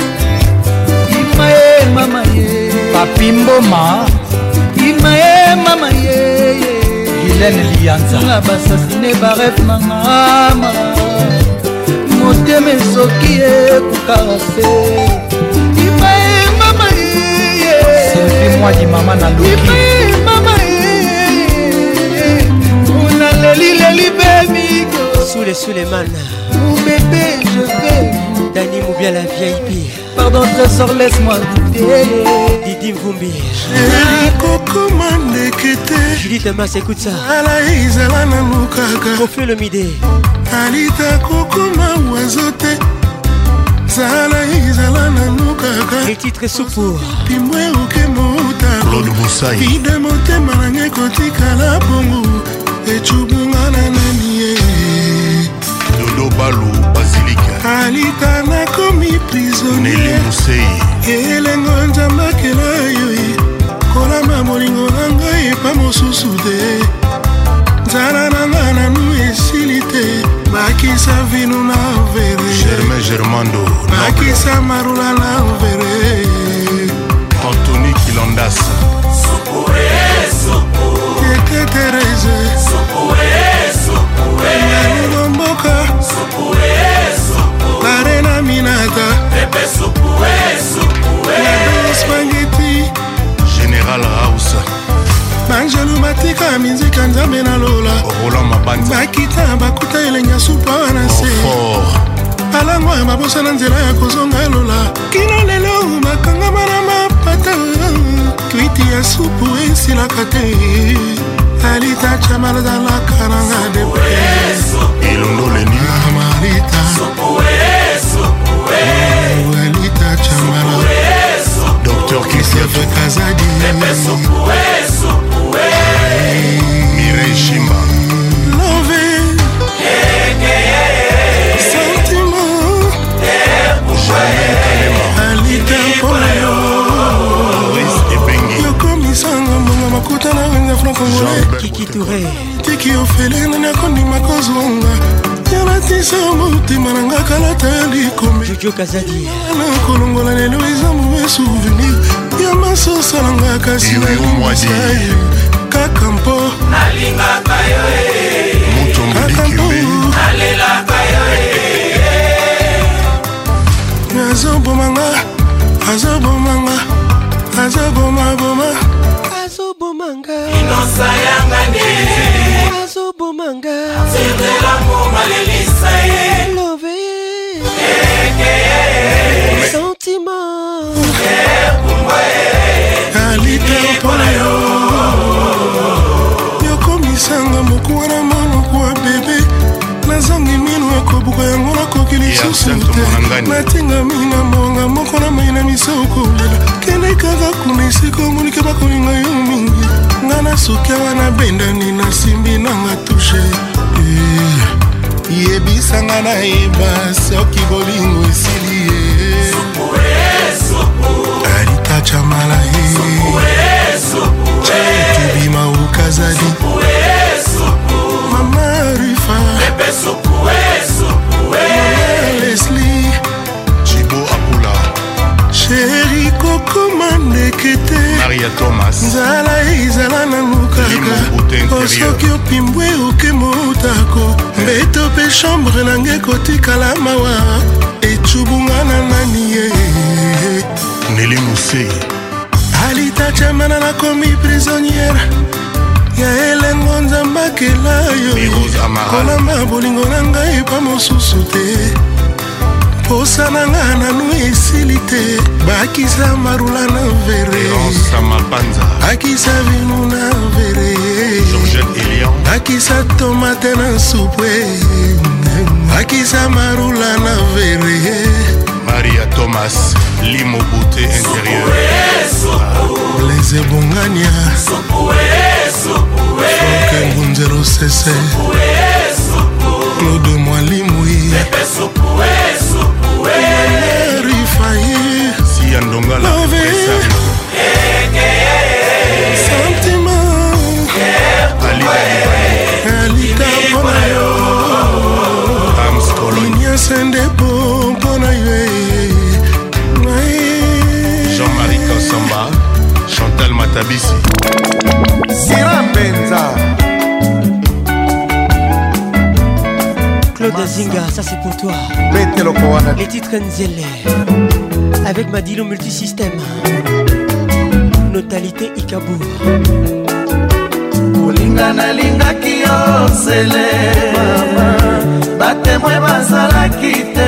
Speaker 10: imaye mama ye papi mboma imaye mama ye Guylaine Lianza na basasine baref na mama motema esoki ekokarase imaye mama ye selfi mwadi mama na loki imaye mama ye unalelileli bemiko
Speaker 6: Suleiman
Speaker 10: mon bébé je vais
Speaker 6: Dani Moubia la VIP
Speaker 10: pardon trésor laisse-moi goûter
Speaker 6: Didi Mvumbi
Speaker 7: Koko mandekete
Speaker 6: Judith Mas écoute ça
Speaker 7: ala izala na mukaka
Speaker 6: Refais le midi
Speaker 7: alita koko mawazote zala izala na mukaka
Speaker 6: les titres soupour
Speaker 7: pimwe oke mota
Speaker 15: Claude Moussaï
Speaker 7: ide motema nange kotikala bongo echubunga na nanie
Speaker 15: Dodo Balou Basilika
Speaker 7: alita nakomi prisonnier
Speaker 15: Nelly Moussaï
Speaker 7: elengo nzambakela yo kolamba molingo na ngai epa mosusu te nzala na nga nanu esili te bakisa vino na vere
Speaker 15: Germain Germando
Speaker 7: bakisa marula na vere
Speaker 15: Anthony Kilandas
Speaker 7: Tete Tereze Nani Mboka Arena Minata Nado Spaghetti
Speaker 15: Général Rausa
Speaker 7: Banjelu Matika Minzika Nzambe na Lola
Speaker 15: Roland Mabanza
Speaker 7: Bakita bakuta elenya supa wana se alangwa mabosa na nzela ya kozonga Lola kino lelo makangama na mapata kwiti ya supu esilaka te alita chamala dans la karanga de preso
Speaker 15: Ilondo Leni
Speaker 7: Amarita alita chamala
Speaker 15: Docteur Christophe
Speaker 7: Kazadi
Speaker 15: Mireille Chimba
Speaker 7: Love Sentiment alita polayo yokomisanga mbongo makuta na wenga franc-congolais
Speaker 6: Kiki Touré
Speaker 7: tiki ofele nani akondima kozonga yalatisa motema nanga kalata ya likome
Speaker 6: Jojo Kazadi
Speaker 7: nakolongola lelo eza mauvais souvenir ya masosalanga kasi nalimosai kaka mpo
Speaker 22: nalingaka yo
Speaker 7: kaka mpo
Speaker 22: nalelaka yo
Speaker 7: azobomanga azobomanga azobomaboma
Speaker 6: azobomanga
Speaker 22: inosa yangane
Speaker 6: azobomanga
Speaker 22: sirdelamo malelisa ye
Speaker 6: love sentiment
Speaker 7: alita mpona yo yokomisanga mokuwa na monoko wa bebe nazangi mino ekobuka yango nakoki lisusu te natingami na monga moko na mai na miso kolela kende kaka kuna esika omonike bakolinga yo mingi nga na soki awa nabendani nasimbi nanga tushe yebisanga nayeba soki bolingo esili ye alita chamala ye tubima ukazadi mama rifa Leslie
Speaker 15: Chibo Apula
Speaker 7: Chéri Coco Mandekete
Speaker 15: Maria Thomas
Speaker 7: Nzala izala na mukaka osoki opimbwe oke motako mbeto pe chambre nange kotikala mawa echubunga na nani ye
Speaker 15: Nelly Moussaï
Speaker 7: alita chamana nakomi prisonnière ya elengo nzambakela yo kolamba bolingo na ngai epa mosusu te posa na nga nanu esili te bakisa marula na vere bakisa vinu na vere bakisa tomate na supwe bakisa marula na vere
Speaker 15: Maria Thomas Limo Beauté intérieure
Speaker 7: Blaise Bongania Franck Ngunzero Sese Claude Mwalimui Rifaye
Speaker 15: Siandonga la
Speaker 7: Sentiment
Speaker 3: Tabisi
Speaker 21: Sirambenza
Speaker 6: Claude Zinga, ça c'est pour toi. Les titres Nzele avec Madilo Multisystème. Notalité Ikabour.
Speaker 21: Olinga nalingaki yo Nzele batemwe bazalaki te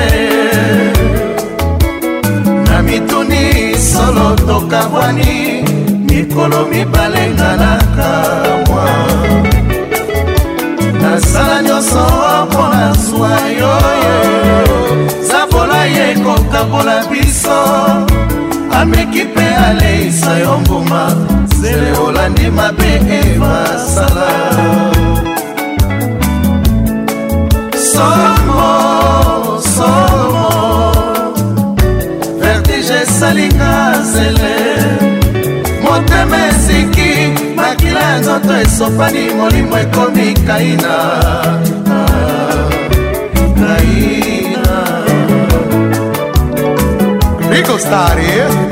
Speaker 21: na mituni solo tokabwani mikolo mibalenga na kamwa nasala nyonso mpona zwa yoyo zabola ye kokabola biso ameki mpe aleisa yo mbuma Nzele olandi mabe ebasala somo vertige esalinga Nzele motema eziki makila ya nzoto esopani molimo ekomi kaina Rico Stari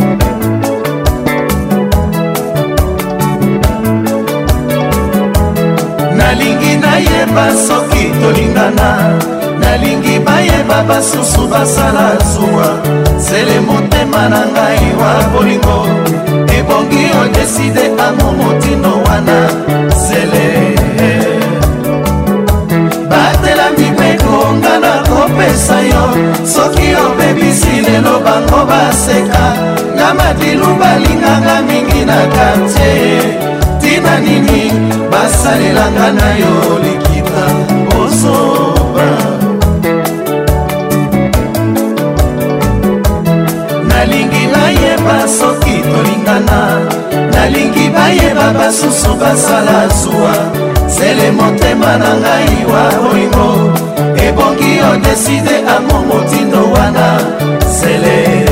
Speaker 21: nalingi nayeba soki tolingana nalingi bayeba basusu basala zuwa Nzele motema na ngai wa bolingo ebongi odeside amo motino wana Nzele batela mibeko nga na kopesa yo soki obebisi lelo bango baseka nga madilu balinganga mingi na kartie tina nini basalelanga na yo likita osoba nalingi bayeba soki tolingana nalingi bayeba basusu basala zuwa Nzele motema na ngai wa bolingo ebongi odeside amo motindo wana Nzele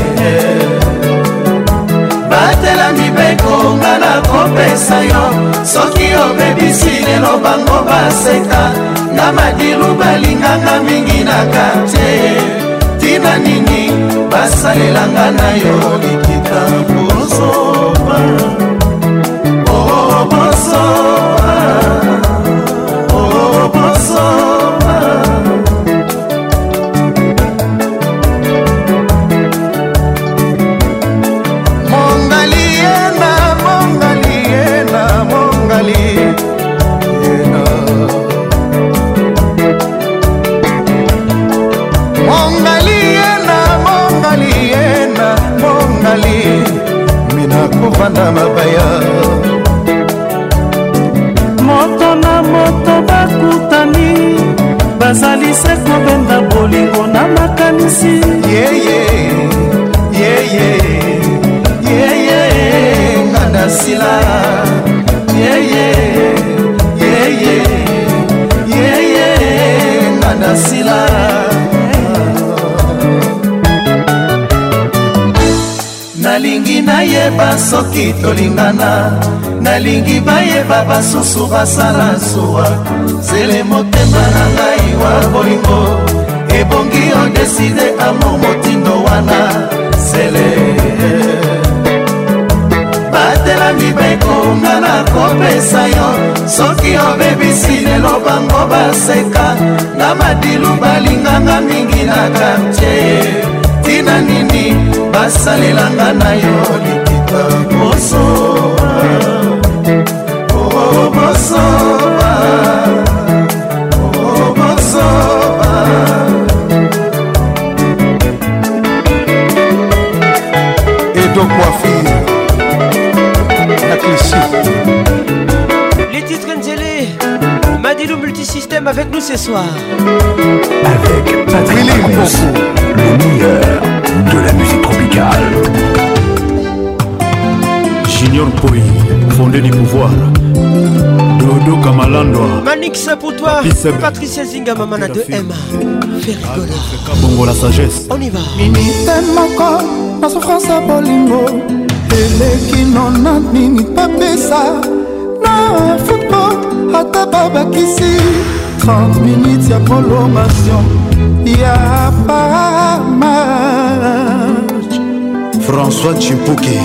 Speaker 21: batela mibeko nga na kopesa yo soki obebisi lelo bango baseka nga madilu balinganga mingi na kartie tina nini basalelanga na yo likita bosoba oh bosoba oh bosoba kovanda mabaya
Speaker 8: moto na moto bakutani bazali se kobenda bolingo na makanisi
Speaker 21: ngana sila ngana sila nalingi nayeba soki tolingana nalingi bayeba basusu basala zuwa Nzele motema na ngai wa bolingo ebongi odeside amo motindo wana Nzele batela mibeko nga na kopesa yo soki obebisi lelo bango baseka na madilu balinganga mingi na kartie tina nini basalelanga na yo likita bosoba oh bosoba oh bosoba Edo Coiffure la cliché
Speaker 6: les titres Nzele Madilo Multisystème avec nous ce soir
Speaker 1: avec Patrick Pacons, le meilleur de la musique tropicale.
Speaker 15: Junior Poi, fondé du pouvoir. Dodo Kamalandwa.
Speaker 6: Manix pour toi. Patricia Zinga, maman de Emma. Fais rigoler.
Speaker 15: Bongo la sagesse.
Speaker 6: On y va.
Speaker 10: Minite moko, na souffrance à bolingo. Eleki nona nini papesa. Na football, ata babakisi. 30 minutes ya prolongation. Ya pas match.
Speaker 15: François Chimpouki,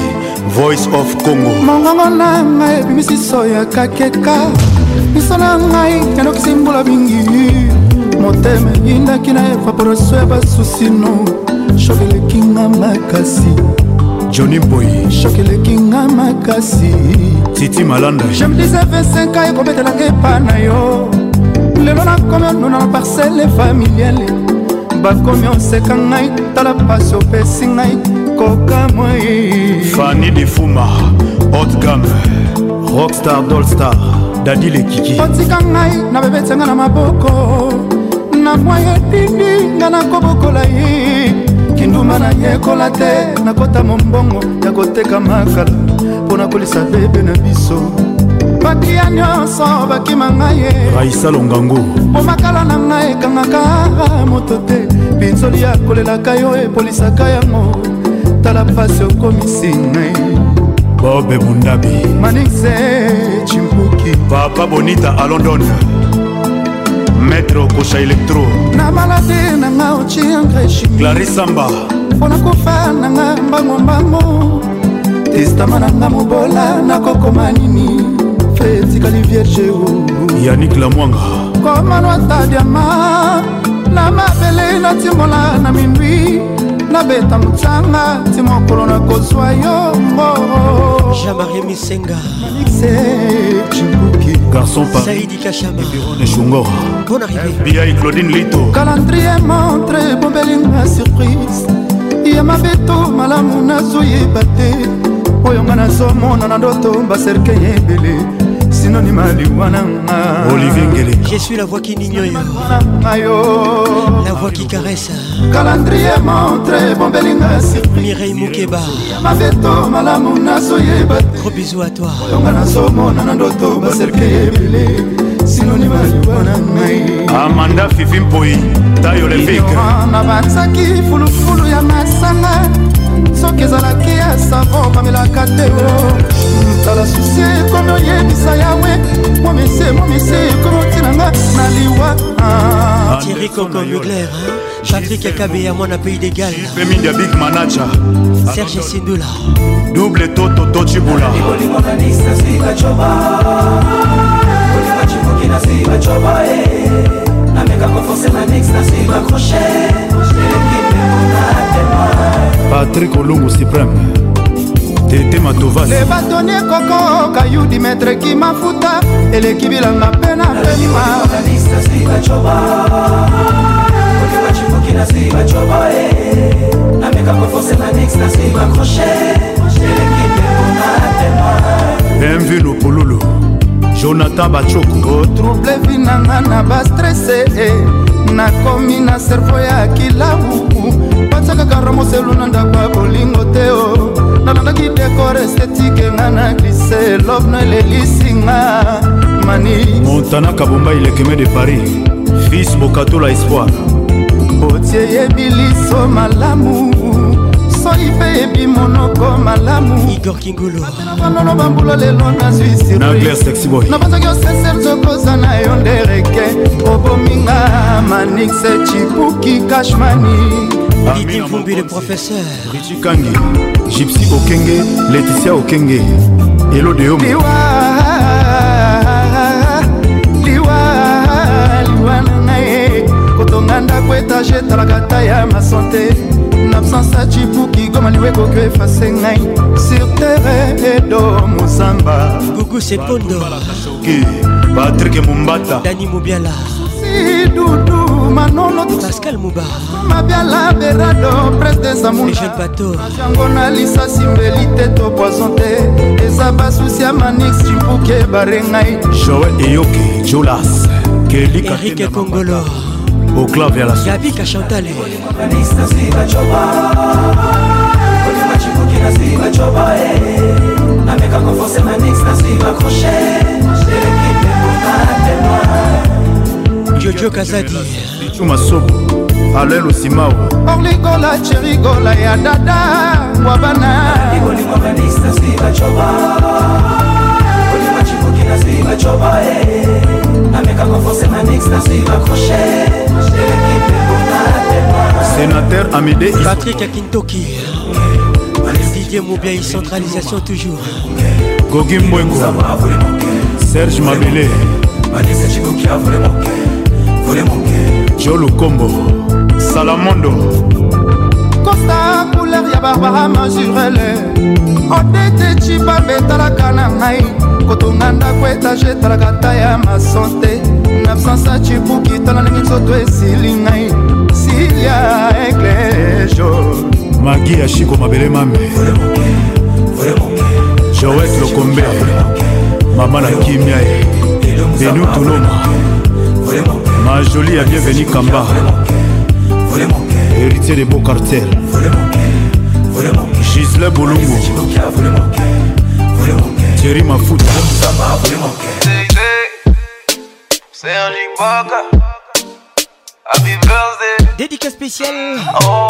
Speaker 15: Voice of Congo.
Speaker 10: Mongongo na ngai bimisi soya kakeka. Miso na ngai yanokisi mbula mingi. Motema yindaki na evaporation ya basusino. Shokeleki nga makasi.
Speaker 15: Johnny Boy.
Speaker 10: Shokeleki nga makasi.
Speaker 15: Titi Malanda.
Speaker 10: Je me disais 25 ans ekobetelanga epa na yo. Lelo nakomi onuna na parcelle familiale. Bakomi oseka ngai tala pasi opesi ngai koka moi.
Speaker 15: Fanny de Fuma, haute gamme, Rockstar Dollstar, Daddy le Kiki.
Speaker 10: Otika ngai na bebetenga na maboko. Na moye dindi nga na kobokola ye. Kinduma na yekola te na kota mombongo ya koteka makala. Pona kolisa bebe na biso. Bakia nyonso bakima ngai
Speaker 15: Raisa Longango.
Speaker 10: Omakala na ngai kangaka moto te. Pinzoli ya kolelaka yo epolisaka yango. Tala pasi okomisi ngai.
Speaker 15: Bobe Mundabi.
Speaker 10: Manixe Chimpuki.
Speaker 15: Papa Bonita à London. Maître Kocha Electro.
Speaker 10: Na malade na nga ochi angreshi.
Speaker 15: Clarisse Samba.
Speaker 10: Pona kufa na nga mbango mbango. Testama na nga mubola na kokoma nini. Fetikali vierge o.
Speaker 15: Yannick Lamwanga.
Speaker 10: Komano ata diama. Na mabele na timola na minui. Na beta mutsanga timokolo na kozwa yo mbo.
Speaker 6: Jean-Marie Misenga.
Speaker 10: Manixe Chimpuki.
Speaker 15: Garçon par
Speaker 6: Saïdi Kachama.
Speaker 15: Biron et Chungora.
Speaker 6: Bonne arrivée.
Speaker 15: FBI Claudine Lito.
Speaker 10: Calendrier montre bombelinga surprise. Yama beto malamu nazoye bate. Oyonga nazomona na ndoto baserke yebele. Synonyme aliwana.
Speaker 15: Olivier Ngele.
Speaker 6: Je suis la voix qui n'ignore. La voix qui caresse.
Speaker 10: Calendrier montre bombelinga surprise.
Speaker 6: Mireille Moukeba.
Speaker 10: Yama beto malamu nazoye bate.
Speaker 6: Gros bisous à toi.
Speaker 10: Oyonga nazomona na ndoto baserke yebele. Synonyme aliwana ngai.
Speaker 15: Amanda Fifi Mpoi. Taille olympique.
Speaker 10: Na batsaki fulufulu ya masanga. Soki ezalaki ya savo bamelaka te o. Tala susi ekomi oyebisa yawe. Momese ekomi otinanga na liwa.
Speaker 6: Thierry Coco Mugler, Patrick Akabe à moi na pays d'égal.
Speaker 15: Femindia Big Manacha.
Speaker 6: Serge Sindula.
Speaker 15: Double Toto Tochibula. Patrick Olungu Supreme. Tete Matovas.
Speaker 10: Le bâtonnier Coco Kayudi maître qui mafuta. Eleki bilanga pena pema.
Speaker 15: Bienvenue au Pololo. Jonathan Bachoko.
Speaker 10: Trouble vinanga na ba stressé. Na komi na cerveau ya kilabu. Patsaka karamo seluna ndakwa bolingo teo. Nalandaki décor esthétique ngana glissé. Love no lelisinga. Mani
Speaker 15: Montana Kabomba il est quemé de Paris. Fils Bokato la espoir.
Speaker 10: Otie yebiliso malamu. Soipe ebi monoko malamu.
Speaker 6: Igor Kingolo.
Speaker 10: Banono bambula lelo na Suisse.
Speaker 15: Nagler sexy boy.
Speaker 10: Na banzaki osesel zokoza na yo ndereke. Obominga Manixe Chipuki Cashmani.
Speaker 6: Didi Vumbi le professeur.
Speaker 15: Richie Kangi. Gypsy Okenge. Laetitia Okenge. Hello de Homo.
Speaker 10: Liwa nae. Kotonganda kwetaje talakata ya ma santé. N'absence à Chipuki comme liwe kokyo efase ngai. Sur terre edo Mozamba.
Speaker 6: Gougou c'est Pondo.
Speaker 15: Patrick Mumbata.
Speaker 6: Dani Moubiala.
Speaker 10: Si Doudou Manono.
Speaker 6: Pascal Mouba.
Speaker 10: Mabiala Berado presse des amours.
Speaker 6: Les jeunes bateaux.
Speaker 10: Jangona Lisa Simbelite to poisonté. Ezaba Soucia Manix Chipuki Barengai.
Speaker 15: Joël Eyoke. Jolas. Kelly
Speaker 6: Eric Congolo.
Speaker 15: Au clavier à la
Speaker 6: suite. Yabi Kachantale. Jojo Kazadi.
Speaker 15: Chumasobo. Alain Lusimao.
Speaker 10: Orligola Cherigola ya dada. Wabana.
Speaker 15: Sénateur Amédée
Speaker 6: Patrick Akintoki. Didier Moubiaï, centralisation toujours.
Speaker 15: Gogi Mbwengo, Serge Mabele, Jolo Kombo, Salamondo,
Speaker 10: Costa couleur ya Barbara Mazurele, Odete Chiba betalaka na ngai, kotonganda kwetaje talakata ya masante, nabsansa chibuki talalingi nzoto esili ngai, Silia Eglejo,
Speaker 15: Magi ya Shiko Mabele Mame, Joët Lokombe, Maman na Kimia, Benu Tuloma, Ma jolie ya bienvenue Kamba, héritier des beaux cartels, Gisèle Bolongo, Thierry Mafuta,
Speaker 8: Serge Ibaka, Happy Birthday.
Speaker 6: Dédicace spéciale.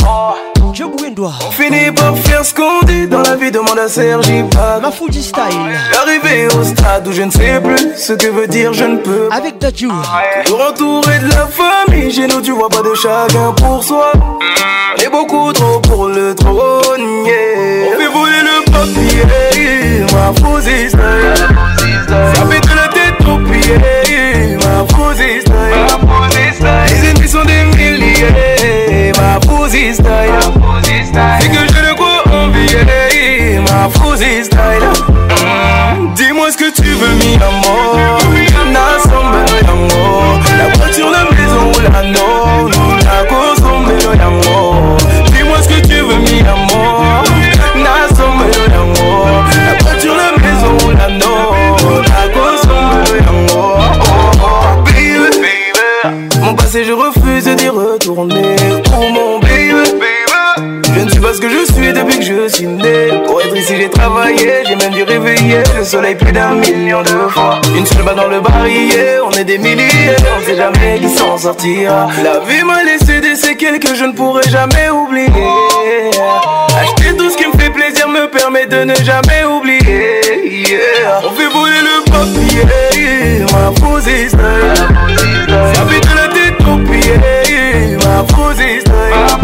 Speaker 6: Job Wendois.
Speaker 8: On finit par faire ce qu'on dit dans la vie, demande à Serge Ibaka.
Speaker 6: Ma Fuji Style.
Speaker 8: Arrivé au stade où je ne sais plus ce que veut dire je ne peux.
Speaker 6: Avec Dadju.
Speaker 8: Toujours entouré de la famille, chez nous tu vois pas de chacun pour soi. On est beaucoup trop pour le trône, yeah. On fait voler le papier, ma Fuji Style. Ça fait de la tête aux pieds, ma Fuji Style. Les ennemis sont des milliers, ma Fuji Style. C'est que je ne crois envier, ma Fuji Style. Dis-moi ce que tu veux, mi amor. Nasombe yango, la voiture, la maison ou la no. La consombe yango. Dis-moi ce que tu veux, mi amor. Nasombe yango, la voiture, la maison ou la no. La consombe yango. Baby, baby, mon passé je refuse d'y retourner. Oh mon baby. Je ne suis pas ce que je suis depuis que je suis né. Pour être ici j'ai travaillé, j'ai même dû réveiller le soleil plus d'1 million de fois. Une seule balle dans le barillet, on est des milliers, on sait jamais qui s'en sortira. La vie m'a laissé des séquelles que je ne pourrai jamais oublier. Acheter tout ce qui me fait plaisir me permet de ne jamais oublier, yeah. On fait voler le papier, ma Fuji Style. Ça fait de la tête aux pieds, ma Fuji Style.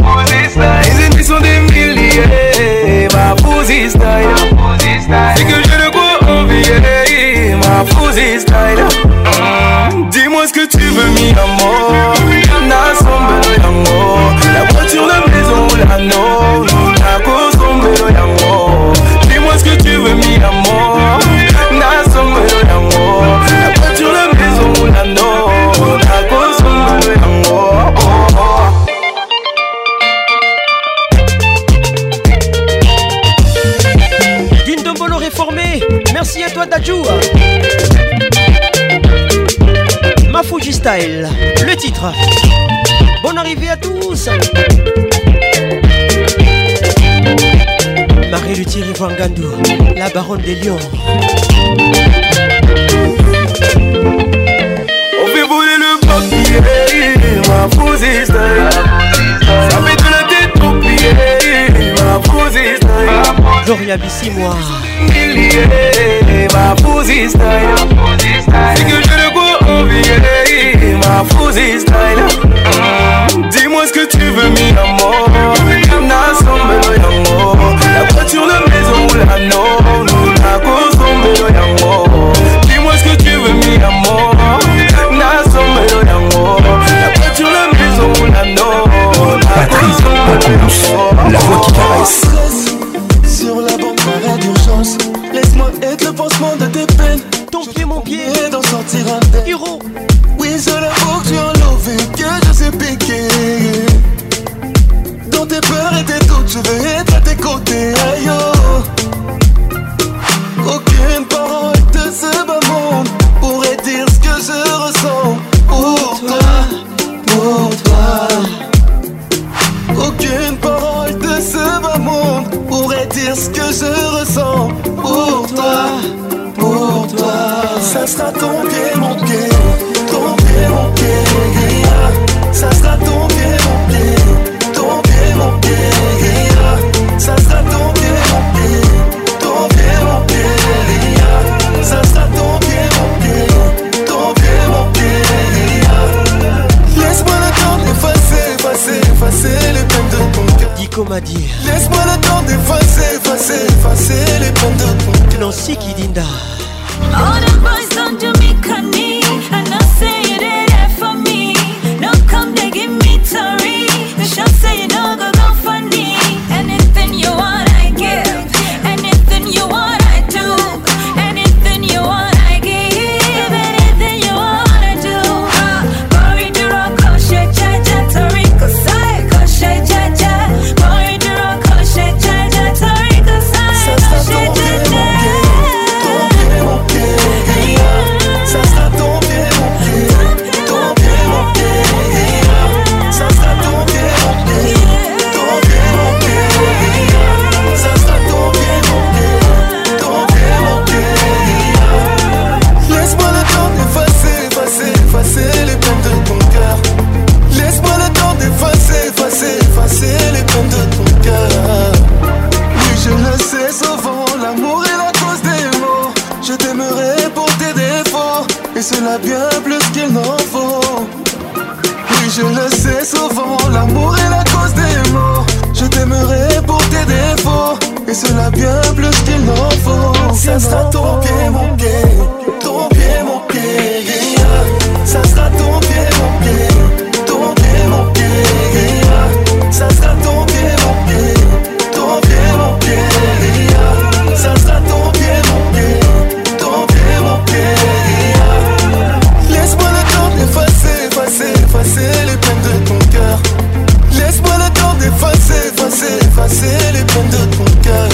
Speaker 8: Les ennemis sont des milliers, ma Fuji Style. C'est que je ne crois envier, ma Fuji Style. Dis-moi ce que tu veux, mi amor. Nasombe yango, la voiture, la maison ou la no. La consombe yango. Dis-moi ce que tu veux, mi amor. Nasombe yango, la voiture, la maison ou la no. La consombe yango.
Speaker 6: Dindombolo réformé. Merci à toi Dadju. Ma Fuji Style. Le titre. Bonne arrivée à tous. Marie Luthier Vangandou, la baronne des lions.
Speaker 8: On fait voler le papier, ma Fuji Style. Ça fait de la tête aux pieds, ma Fuji Style.
Speaker 6: Gloria Bissi, moi.
Speaker 8: Milliers, ma Fuji Style. C'est que je ne crois envier, ma Fuji Style. Dis-moi ce que tu veux, mi amor. Nasombe yango, la voiture, la maison ou la no. La consombe yango. Dis-moi ce que tu veux, mi amor. Nasombe yango, la voiture, la maison ou la no.
Speaker 1: Patrice Pacons, la voix qui caresse.
Speaker 9: Sur la banque d'arrêt d'urgence, laisse-moi être le pansement de tes peines.
Speaker 6: Ton pied, mon pied,
Speaker 9: et d'en sortir indemne.
Speaker 6: Hiro.
Speaker 9: Oui, je l'avoue que tu as enlevé, que je sais piquer. Dans tes peurs et tes doutes, je veux être à tes côtés. Aïe, oh. Aucune parole de ce bas monde pourrait dire ce que je ressens pour toi, pour toi. Aucune parole de ce bas monde pourrait dire ce que je ressens pour toi, pour toi. Ça sera ton pied, mon pied, ton pied, mon pied. Ça sera ton pied, mon pied, ton pied, mon pied. Ça sera ton pied, mon pied, ton pied, mon pied. Ça sera ton pied, mon pied, ton pied, mon pied. Laisse-moi le temps d'effacer, effacer, effacer les peines de ton cœur.
Speaker 6: Dico m'a dit.
Speaker 9: Laisse-moi le temps d'effacer, effacer,
Speaker 6: Lucie Kidinda.
Speaker 12: All the boys don't do me cunning. I know say you did it for me. No come they give me Tory. The show say you know go funny. Anything you want I give. Anything you want I do. Anything you want I give. Anything you want I do. Boy do rock koshe cha cha Tory kosai koshe cha cha. Boy do rock koshe cha cha Tory kosai koshe cha cha.
Speaker 21: Effacer les peines de ton cœur. Oui, je le sais souvent, l'amour est la cause des maux. Je t'aimerai pour tes défauts, et cela bien plus qu'il n'en faut. Oui, je le sais souvent, l'amour est la cause des maux. Je t'aimerai pour tes défauts, et cela bien plus qu'il n'en faut. Ça sera ton pied, mon pied, ton pied, mon pied, yeah. Ça sera ton pied, mon pied, ton pied, mon pied, yeah. Ça sera ton pied, mon pied, ton pied, mon pied, yeah. Ça sera ton pied, mon pied, ton pied, mon pied, yeah. Laisse-moi le temps d'effacer, effacer, effacer les peines de ton cœur. Laisse-moi le temps d'effacer, effacer, effacer les peines de ton cœur.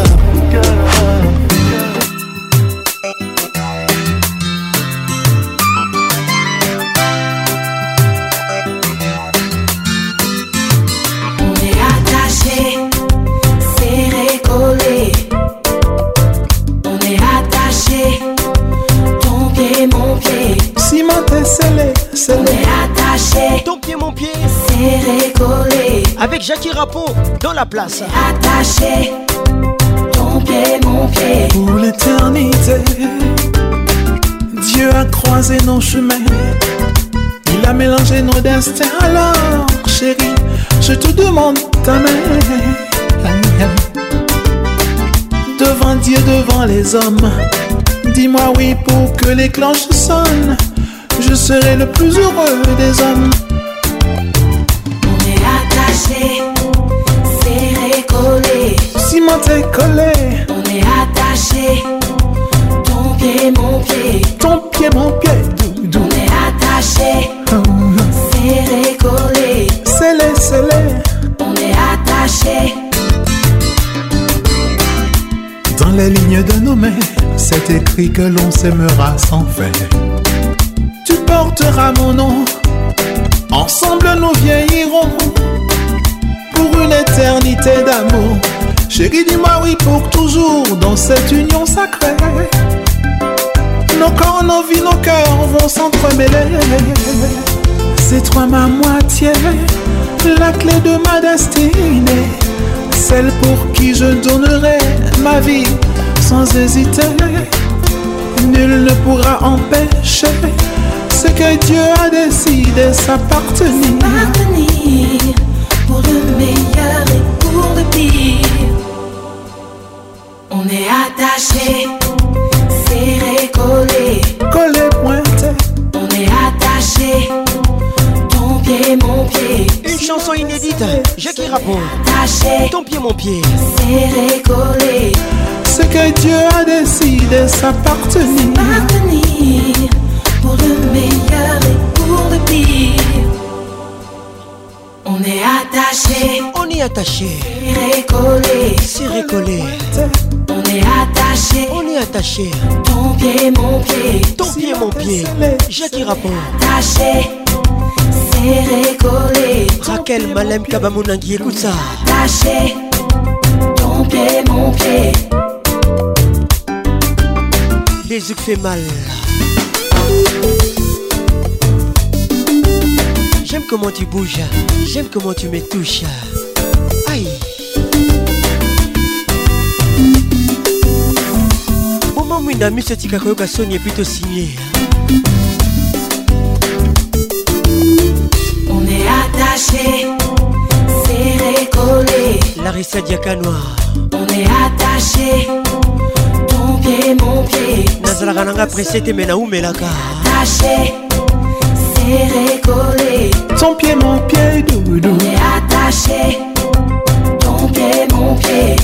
Speaker 12: On est attaché,
Speaker 6: ton pied mon pied,
Speaker 12: serré collé.
Speaker 6: Avec Jackie Rapon dans la place.
Speaker 12: Attaché, ton pied mon pied.
Speaker 8: Pour l'éternité, Dieu a croisé nos chemins. Il a mélangé nos destins. Alors chérie, je te demande ta main. Devant Dieu, devant les hommes, dis-moi oui pour que les cloches sonnent. Je serai le plus heureux des hommes.
Speaker 12: On est attaché, serré collé.
Speaker 8: Cimenté collé.
Speaker 12: On est attaché, ton pied mon pied.
Speaker 8: Ton pied mon pied.
Speaker 12: On est attaché, serré collé.
Speaker 8: Scellé, scellé.
Speaker 12: On est attaché.
Speaker 8: Dans les lignes de nos mains, c'est écrit que l'on s'aimera sans fin. Tu porteras mon nom, ensemble nous vieillirons pour une éternité d'amour. Chérie, dis-moi oui pour toujours dans cette union sacrée. Nos corps, nos vies, nos cœurs vont s'entremêler. C'est toi ma moitié, la clé de ma destinée, celle pour qui je donnerai ma vie sans hésiter. Nul ne pourra empêcher ce que Dieu a décidé s'appartenir.
Speaker 12: Pour le meilleur et pour le pire. On est attaché, serré, collé.
Speaker 8: Collé, pointé.
Speaker 12: On est attaché, ton pied, mon pied.
Speaker 6: Une chanson inédite, Jackie Rapon.
Speaker 12: Attaché,
Speaker 6: ton pied, mon pied.
Speaker 12: Serré, collé.
Speaker 8: Ce que Dieu a décidé s'appartenir.
Speaker 12: Pour le meilleur et pour le pire. On est attaché.
Speaker 6: On est attaché.
Speaker 12: Serré, collé.
Speaker 6: Serré, collé.
Speaker 12: On est attaché.
Speaker 6: On est attaché.
Speaker 12: Ton pied, mon pied.
Speaker 6: Ton pied, mon pied. Jackie Rapon.
Speaker 12: Attaché. Serré, collé.
Speaker 6: Raquel Malem Kabamounangui, écoute ça.
Speaker 12: Attaché. Ton pied, mon pied.
Speaker 6: Les yeux fait mal. J'aime comment tu bouges, j'aime comment tu me touches. Aïe. Moment mwinda miso tika koyoka soni plutôt signé.
Speaker 12: On est attaché, serré, collé.
Speaker 6: Larissa Diakanoa.
Speaker 12: On est attaché, ton
Speaker 5: pied.
Speaker 6: Nazala Nanga pressé te mena ou melaka.
Speaker 5: Attaché, serré, collé.
Speaker 8: Ton pied, mon pied, doudou.
Speaker 5: On est attaché. Ton pied, mon pied.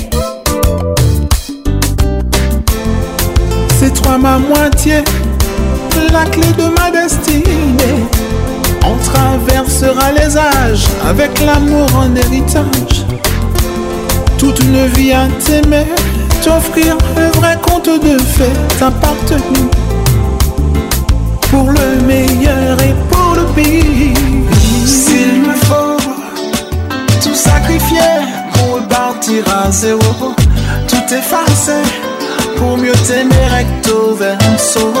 Speaker 8: C'est toi ma moitié, la clé de ma destinée. On traversera les âges avec l'amour en héritage. Toute une vie à t'aimer, t'offrir un vrai conte de fées, t'appartenir pour le meilleur et pour le pire. S'il me faut tout sacrifier pour repartir à zéro, tout effacer pour mieux t'aimer recto verso.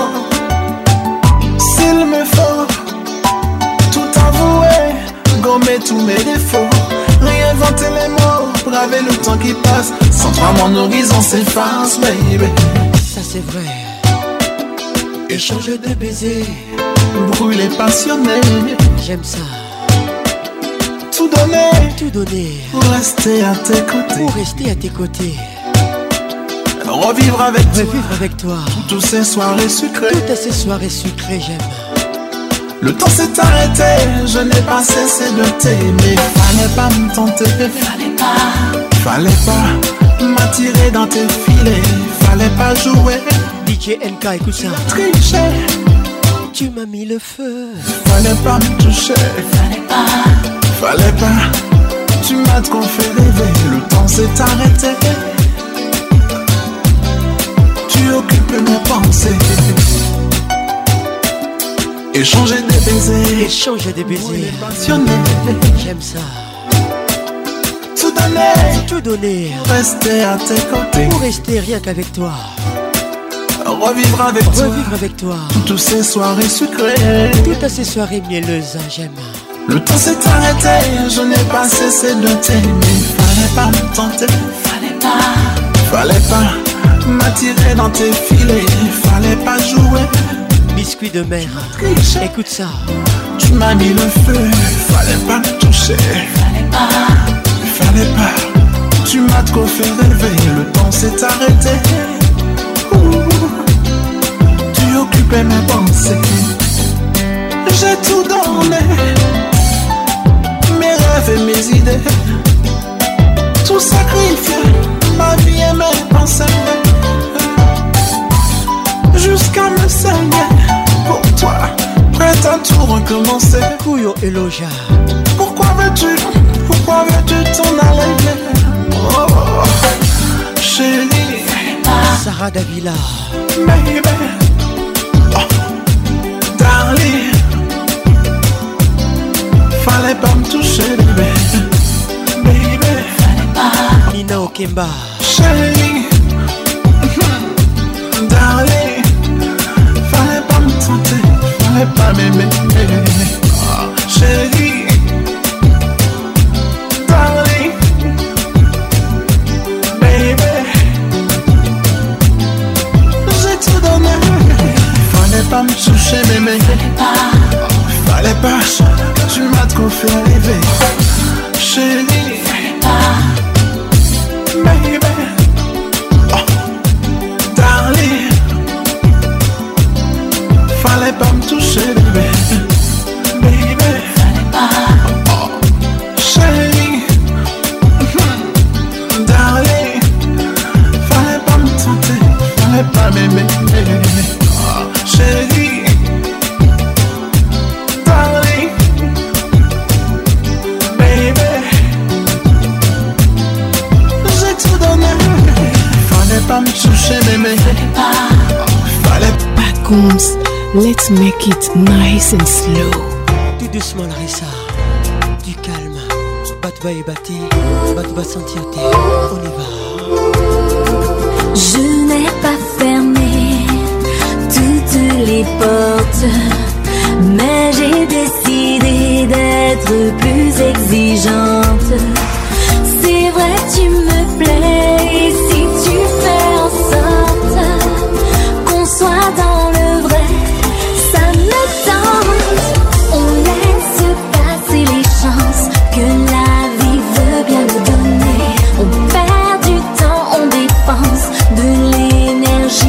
Speaker 8: S'il me faut tout avouer, gommer tous mes défauts, réinventer les mots, braver le temps qui passe. Sans toi mon horizon s'efface, baby.
Speaker 6: Ça c'est vrai. Échanger des baisers,
Speaker 8: brûler passionné.
Speaker 6: J'aime ça.
Speaker 8: Tout donner
Speaker 6: pour
Speaker 8: rester à tes côtés.
Speaker 6: Pour rester à tes côtés.
Speaker 8: Revivre
Speaker 6: avec toi.
Speaker 8: Toutes ces soirées sucrées.
Speaker 6: Toutes ces soirées sucrées, j'aime.
Speaker 8: Le temps s'est arrêté, je n'ai pas cessé de t'aimer. Fallait pas me tenter, fallait pas m'attirer dans tes filets, fallait pas jouer.
Speaker 6: DJ NK, écoute ça.
Speaker 8: Tricher,
Speaker 6: tu m'as mis le feu.
Speaker 8: Fallait pas me toucher, fallait pas. Tu m'as trop fait rêver, le temps s'est arrêté. Tu occupes mes pensées. Échanger des baisers,
Speaker 6: passionné. J'aime ça.
Speaker 8: Tout donner,
Speaker 6: rester
Speaker 8: à tes côtés.
Speaker 6: Pour rester rien qu'avec toi.
Speaker 8: Revivre
Speaker 6: avec toi.
Speaker 8: Toutes ces soirées sucrées.
Speaker 6: Toutes ces soirées mielleuses, j'aime.
Speaker 8: Le temps s'est arrêté, je n'ai pas cessé de t'aimer. Fallait pas me tenter, fallait pas m'attirer dans tes filets, fallait pas jouer.
Speaker 6: Biscuit de mer, écoute ça.
Speaker 8: Tu m'as mis le feu, fallait pas me toucher, fallait pas. Tu m'as trop fait rêver, le temps s'est arrêté. Tu occupais mes pensées. J'ai tout donné, mes rêves et mes idées. Tout sacrifié, ma vie et mes pensées. Jusqu'à me saigner pour toi, prête à tout recommencer.
Speaker 6: Kuyo et Loja.
Speaker 8: Pourquoi veux-tu t'en aller? Oh, chérie.
Speaker 6: Sarah Davila.
Speaker 8: Baby, oh, darling. Fallait pas me toucher, baby.
Speaker 6: Nina Okemba.
Speaker 8: Chérie. Darling. Fallait pas me tenter, fallait pas m'aimer. Oh, chérie. Darling. Baby. J'ai tout donné. Fallait pas me toucher, bébé. Fallait pas. Tu m'as trop fait rêver. Chérie. Baby. Oh. Darling. Fallait pas me toucher, bébé. Baby. Oh. Chérie. Darling. Fallait pas me tenter, fallait pas m'aimer. Oh. Chérie. Darling. Baby. J'ai tout donné. Fallait pas me toucher, bébé. Fallait pas.
Speaker 24: Pacons, let's make it nice and slow.
Speaker 6: Tout doucement, Larissa. Du calme. Batouba et Bati. Batouba sentir tes. On y va.
Speaker 12: Je n'ai pas fermé toutes les portes, mais j'ai décidé d'être plus exigeante. C'est vrai, tu me plais, et si tu fais en sorte qu'on soit dans le vrai, ça me tente. On laisse passer les chances que la vie veut bien nous donner. On perd du temps, on dépense de l'énergie.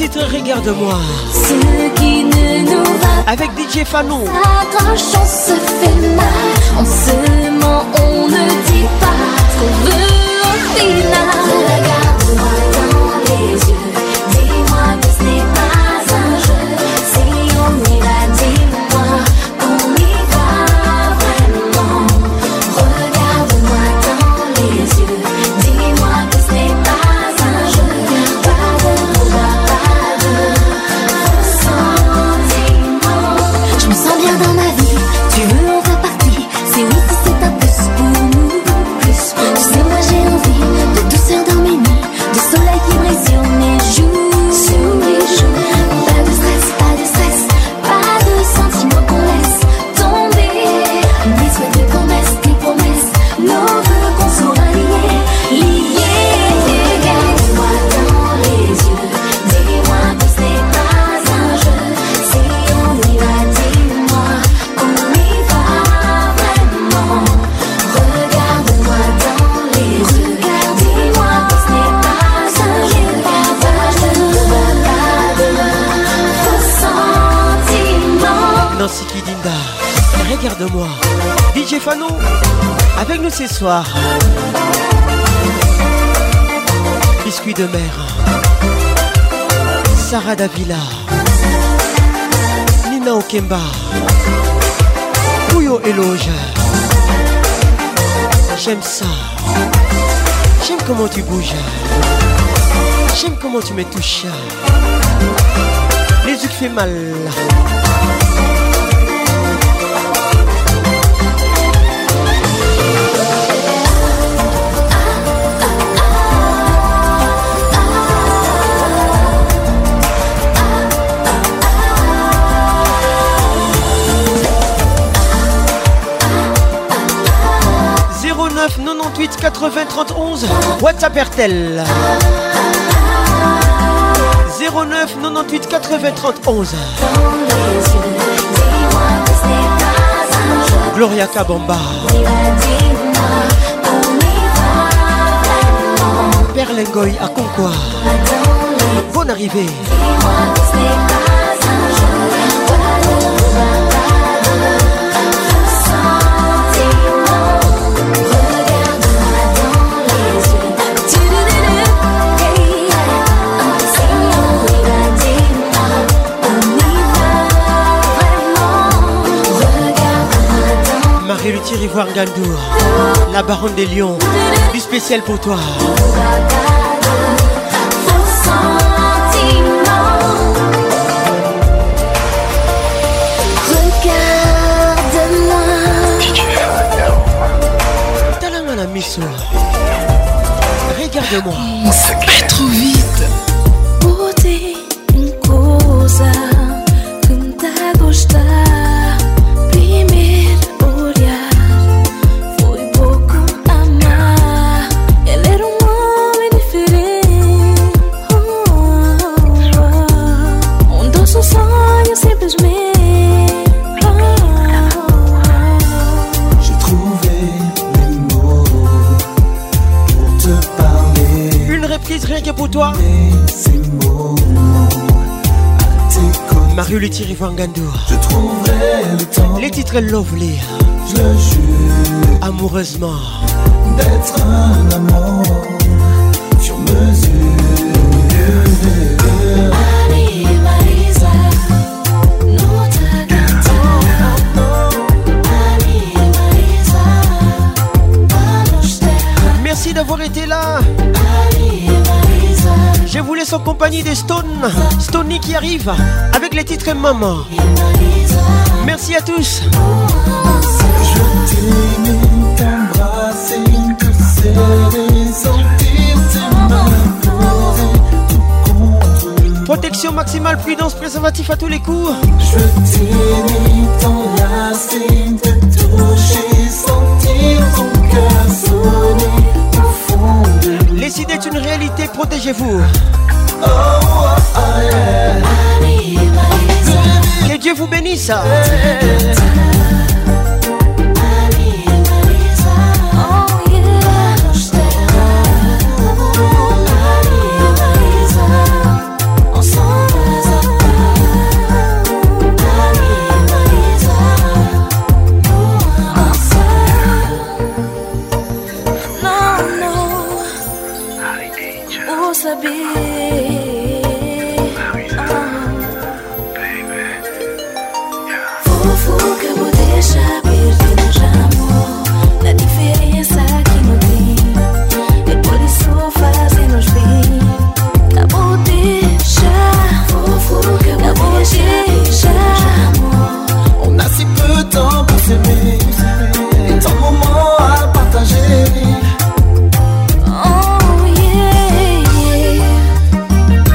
Speaker 6: titre Regarde-moi.
Speaker 12: Ce qui ne nous va
Speaker 6: avec DJ Fanon.
Speaker 12: Quand on se fait mal, on se ment, on ne dit pas ce qu'on veut au final. Regarde-moi dans les yeux, dis-moi que ce n'est pas un jeu. Si on y va, dis-moi qu'on y va vraiment. Regarde-moi dans les yeux, dis-moi que ce n'est pas un jeu. Pas de combat, pas de ressentiment. Je me sens bien dans ma vie, tu veux on va partir. C'est oui si c'est un plus pour nous, plus. Tu sais moi j'ai envie de douceur dans mes nuits, de soleil qui brille sur mes joues, sur mes joues. Pas de stress, pas de stress, pas de sentiments qu'on laisse tomber. Des souhaits, des promesses, nos vœux qu'on soit liés, liés. Regarde-moi dans les yeux, dis-moi que ce n'est pas un jeu. Si on y va, dis-moi qu'on y va vraiment. Regarde-moi dans les yeux, dis-moi que ce n'est pas un jeu. Pas de ressentiment.
Speaker 6: Nancy Kidinda, regarde-moi. DJ Fanon, avec nous ce soir. Biscuit de mer, Sarah Davila, Nina Okemba, Pouyo Eloge. J'aime ça. J'aime comment tu bouges. J'aime comment tu me touches. Les yeux qui fait mal. « 09 98 80 30 11 WhatsApp RTL 09 98 80 30 11 Gloria Kabamba Perlengoy à Concois. Bonne arrivée. Marie-Luthier Ivoire Gandour, la baronne des lions, du spécial pour toi.
Speaker 12: Regarde-moi.
Speaker 6: Talama la misso. Regarde-moi.
Speaker 24: Pas trop vite.
Speaker 12: Botei coisa que me dá a gostar. Primeiro olhar foi pouco amar. Ele era homem diferente. Um doce sonho simplesmente.
Speaker 21: J'ai trouvé les mots pour te parler.
Speaker 6: Une reprise rien que pour toi.
Speaker 21: Ces mots
Speaker 6: Marie-Luthier Ivoire Gandour.
Speaker 21: Je trouverai le temps.
Speaker 6: Les titres Lovely.
Speaker 21: Je le jure.
Speaker 6: Amoureusement.
Speaker 21: D'être un amant sur mesure.
Speaker 6: Merci d'avoir été là. Je vous laisse en compagnie des Stone. Stoney qui arrive avec les titres Maman. Merci à tous.
Speaker 21: Je t'aimais, t'embrasser, te serrer, sentir tes mains poser tout contre.
Speaker 6: Protection maximale, prudence, préservatif à tous les coups.
Speaker 21: Je t'aimais, t'enlacer, te toucher, sentir ton cœur sonner au fond de lui.
Speaker 6: Les idées est une réalité, protégez-vous.
Speaker 21: Oh, oh, yeah.
Speaker 6: Que Dieu vous bénisse.
Speaker 12: Ensemble. pour saber. Fofo que eu vou deixar perder nos amor. Na diferença que não tem, e por isso fazemos bem. Não vou deixar, fofo que eu vou deixar.
Speaker 21: On a si peu de temps pour s'aimer, et tant de moments à partager.
Speaker 12: Oh yeah, yeah.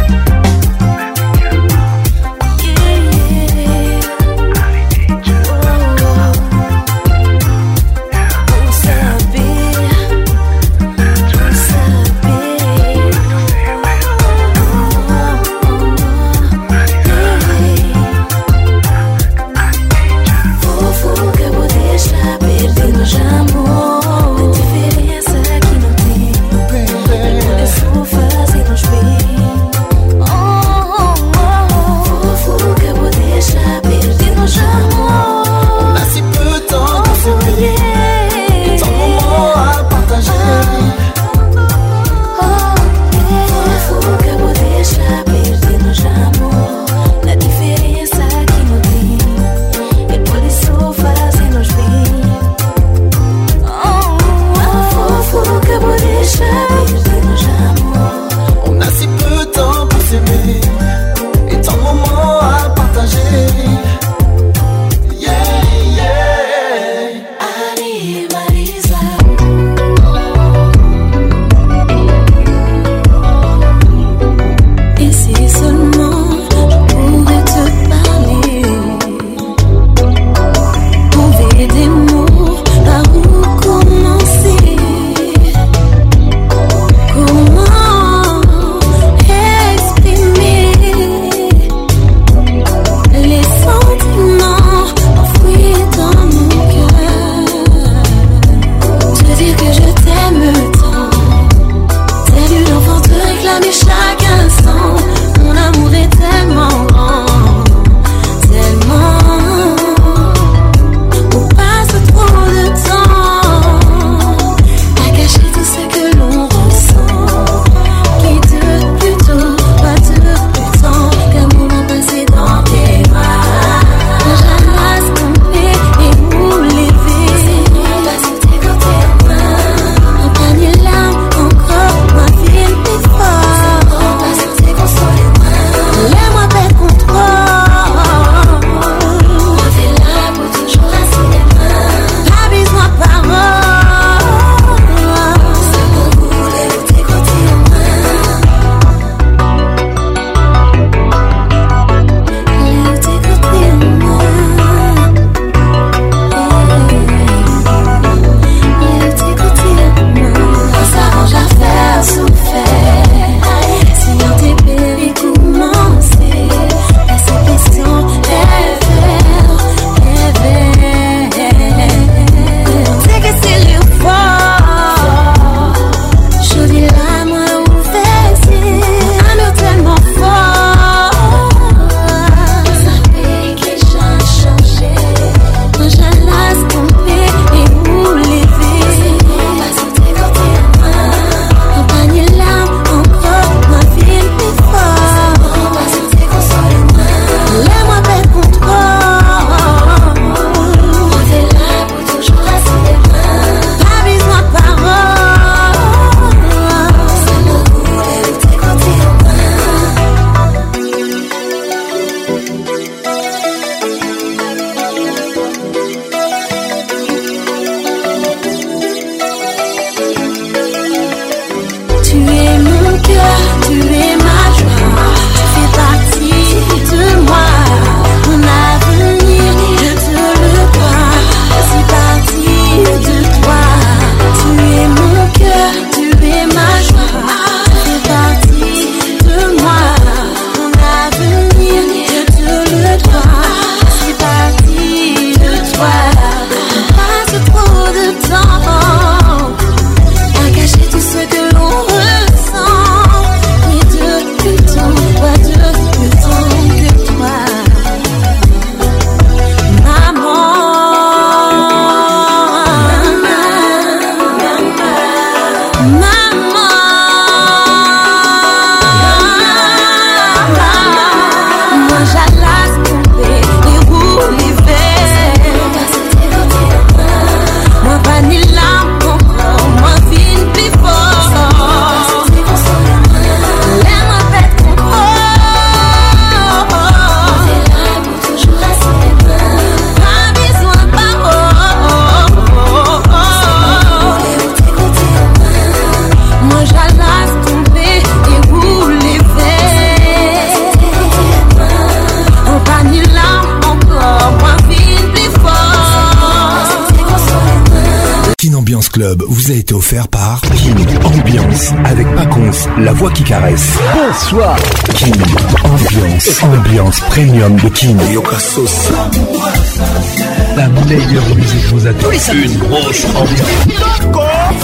Speaker 1: Club vous a été offert par King Ambiance avec Pacons, la voix qui caresse. Bonsoir. King Ambiance premium de King. Yokasos. La meilleure musique vous attend. Une grosse ambiance.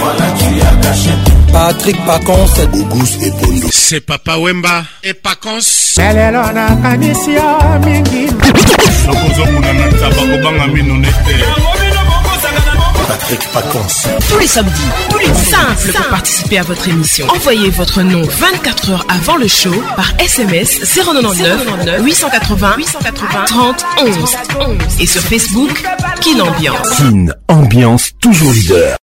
Speaker 2: Patrick Pacons,
Speaker 7: Auguste et Bondo.
Speaker 17: C'est Papa Wemba et Pacons.
Speaker 14: Lelo nakanisi yo mingi
Speaker 16: sokozokuna na taba kobanga mino nete.
Speaker 7: Patrick Pacons.
Speaker 18: Tous les samedis, tous les simples pour participer à votre émission. Envoyez votre nom 24 heures avant le show par SMS 099 880 30 11 et sur Facebook Kin Ambiance.
Speaker 1: Kin Ambiance toujours leader.